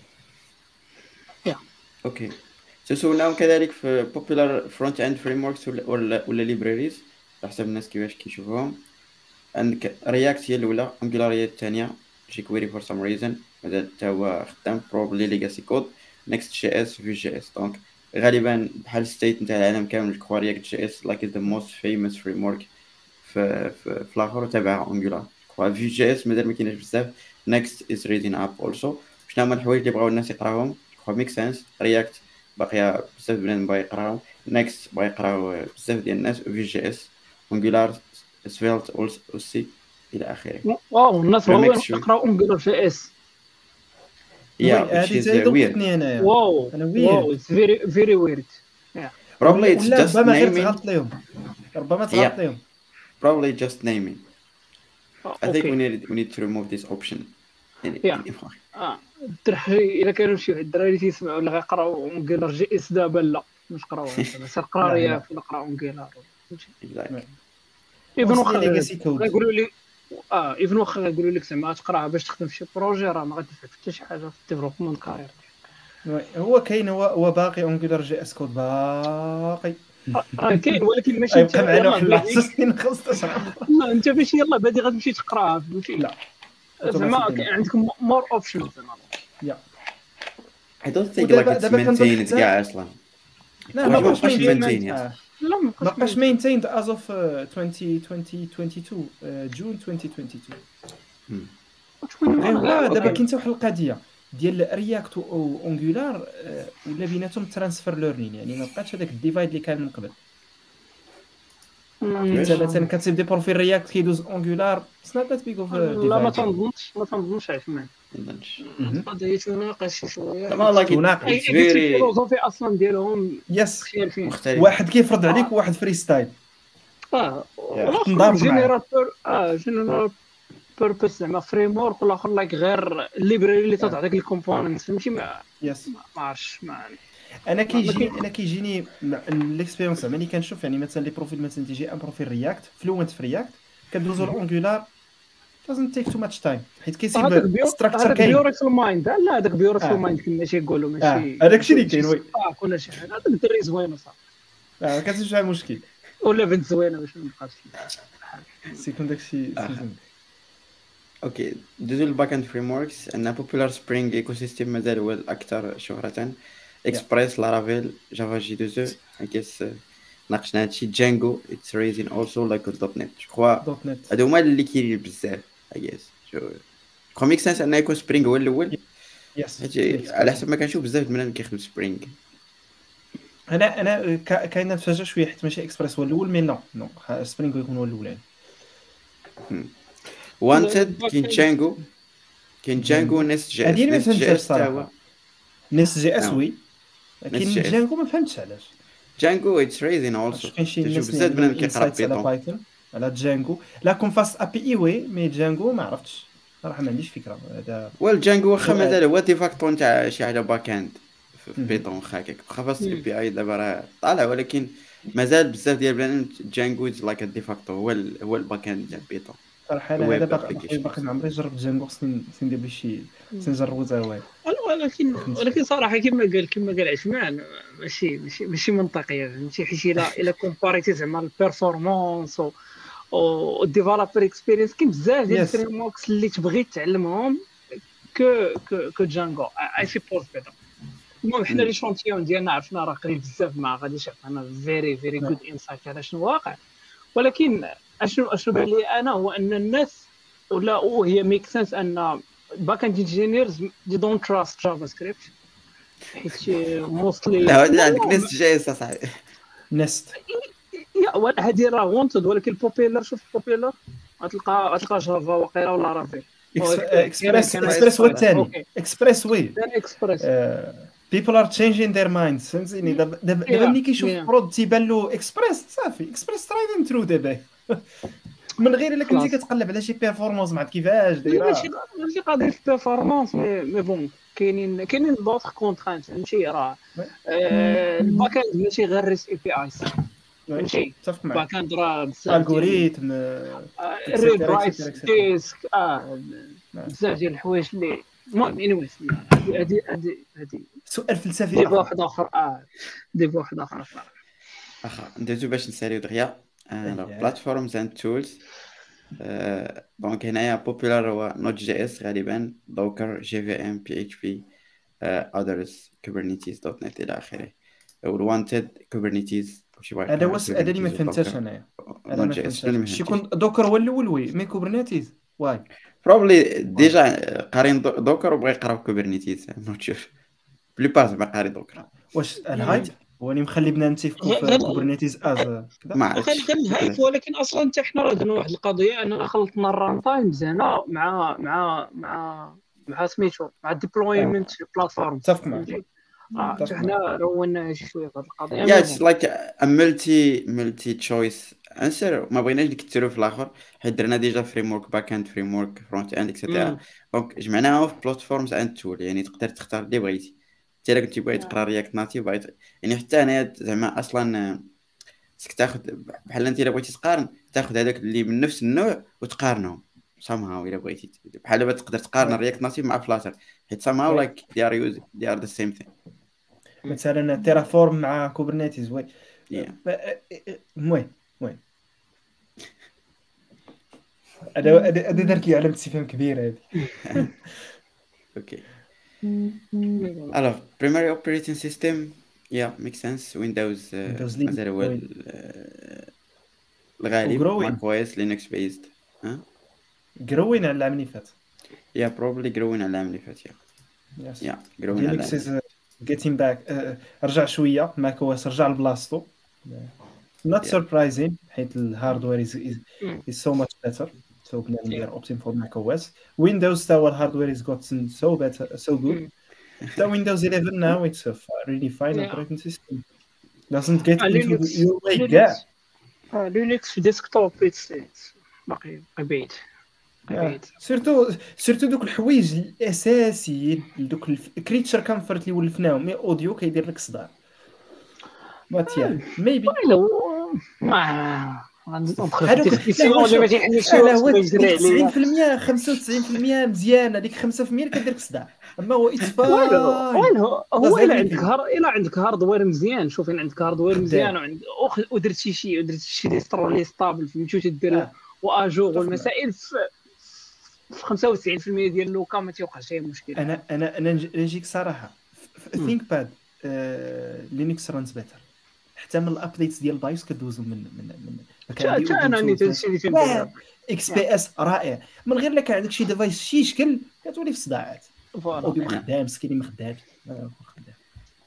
اوكي تسولناهم كذلك في بوبولار فرونت اند فريم وركس ولا ولا ليبراريز على حسب الناس كيفاش كيشوفوهم. عندك رياكت هي الاولى، انجولار هي الثانيه، جيكويري فور سام ريزن مازال حتى هو خدام، بروبلي ليغاسي كود، نيكست جي اس، في جي اس. دونك غالبا بحال ستيت نتاع العالم كامل جو رياكت جي اس لايك ذا موست فيموس فريم ورك في في, في الاخر تبع انجولار. في جي اس مازال ما كاينش بزاف. نيكست از ريدين اب اولسو. شنو هما الحوايج اللي بغاو الناس يقراوهم؟ جو ميك سنس. رياكت باقيه بزاف بنادم باغي يقراهم، نيكست باغي يقراو بزاف ديال الناس، في جي اس، انجولار، سفيلت اوسي الى اخره. واو الناس بغاو يقراو انجولار جي اس. يا هذه تاهي دوقتني انايا. واو انا واو اتس فيري فيري ويرد. probably it's ولا just ربما غير naming. تغلط لهم، ربما تغلط لهم. probably just naming. I think Okay. we need we need to remove this option. Yeah. اه الدراري الا كانوا شي الدراري تيسمعوا ولا غيقراو انجولار جي اس دابا لا مش قراوها دابا سير قرا رياكت ولا قراو انجولار. ايفن واخا غيقولوا لي اه ايفن واخا غيقولوا لك زعما تقراها باش تخدم في شي بروجي، راه ما غتنفعك حتى شي حاجه في الديفلوبمون كارير. هو كاين هو هو باقي انجولار جي اس كود باقي راه كاين ولكن ماشي يبقى معنا واحد العشرين خمسطاش عام. لا انت ماشي يلاه بادي غتمشي تقراها فهمتي. لا زعما عندك مور اوبشنز زعما. يا I don't think like it's maintained كاع اصلا. لا ما بقاش maintained. لا ما بقاش maintained as of twenty twenty-two جون twenty twenty-two. غير دابا كاين حتى واحد القضيه ديال رياكت او انجولار ولا بيناتهم ترانسفير ليرنين، يعني ما بقاش هذاك الديفايد اللي كان من قبل. انت مثلا كتسيب دي بروفيل رياكت كيدوز انجولار سنات ذات بيغ اوف ديفايد. لا ما تنظنش ما تنظنش عثمان. القضيه تناقش شويه. زعما لايك اتس فيري الفيلوزوفي اصلا ديالهم يس مختلف. واحد كيفرض عليك وواحد فري ستايل. اه نضارب جينيراتور اه جينيراتور بيربس زعما فريم ورك والاخر لايك غير الليبراري اللي تعطيك الكومبوننت فهمتي. ما يس ما عرفتش ما انا كيجي انا كيجيني الاكسبيريونس زعما ملي كنشوف يعني مثلا لي بروفيل مثلا تيجي ان بروفيل رياكت فلوينت في رياكت كندوزو لانجولار doesn't take too much time حيت هذاك كيسيب بيور ستراكشر هذاك كاين. بيوريفول مايند لا هذاك بيوريفول آه. مايند كما تيقولوا اه ماشي هذاك الشيء اللي ماشي كاين وي صفاق ولا شي حاجه هذاك الدري زوين صافي اه ما كتمش فيها مشكل ولا بنت زوينه باش ما نبقاش سيكون داكشي سيزون. اوكي دوزو الباك اند فريم وركس. عندنا بوبولار سبرينغ ايكو سيستيم مازال هو الاكثر شهرة. اكسبريس لارافيل جافا جي دوزو اكيس ناقشنا هادشي. جانجو اتس ريزين اولسو لايك دوت نت جو كخوا دوت نت هادو هما اللي كاينين بزاف اكيس جو كو ميك سنس ان يكون سبرينغ هو الاول يس. حيت على حسب ما كنشوف بزاف البنات كيخدموا سبرينغ. انا انا كا- كاين نتفاجئ شويه حيت ماشي اكسبريس هو الاول مي نو نو سبرينغ يكون هو الاولاني. وانتد كاين جانجو كاين جانجو نيست جي اس. هادي اللي ما نيست جي فهمتهاش اس تا هو صراحه. نيس جي اس نعم. وي نيس لكن جي اس. جانجو ما فهمتش علاش. جانجو اتس ريزين اولسو واش كاين شي تشوف ناس بزاف اللي عندهم بنات كيقرا انسايتس على بيتون. بايثون على جانجو لا كون فاست ابي اي وي مي جانجو ما عرفتش صراحه ما عنديش فكره هذا. ويل جانجو واخا سؤال. مازال هو ديفاكتو نتاع شي حاجه باك اند في مم. بيتون واخا هكاك واخا فاست مم. اي بي اي دابا راه طالع ولكن مازال بزاف ديال البنات جانجو لايك ديفاكتو هو ال- هو الباك اند ديال بيتون. صراحه انا Web هذا باقي applications. باقي ما عمري جربت جانجو خصني خصني ندير به شي خصني نجربو حتى هو. ولكن ولكن صراحه كما قال كما قال عثمان ماشي ماشي ماشي منطقيه فهمتي حيت الا الا كومباريتي زعما البيرفورمانس و الديفلوبر اكسبيرينس كاين بزاف ديال Yes. الفريم وركس اللي تبغي تعلمهم كو كو كو جانجو اي سيبوز بعدا. المهم حنا لي شونتيون ديالنا عرفنا راه قريب بزاف ما غاديش يعطينا فيري فيري جود انسايت على شنو واقع. ولكن اشنو اشنو بان لي انا هو ان الناس ولا وهي ميك سنس ان باك اند انجينيرز دي دونت تراست جافا سكريبت حيت موستلي لا هادي عندك نيست جي اس اصاحبي. نست يا هذه راه وونتد ولكن البوبيلر شوف البوبيلر غتلقى غتلقى جافا وقيله ولا رافيل اكسبريس كان- اكسبريس هو كان- الثاني أوكي. اكسبريس وي دان اكسبريس بيبل ار تشينجين ذير مايندز فهمتيني. دابا دابا دابا Yeah, ملي كيشوف yeah. برود تيبان له اكسبريس صافي اكسبريس ترايدين ثرو دابا من غير الا كنتي خلاص. كتقلب على شي بيرفورمانس مع كيفاش دايره. ماشي ماشي قضيه البيرفورمانس مي مي بون كاينين كاينين دوطخ كونترانت فهمتي راه آه، الباك اند ماشي غير ريس اي بي اي فهمتي متفق معك. الباك اند راه بزاف ديال الجوريثم ريد رايت etcetera, etcetera. ديسك اه نعم. بزاف ديال الحوايج اللي المهم انيويز هادي هادي هادي سؤال فلسفي ديبا آخر. واحد اخر اه ديبا واحد اخر صراحه. واخا ندوزو باش نساليو دغيا. أيه. بلاتفورمز اند تولز. دونك هنايا بوبولار هو نوت جي اس غالبا دوكر جي في ام بي اتش بي اذرز كوبرنيتيز دوت نت الى اخره. والوانتد كوبرنيتيز شي واحد هذا هو الس- هذا اللي ما فهمتش انايا. هذا نوت ما جي اس فهمتش شي يكون دوكر هو الاول وي مي كوبرنيتيز واي بروبلي ديجا قارين دو- دوكر وبغى يقرا كوبرنيتيز نوت شوف بلي باس ما قاري دوكر واش الهايب هو اللي مخلي بنا نتفقوا في هذا- كوبرنيتيز از كذا. ما وكان عرفتش كان هايب ولكن اصلا حتى حنا راه درنا واحد القضيه اننا خلطنا الران تايمز هنا مع مع مع مع سميتو مع الديبلويمنت بلاتفورم متفق معك. متفق حنا رونا شي شويه في هذه القضيه يا اتس لايك ا ملتي ملتي تشويس انسر. ما بغيناش نكثروا في الاخر حيت درنا ديجا فريم ورك باك اند فريم ورك فرونت اند اكسيتيرا. دونك جمعناها في بلاتفورمز اند تول يعني تقدر تختار اللي بغيتي. حتى الا كنتي باغي تقرا رياكت ناتيف بغيت يعني حتى انا زعما اصلا خصك تاخذ بحال انت الا بغيتي تقارن تاخذ هذاك اللي من نفس النوع وتقارنهم somehow الا بغيتي. بحال دابا تقدر تقارن رياكت ناتيف مع فلاتر حيت somehow like they are using they are the same thing. مثلا تيرافورم مع كوبرنيتيز وي Yeah. المهم المهم هذا هذا هذا درت لي علامه استفهام كبيره هذه. Okay. Alors, primary operating system, yeah, makes sense. Windows, uh, Windows Linux, مازال هو Win- ال- uh, الغالب. وgrowing. Mac O S, Linux based. Huh? جروين على العام اللي فات. Yeah, probably growing على العام اللي فات. Yeah, Yes. yeah, growing على لينكس العام. is getting back. uh, رجع شويه ماك او اس رجع لبلاصتو. Not Yeah. surprising حيت الهاردوير is is, Mm. is so much better. So بنادم داير opting for Mac O S. Windows تا هو الهاردوير is gotten so better so good. Mm. تا Windows eleven now it's a f- really fine Yeah. operating system. Doesn't get آه، into لينكس the- your way كاع. لينكس آه، لينكس في ديسكتوب اتس باقي باقي بعيد باقي بعيد. سيرتو سيرتو دوك الحوايج الاساسيين دوك الكريتشر كامفورت اللي ولفناهم مي اوديو كيدير لك صداع. بات يا ميبي والو ما غندخل هذوك في الديسكسيون اللي ما تيحلش لا هو يجري تسعين عليا. في المية خمسة وتسعين في المية مزيان، هذيك خمسة في المية اللي كدير لك صداع، اما هو اتس والو فاين. والو هو Does الا عندك everything. هار الا عندك هاردوير مزيان، شوف الا عندك هاردوير مزيان خدام. وعند أخ- ودرت شي شي ودرت شي ديسترو لي ستابل فهمتي تدير اه واجور تفهم. والمسائل في في خمسة وتسعين في المية ديال اللوكا ما تيوقعش اي مشكل. انا انا انا نج- نجيك صراحه مم. ثينك باد لينكس رانز بيتر، حتى من الابديتس ديال بايوس كدوزو من من من ما كان تا عندي تا انا اوبنتو نيت هادشي اللي تنبغي. واه اكس بي اس رائع، من غير لك عندك شي ديفايس شي شكل كتولي في صداعات فوالا او خدام سكيني ما خدامش آه، خدام.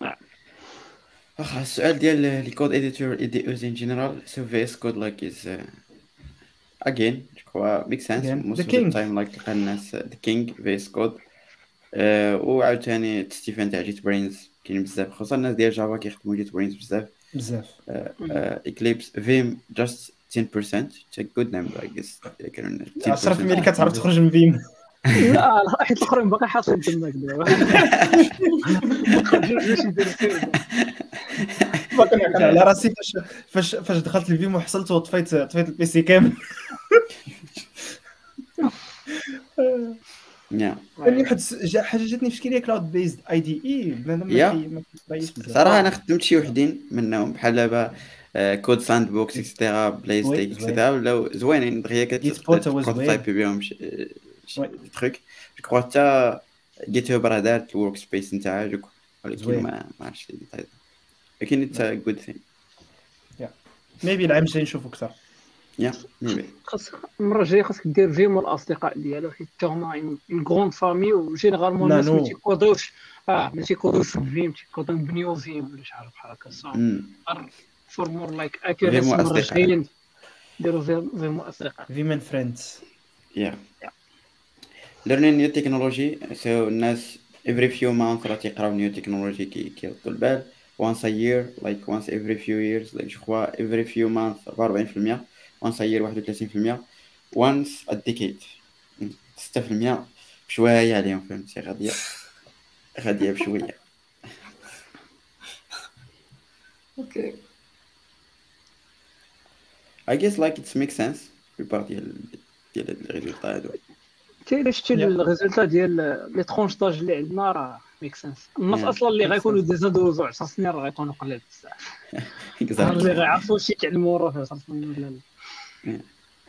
واخا السؤال ديال لي كود اديتور اديوز ان جنرال سو في اس كود لايك از again جو كوا ميك سنس Again, most the of the king. time like تلقى الناس ذا كينج في اس كود. وعاوتاني تستيفان تاع جيت برينز كاين بزاف، خصوصا الناس ديال جافا كيخدموا جيت برينز بزاف. بزاف اكليبس فيم just ten percent it's a good number I guess. كانوا عشرة في المية اللي ten percent كتعرف تخرج من فيم. لا حيت الاخرين باقي حاطين تماك دابا ما خرجوش يديروا فيه. باقي نعقل على راسي فاش فاش فاش دخلت الفيم وحصلت وطفيت طفيت البي سي كامل. yeah. اللي واحد جا حاجه جاتني في شكل كلاود بيزد اي دي اي بنادم Yeah. ما كي- ما كيبغيش بزاف. صراحه انا خدمت شي وحدين منهم بحال دابا كود ساند بوكس اكسترا بلاي زوين، ستيك زوين. اكسترا ولاو زوينين دغيا Git Bot هو كتبروتايبي بهم وي. دي تروك. جو كرو حتى جيت هاب راه دارت الورك سبيس نتاعها جو كرو، ولكن زوين. ما ما عرفتش لي ديتاي، لكن اتس ا جود ثينغ. ميبي العام الجاي نشوفو اكثر. يا ميبي خاص المره الجايه خاصك دير فيم الاصدقاء ديالو حيت حتى هما اون غروند فامي وجينيرالمون الناس ما نانو. تيكودوش اه ما تيكودوش في فيم تيكودو بنيو فيم ولا شي حاجه بحال هكا صافي امم فور مور لايك اكيوريسي. فيم المره أصدقاء. الجايه ديروا فيم فيم اصدقاء. فيم اند فريندز. yeah learning new technology. so الناس every few months راه تيقراو new technology كي كيردوا البال once a year like once every few years like je crois every few months أربعة وأربعين بالمية once a year واحد وثلاثين بالمية once a decade ستة بالمية بشويه عليهم فهمتي غاديه غاديه بشويه. اوكي I guess like it makes sense في بار ديال ديال هاد الريزلت هادو. تي الا شتي Yeah. الريزلتا ديال لي ترونش داج اللي عندنا راه ميك سنس. الناس Yeah. اصلا اللي Makes غيكونوا sense. ديزادوزو عشر سنين راه غيكونوا قلال بزاف، اللي غيعرفوا شي يتعلموا راه في عشر سنين ولا لا.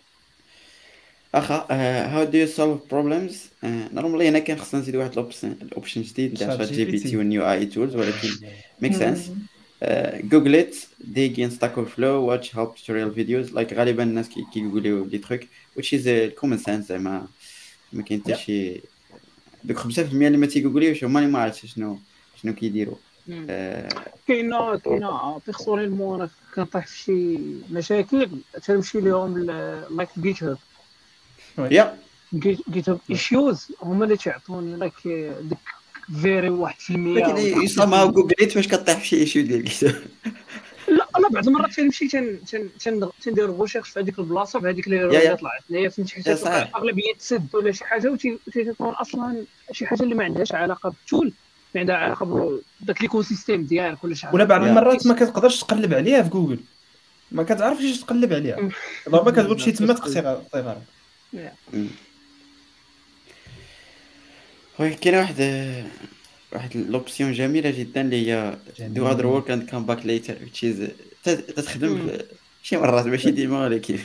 اخا هاو دو يو سولف بروبلمز. نورمالي هنا كان خصنا نزيد واحد الاوبشن الاوبشن جديد تاع شات جي بي تي والنيو اي تولز، ولكن ميك سنس. جوجل ات ديج ان ستاك اوف فلو واتش هيلب توتوريال فيديوز لايك غالبا الناس كي كيقولوا دي تروك which is كومن سنس زعما ما كاين حتى Yeah. شي دوك خمسة بالمية اللي ما تيقوليوش هما اللي ما عرفتش شنو شنو كيديروا. آه، كاينه كاينه بيرسونيلمون انا كنطيح في شي مشاكل تنمشي لهم لايك جيت هاب يا جيت هاب ايشوز هما اللي تيعطوني لايك ديك فيري واحد في المية. لكن يسمى جوجل ات فاش كطيح في شي ايشيو ديال الكتاب. لا انا بعض المرات تنمشي تن تن تن تندير ريغوشيرش في هذيك البلاصه في هذيك لي يا- اللي يا. طلعت ليا فهمتي حيت يا تلقى صحيح. اغلبيه تسد ولا شي حاجه وتيكون اصلا شي حاجه اللي ما عندهاش علاقه بالتول، ما عندها علاقه بداك ليكو سيستيم ديالك ولا شي حاجه. ولا بعض Yeah. المرات ما كتقدرش تقلب عليها في جوجل، ما كتعرفش اش تقلب عليها، ضربه كتقول شي تما تقصي غير. وي كاين واحد واحد لوبسيون جميله جدا اللي هي دو هاد ورك اند كام باك ليتر which is ت- تتخدم مم. في شي مرات ماشي ديما ولكن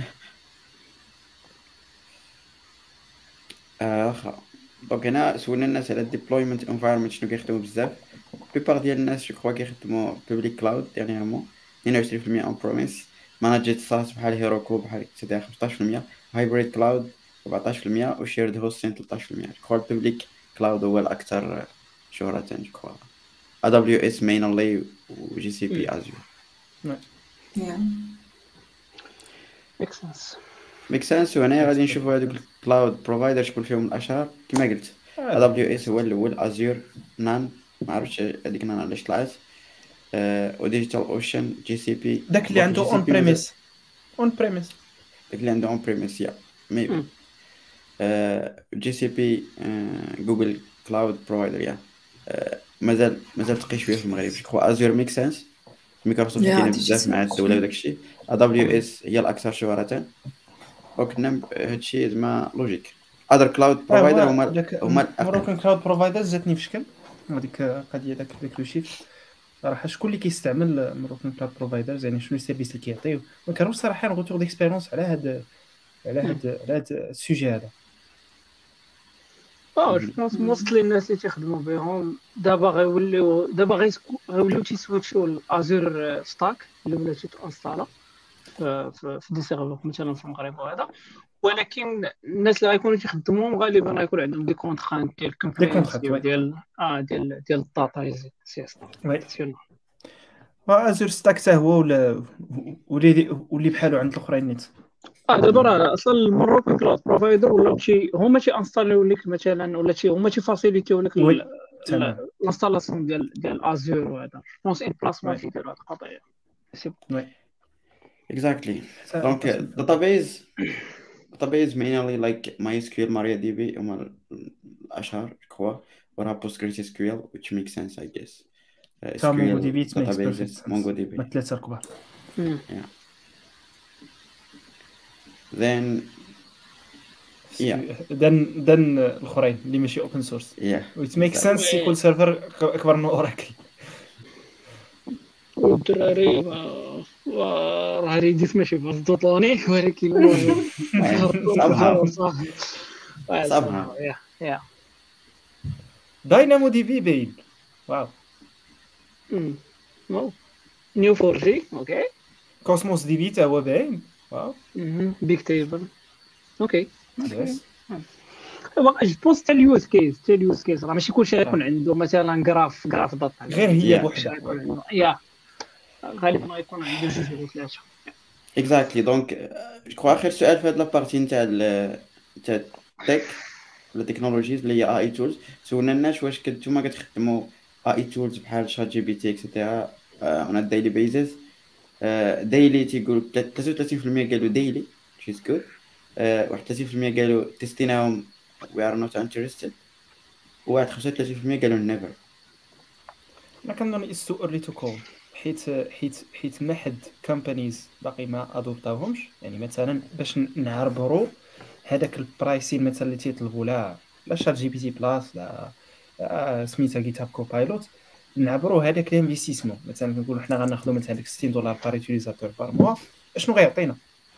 آه، واخا. دونك هنا سولنا الناس على الديبلويمنت انفايرمنت شنو كيخدموا بزاف. بيبار ديال الناس جو كخوا كيخدموا بوبليك كلاود ديرنييرمون اثنين وعشرين بالمية اون بروميس، ماناجيت ساس بحال هيروكو بحال كذا خمسطاش بالمية، هايبريد كلاود أربعطاش بالمية وشيرد هوستين ثلاثطاش بالمية. جو كخوا البوبليك كلاود هو الاكثر شهرة جو كخوا A W S mainly و جي سي بي ازيور. يا ميك سنس. ميك سنس. وهنا غادي نشوفوا هذوك الكلاود بروفايدر شكون فيهم الاشهر كما قلت. A W S هو الاول، ازيور نان ما عرفتش هذيك نان علاش طلعت، وديجيتال اوشن جي سي بي داك اللي عنده اون بريميس اون بريميس داك اللي عنده اون بريميس يا ميبي مم. جي سي بي جوجل كلاود بروفايدر يا. آه، مازال مازال تقي شويه في المغرب جو كخوا ازيور ميك سنس مايكروسوفت يا كاينه هادشي بزاف مع سمعت. الدوله وداك الشيء. دبليو اس هي الاكثر شهره، وكنا هادشي زعما لوجيك. اذر كلاود اه بروفايدر هو هما داك هما الاقل. مروكان كلاود بروفايدرز جاتني في شكل هذيك القضيه داك داك لو شيفت صراحه. شكون اللي كيستعمل مروكان كلاود بروفايدرز يعني شنو السيرفيس اللي كيعطيو؟ ما كانوش صراحه غوتور ديكسبيرونس على هاد على هاد على هاد السوجي هذا. اه جو بونس موستلي الناس اللي تيخدموا بهم دابا غيوليو دابا غيسكو- غيوليو تيسويتشوا الازور ستاك اللي ولا تيتانستالا في في في دي سيرفر مثلا في المغرب وهذا. ولكن الناس اللي غيكونوا تيخدموهم غالبا غيكون عندهم دي كونترانت ديال دي كومبرينسيف كونترات وي ديال اه ديال ديال الداتا سي اس وي وازور ستاك حتى هو ولا ولي واللي بحالو عند الاخرين نيت. اه دابا راه اصلا المروكان كلاود بروفايدر ولا شي هما تي انستاليو لك مثلا ولا شي هما تي فاسيليتيو لك وي تمام الانستالاسيون ديال ديال ازور وهذا. جونس ان بلاسمون وي تيديروا هاد القضيه. سي وي اكزاكتلي. حتى دونك الباسورد. داتابيز داتابيز mainly like MySQL, MariaDB هما الاشهر كوا، وراها PostgreSQL which makes sense I guess. Uh, تا مونغو SQL دي بي ميكس بيرفكت databases سنس MongoDB. ما ثلاثه كبار. مم. Yeah. Then yeah دن دن الاخرين اللي ماشي اوبن سورس yeah ويت ميك exactly. سنس سيكول سيرفر اكبر من اوراكل. والدراري و- وراه ريديت ماشي بزدوطوني ولكن المهم somehow صافي. آه، somehow somehow, yeah, yeah. داينامو دي بي باين واو. مم. واو. نيو فور جي اوكي. كوسموس دي بي تا هو باين واو. بيك تيبل اوكي. يس جو بونس حتى اليوز كيس حتى اليوز كيس راه ماشي كلشي غيكون عنده مثلا جراف جراف داتا غير هي Yeah. كلشي بوحدها. غيكون عنده يا غالبا غيكون عنده جوج ولا ثلاثه. اكزاكتلي. دونك جو كخوا اخر سؤال في هاد لابارتي نتاع ال- نتاع التك ولا تكنولوجيز اللي هي اي تولز. سولنا الناس واش كنتو ما كتخدموا اي تولز بحال شات جي بي تي اكسيتيرا اون دايلي بيزيس. دايلي تيقول ثلاثة وثلاثين بالمية قالوا دايلي which is good. آه، واحد ثلاثين بالمية قالوا تستيناهم we are not interested. وواحد خمسة وثلاثين بالمية قالوا never. انا كنظن اتس تو ايرلي تو كول حيت حيت حيت ما حد كومبانيز باقي ما ادوبتاوهمش. يعني مثلا باش نعربروا هذاك البرايسين مثلا اللي تيطلبوا لا لا شات جي بي تي بلاس لا آه، سميتها جيت هاب كوبايلوت نعبروا هذاك الانفستيسمون. مثلا كنقولوا حنا غناخذوا مثلا ديك ستين دولار بار يوتيليزاتور بار موا اشنو غيعطينا.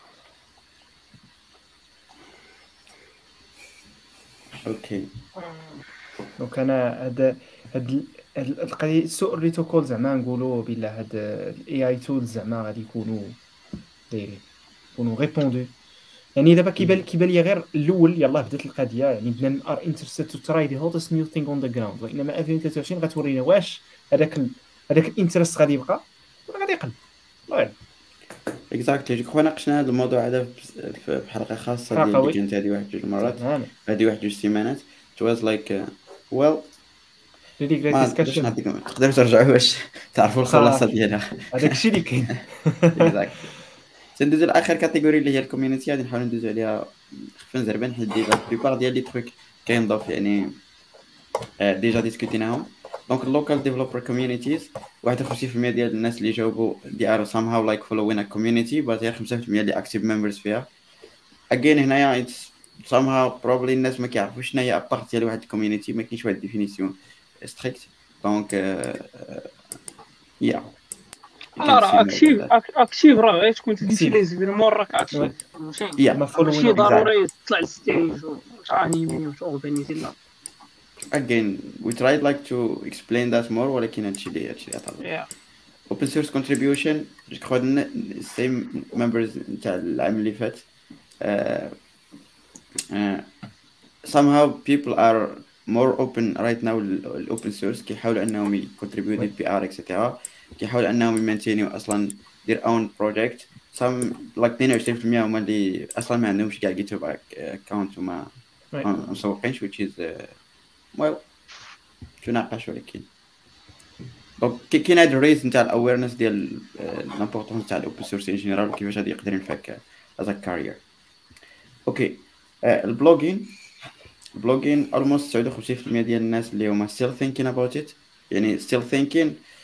اوكي دونك انا هاد هاد هاد القضيه السوء اللي توكول زعما نقولوا بلا هاد الاي اي تولز زعما غادي يكونوا دايرين يكونوا ريبوندو. يعني دابا كيبان كيبان لي غير الاول يلاه بدات القضيه يعني بنادم ار انترستد تو تراي ذا هوتست نيو ثينغ اون ذا جراوند. وانما ألفين وثلاثة وعشرين غتورينا واش هذاك ال... هذاك الانترست غادي يبقى ولا غادي يقل. الله يعلم. اكزاكتلي. جو كخوا ناقشنا هذا الموضوع هذا في في حلقه خاصه ديال حلقة اللي وي. كانت هذه واحد جوج مرات تماما هذه واحد جوج سيمانات. it was like uh, well ريلي جريت ما باش ديسكشن نعطيكم تقدروا ترجعوا باش تعرفوا الخلاصه صافي. ديالها. هذاك الشيء اللي كاين. اكزاكتلي. تندوزو لاخر كاتيجوري اللي هي الكوميونيتي. غادي نحاولوا ندوزو عليها خفيف زربان حيت ديجا لا بليبار ديال لي تروك كينضاف يعني آه، ديجا ديسكوتيناهم. دونك اللوكال ديفلوبر كوميونيتيز واحد وخمسين بالمية ديال الناس اللي جاوبوا دي ار somehow like following a community but غير خمسة بالمية اللي active members فيها. again هنايا it's somehow probably الناس ما كيعرفوش شنو هي ابارت ديال واحد الكوميونيتي. ما كاينش واحد ديفينيسيون ستريكت. دونك يا لا راه اكتيف اكتيف راه غير تكون تدير لي زيفيرمون راك اكتيف وي. ماشي يا ما ماشي فولوين ضروري تطلع للستيج وتانيمي وتورغانيزي. لا again we tried like to explain that more ولكن هادشي اللي هادشي اللي عطانا. Yeah. open source contribution جو خدنا same members نتاع العام اللي فات. uh, uh, somehow people are more open right now ال open source. كيحاولوا انهم يcontribute وي. بي ار اكسيتيرا. كيحاولوا انهم يمانتينيو اصلا their own project. some like اثنين وعشرين بالمية هما اللي اصلا ما عندهمش كاع جيت هاب اكونت وما وي. ما مسوقينش which is uh, well تناقش. ولكن دونك كاين هاد الريز نتاع الاويرنس ديال لامبورطونس تاع الاوبن سورس ان جينيرال وكيفاش غادي يقدر ينفعك از كارير. اوكي البلوجين البلوجين almost تسعة وخمسين بالمية ديال الناس اللي هما still thinking about it. يعني still thinking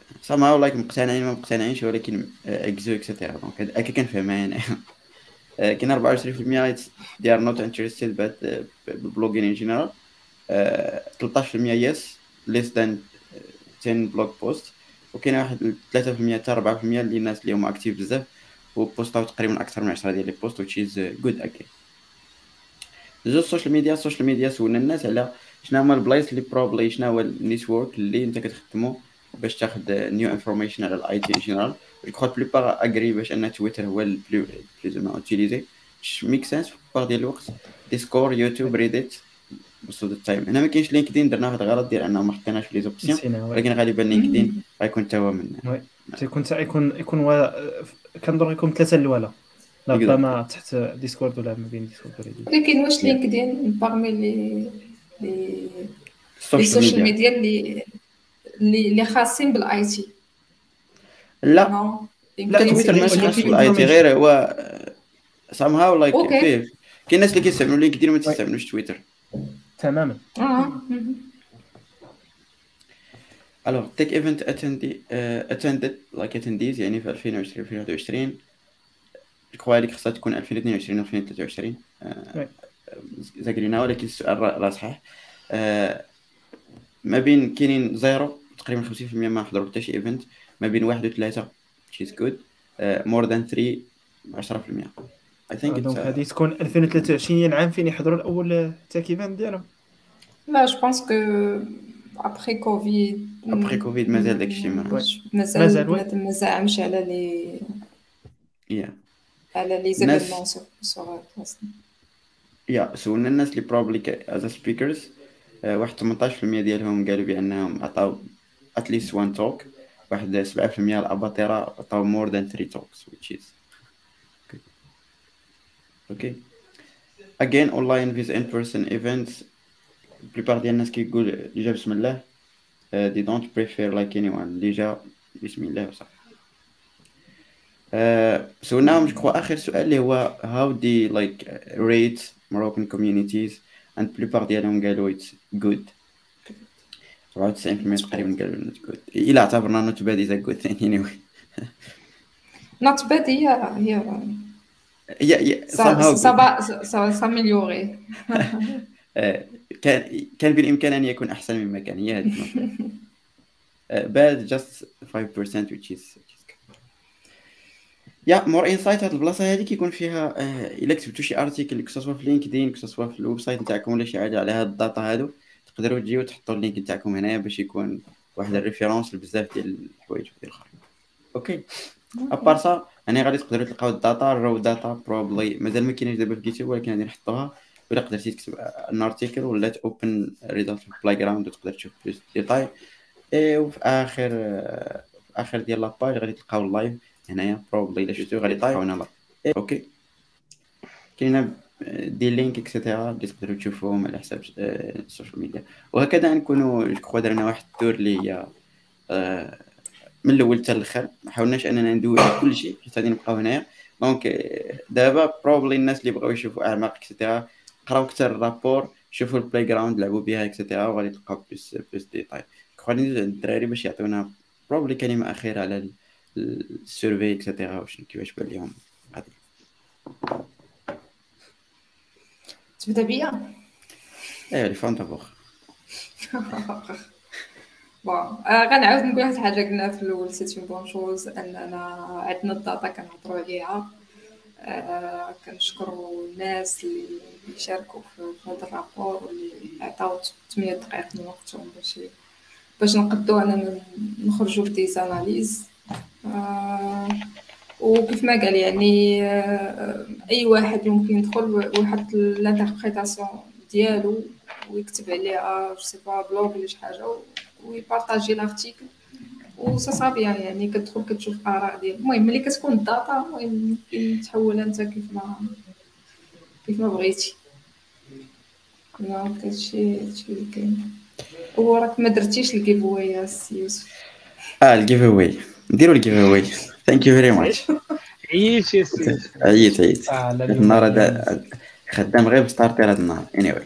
somehow like مقتنعين ما مقتنعينش ولكن اكزو اكسيتيرا دونك هكا كنفهمها انا. كاين أربعة وعشرين بالمية they are not interested but بالبلوغين in general. ثلاثة عشر بالمية yes less than عشرة blog posts. وكاين واحد ثلاثة بالمية حتى أربعة بالمية اللي الناس اللي هما اكتيف بزاف وبوستاو تقريبا اكثر من عشرة ديال لي بوست which is good again. جوج السوشيال ميديا السوشيال ميديا سولنا الناس على شنو هما البلايص اللي بروبلي شنو هو النيتورك اللي انت كتخدمو باش تاخد نيو انفورميشن على الاي تي ان جينيرال. جو كخوا بليبار اغري باش ان تويتر هو البلو بلوز ما اوتيليزي ميك سنس بار ديال الوقت. ديسكور يوتيوب ريديت بوست ذا تايم. هنا ما كاينش لينكدين درنا هذا الغلط ديال انه ما حطيناش في لي زوبسيون نسينا وي ولكن غالبا لينكدين غيكون تا هو من وي تيكون تا يكون يكون و... كنظن يكون ثلاثه الاولى ربما تحت ديسكورد ولا ما بين ديسكورد وريديت. لكن واش لينكدين باغمي لي لي السوشيال السوشيال ميديا؟ ميديا اللي اللي اللي خاصين بالاي تي؟ لا نو لا يمكن تويتر ماشي يمكن خاص بالاي تي information. غير هو somehow like أوكي. فيه كاين ناس اللي كيستعملوا لينكدين وما تستعملوش تويتر. تماما. اه Alors, tech event attended, uh, attended like attendees يعني في ألفين وعشرين ألفين وواحد وعشرين الكوا اللي خصها تكون ألفين واثنين وعشرين ألفين وثلاثة وعشرين وي. زاكرينا ولكن السؤال راه راه صحيح. آه، ما بين كاينين زيرو تقريبا خمسين بالمية ما حضروا حتى شي ايفنت ما بين واحد وثلاثة which is good. uh, more than three عشرة بالمية. I think دونك it's uh, هذه تكون ألفين وثلاثة وعشرين هي العام فين يحضروا الاول تاك ايفنت ديالهم. لا جو بونس كو ابري كوفيد après Covid مازال داكشي ما مازال، مازال وي. بنادم ما زعمش على لي yeah. على لي الناس- زيفينمون سوغ اصلا. يا سولنا الناس اللي بروبلي از سبيكرز واحد ثمانية عشر بالمية ديالهم قالوا بانهم عطاو اتليست وان توك. واحد سبعة بالمية الاباطره عطاو مور ذان ثري توكس which is good. okay again online with in person events بليبار ديال الناس كيقول اللي جا بسم الله uh, they don't prefer like anyone اللي جا بسم الله وصح. uh, سولناهم جو اخر سؤال اللي هو how they like rate Moroccan communities and بليبار ديالهم قالوا it's good. سبعة وتسعين بالمية تقريبا قالوا not good الى اعتبرنا not bad is a good thing anyway. نوت باد هي هي yeah, yeah, somehow سا good. سا ساميليوري. آه، كان كان بالامكان ان يكون احسن مما كان هي هذه النقطة. آه، bad just five percent which is which is good. يا مور انسايت هاد البلاصه هذه كيكون فيها آه، الا كتبتو شي ارتيكل كسوا في لينكدين كسوا في الويب سايت نتاعكم ولا شي حاجه على هاد الداتا هادو تقدروا تجيو تحطوا اللينك نتاعكم هنايا باش يكون واحد الريفيرونس لبزاف ديال الحوايج ديال الاخرين. اوكي ابار سا انا غادي تقدروا تلقاو الداتا الرو داتا بروبلي مازال ما كاينش دابا في جيتوب ولكن غادي نحطوها. ولا قدرتي تكتب ان ارتيكل ولا اوبن ريزلت في بلاي جراوند وتقدر تشوف بلوس ديتاي. اي وفي اخر في اخر ديال لاباج غادي تلقاو اللايف هنايا بروبلي الا شفتو غادي تلقاو هنا لايف. اوكي كاينه دي لينك اكسيتيرا اللي تقدروا تشوفوهم على حساب السوشيال ميديا. وهكذا نكونوا جو كخوا درنا واحد التور اللي هي آه، من الاول حتى الاخر ما حاولناش اننا ندوي على كل شيء حيت غادي نبقاو هنايا. دونك آه، دابا بروبلي الناس اللي بغاو يشوفوا اعماق اكسيتيرا قراو كثر الرابور شوفوا البلاي جراوند لعبوا بها اكسيتيرا وغادي تلقاو بلوس بلوس ديتاي. غادي ندوز عند الدراري باش يعطيونا بروبلي كلمه اخيره على السيرفي اكسيتيرا واش كيفاش بان لهم غادي. تبدا بيا. ايوا لي فون دابور. بون آه، غنعاود نقول واحد الحاجه قلنا في الاول سيت اون بون شوز اننا عندنا الداتا كنهضروا عليها. آه، كنشكروا الناس اللي شاركوا في هذا الرابور واللي عطاو ثمانية دقائق من وقتهم باش باش نقدوا اننا نخرجوا بدي زاناليز. آه، وكيف ما قال يعني آه، اي واحد يمكن يدخل ويحط الانتربريتاسيون ديالو ويكتب عليها جو سي با بلوغ ولا شي حاجه ويبارطاجي لارتيكل وسا صافي يعني كتدخل كتشوف اراء ديال. المهم ملي كتكون الداتا المهم ممكن تحولها انت كيف ما كيف ما بغيتي. دونك هادشي هادشي اللي كاين. وراك ما درتيش الجيف واي يا سي يوسف. اه الجيف اواي نديروا الجيف اواي. ثانك يو فيري ماتش. عييت يا سيدي. عييت عييت آه لا هاد النهار هذا خدام غير بستارتير هاد النهار. anyway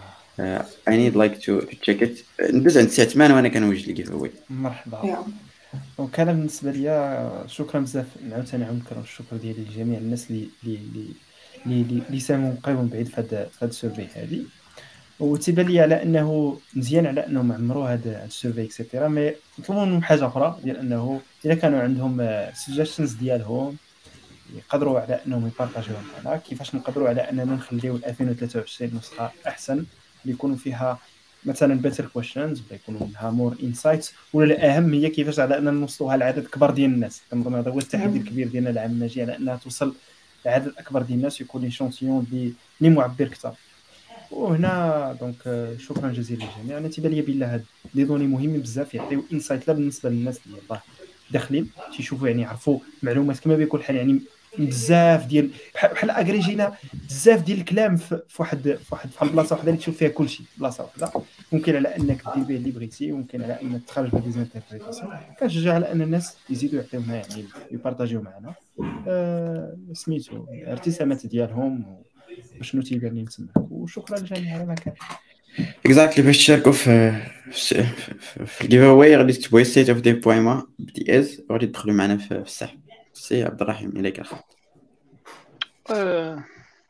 آه. uh, I need like to to check it. ندوز عند الساعه ثمانية وانا كنوجد الجيف اواي. مرحبا. يا دونك انا بالنسبه ليا شكرا بزاف، عاوتاني نعاود نكرر الشكر ديالي لجميع الناس اللي اللي اللي اللي اللي ساهموا قريب من بعيد في هذا في هذا السيرفي هذه. وتيبان لي على انه مزيان على انهم عمروا هذا هذا السيرفي اكسيتيرا، مي نطلبوا منهم حاجه اخرى، ديال انه اذا كانوا عندهم سجستشنز ديالهم يقدروا على انهم يبارطاجيوهم معنا، كيفاش نقدروا على اننا نخليو ألفين وثلاثة وعشرين نسخه احسن اللي يكونوا فيها مثلا better questions ولا يكونوا منها more insights، ولا الاهم هي كيفاش على اننا نوصلوها لعدد كبر ديال الناس. كنظن هذا هو التحدي الكبير ديالنا العام الجاي، على انها توصل لعدد اكبر ديال الناس ويكون لي شونسيون اللي اللي معبر اكثر. وهنا دونك شكرا جزيلا للجميع. انا تيبان لي بلا هاد لي دوني مهمين بزاف، يعطيو انسايت لا بالنسبه للناس اللي يلاه داخلين تيشوفوا يعني يعرفوا معلومات كما بيكون الحال، يعني بزاف ديال بحال اغريجينا بزاف ديال الكلام في واحد في واحد في بلاصه وحده اللي تشوف فيها كلشي بلاصه وحده. ممكن على انك دير به اللي بغيتي، ممكن على انك تخرج به ديزانتربريتاسيون. كنشجع على ان الناس يزيدوا يعطيونا يعني يبارطاجيو معنا أه سميتو الارتسامات ديالهم وشنو تيبان لي نسمعك. وشكرا للجميع على ما كان. اكزاكتلي باش تشاركوا في في, في, في الجيف اواي غادي تكتبوا ستيت اوف دي بويما بدي از وغادي تدخلوا معنا في السحب. سي عبد الرحيم اليك الخط. آه،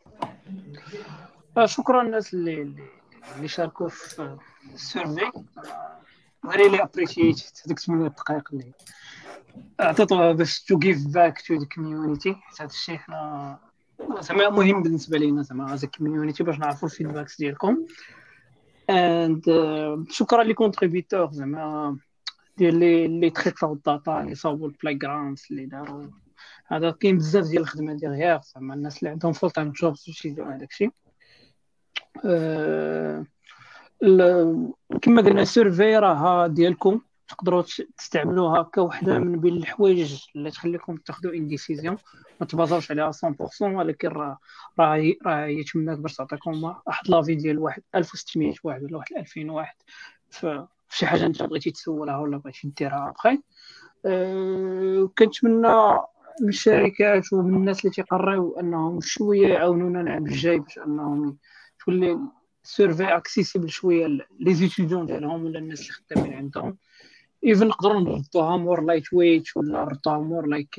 آه، شكرا الناس اللي اللي شاركوا في السيرفي. ريلي ابريشيت هذيك ثمانية دقائق اللي عطيتوها باش تو جيف باك تو ذا كوميونيتي. هذا الشيء حنا زعما مهم بالنسبه لينا، زعما از كوميونيتي باش نعرفوا الفيدباكس ديالكم. اند uh, شكرا لي كونتريبيتور زعما ديال لي لي تريطاو الداتا اللي صاوبوا البلاي جراوندز اللي داروا. هذا كاين بزاف ديال الخدمه ديغيغ، زعما الناس اللي عندهم فول تايم جوبز باش يديروا هذاك الشيء. أه كما قلنا السيرفي راه ديالكم، تقدروا تستعملوها كوحده من بين الحوايج اللي تخليكم تاخذوا ان ديسيزيون. ما تبازاوش عليها مية بالمية، ولكن راه راه راه هي تماك باش تعطيكم واحد لافي ديال واحد ألف وستمية واحد ولا واحد ألفين واحد في شي حاجه انت بغيتي تسولها ولا بغيتي ديرها بخير. أه كنتمنى من الشركات ومن الناس اللي تيقريو انهم شويه يعاونونا العام الجاي باش انهم تولي سيرفي اكسيسيبل شويه لي زيتيديون ديالهم ولا الناس اللي خدامين عندهم. ايفن نقدروا نردوها مور لايت ويت ولا نردوها مور لايك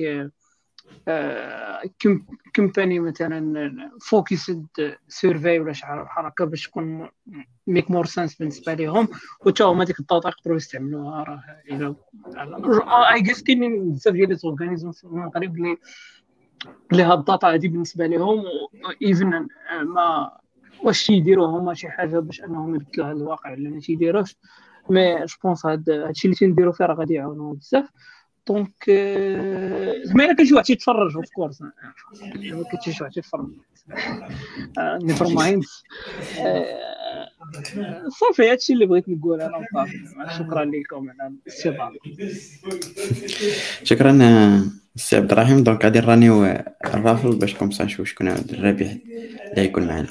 كومباني مثلا فوكسد سيرفي ولا شي حركه باش تكون ميك مور سنس بالنسبه لهم، وتا هما ديك الداتا يقدروا يستعملوها. راه الى اي جيس كاينين بزاف ديال لي اورغانيزم في المغرب اللي اللي هاد الداتا هادي بالنسبه لهم ايفن ما واش يديروا هما شي حاجه باش انهم يبدلوا هذا الواقع ولا ما تيديروش. مي جو بونس هاد هادشي اللي تنديروا فيه راه غادي يعاونوا بزاف. دونك زعما الا كان شي واحد تيتفرج اوف كورس، ما كاين شي واحد تيتفرج نيفر مايند. صافي هادشي اللي بغيت نقول انا وصافي. شكرا لكم على الاستضافه. شكرا سي عبد الرحيم. دونك غادي نرانيو الرافل باش كومسا نشوف شكون هو الرابح اللي يكون معنا.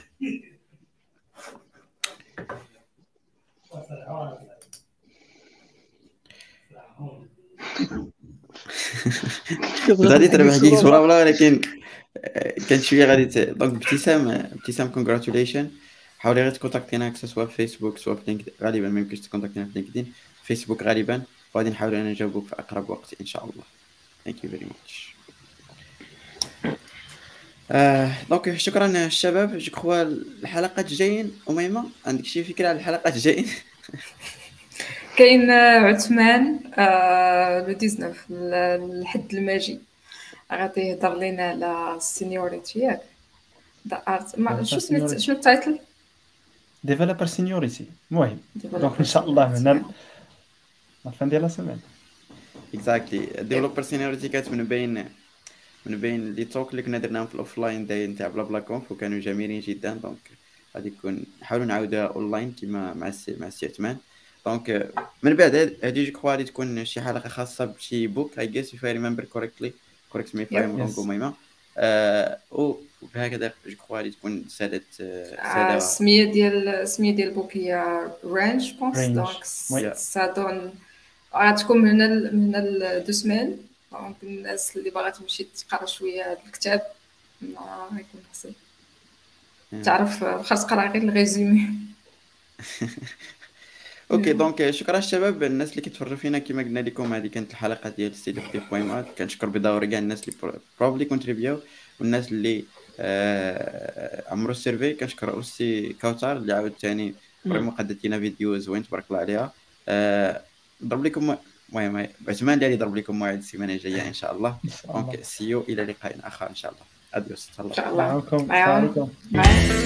غادي تربح كيك صوره ولا، ولكن كان شويه غادي ت... دونك ابتسام ابتسام كونغراتوليشن. حاولي غير تكونتاكتينا سواء في فيسبوك سواء في لينكدين. غالبا ما يمكنش تكونتاكتينا في لينكدين، فيسبوك غالبا، وغادي نحاولوا ان نجاوبوك في اقرب وقت ان شاء الله. ثانك يو فيري ماتش. دونك شكرا الشباب. جو كخوا الحلقات الجايين اميمه عندك شي فكره على الحلقات الجايين؟ كاين عثمان لو تسعطاش الحد الماجي غادي يهضر لنا على السينيوريتي ياك شو سميت شنو التايتل ديفلوبر سينيوريتي. المهم دونك ان شاء الله من الفان ديال السيمانه اكزاكتلي ديفلوبر سينيوريتي كانت من بين من بين لي توك اللي كنا درناهم في الاوفلاين داي نتاع بلا بلا كونف وكانوا جميلين جدا. دونك غادي يكون نحاولوا نعاودها اونلاين كيما مع السي مع السي عثمان. دونك من بعد هذه جو كخوا غادي تكون شي حلقه خاصه بشي بوك اي جيس اف اي ريمبر كوريكتلي كوريكت مي فايم دونك ميما وبهكذا جو كخوا غادي تكون ساده ساده السميه ديال السميه ديال البوك هي رانج بونس. دونك سادون غتكون من هنا من هنا دو سمان. دونك الناس اللي باغا تمشي تقرا شويه هذا الكتاب ما غيكون خصها تعرف خاص تقرا غير الريزومي. اوكي دونك شكرا الشباب الناس اللي كيتفرجوا فينا. كما قلنا لكم هذه كانت الحلقه ديال ستيت اوف دي بويمات. كنشكر بدوري كاع الناس اللي بروبلي كونتريبيو والناس اللي آه عمرو السيرفي. كنشكر اوسي كوثر اللي عاود ثاني فريمون قدت لنا فيديو زوين تبارك الله عليها. آه ضرب لكم المهم عثمان ديالي ضرب لكم موعد السيمانه الجايه ان شاء الله. دونك سيو الى لقاء اخر ان شاء الله. اديوس. ان شاء الله معكم. السلام معاهم عليكم. معاهم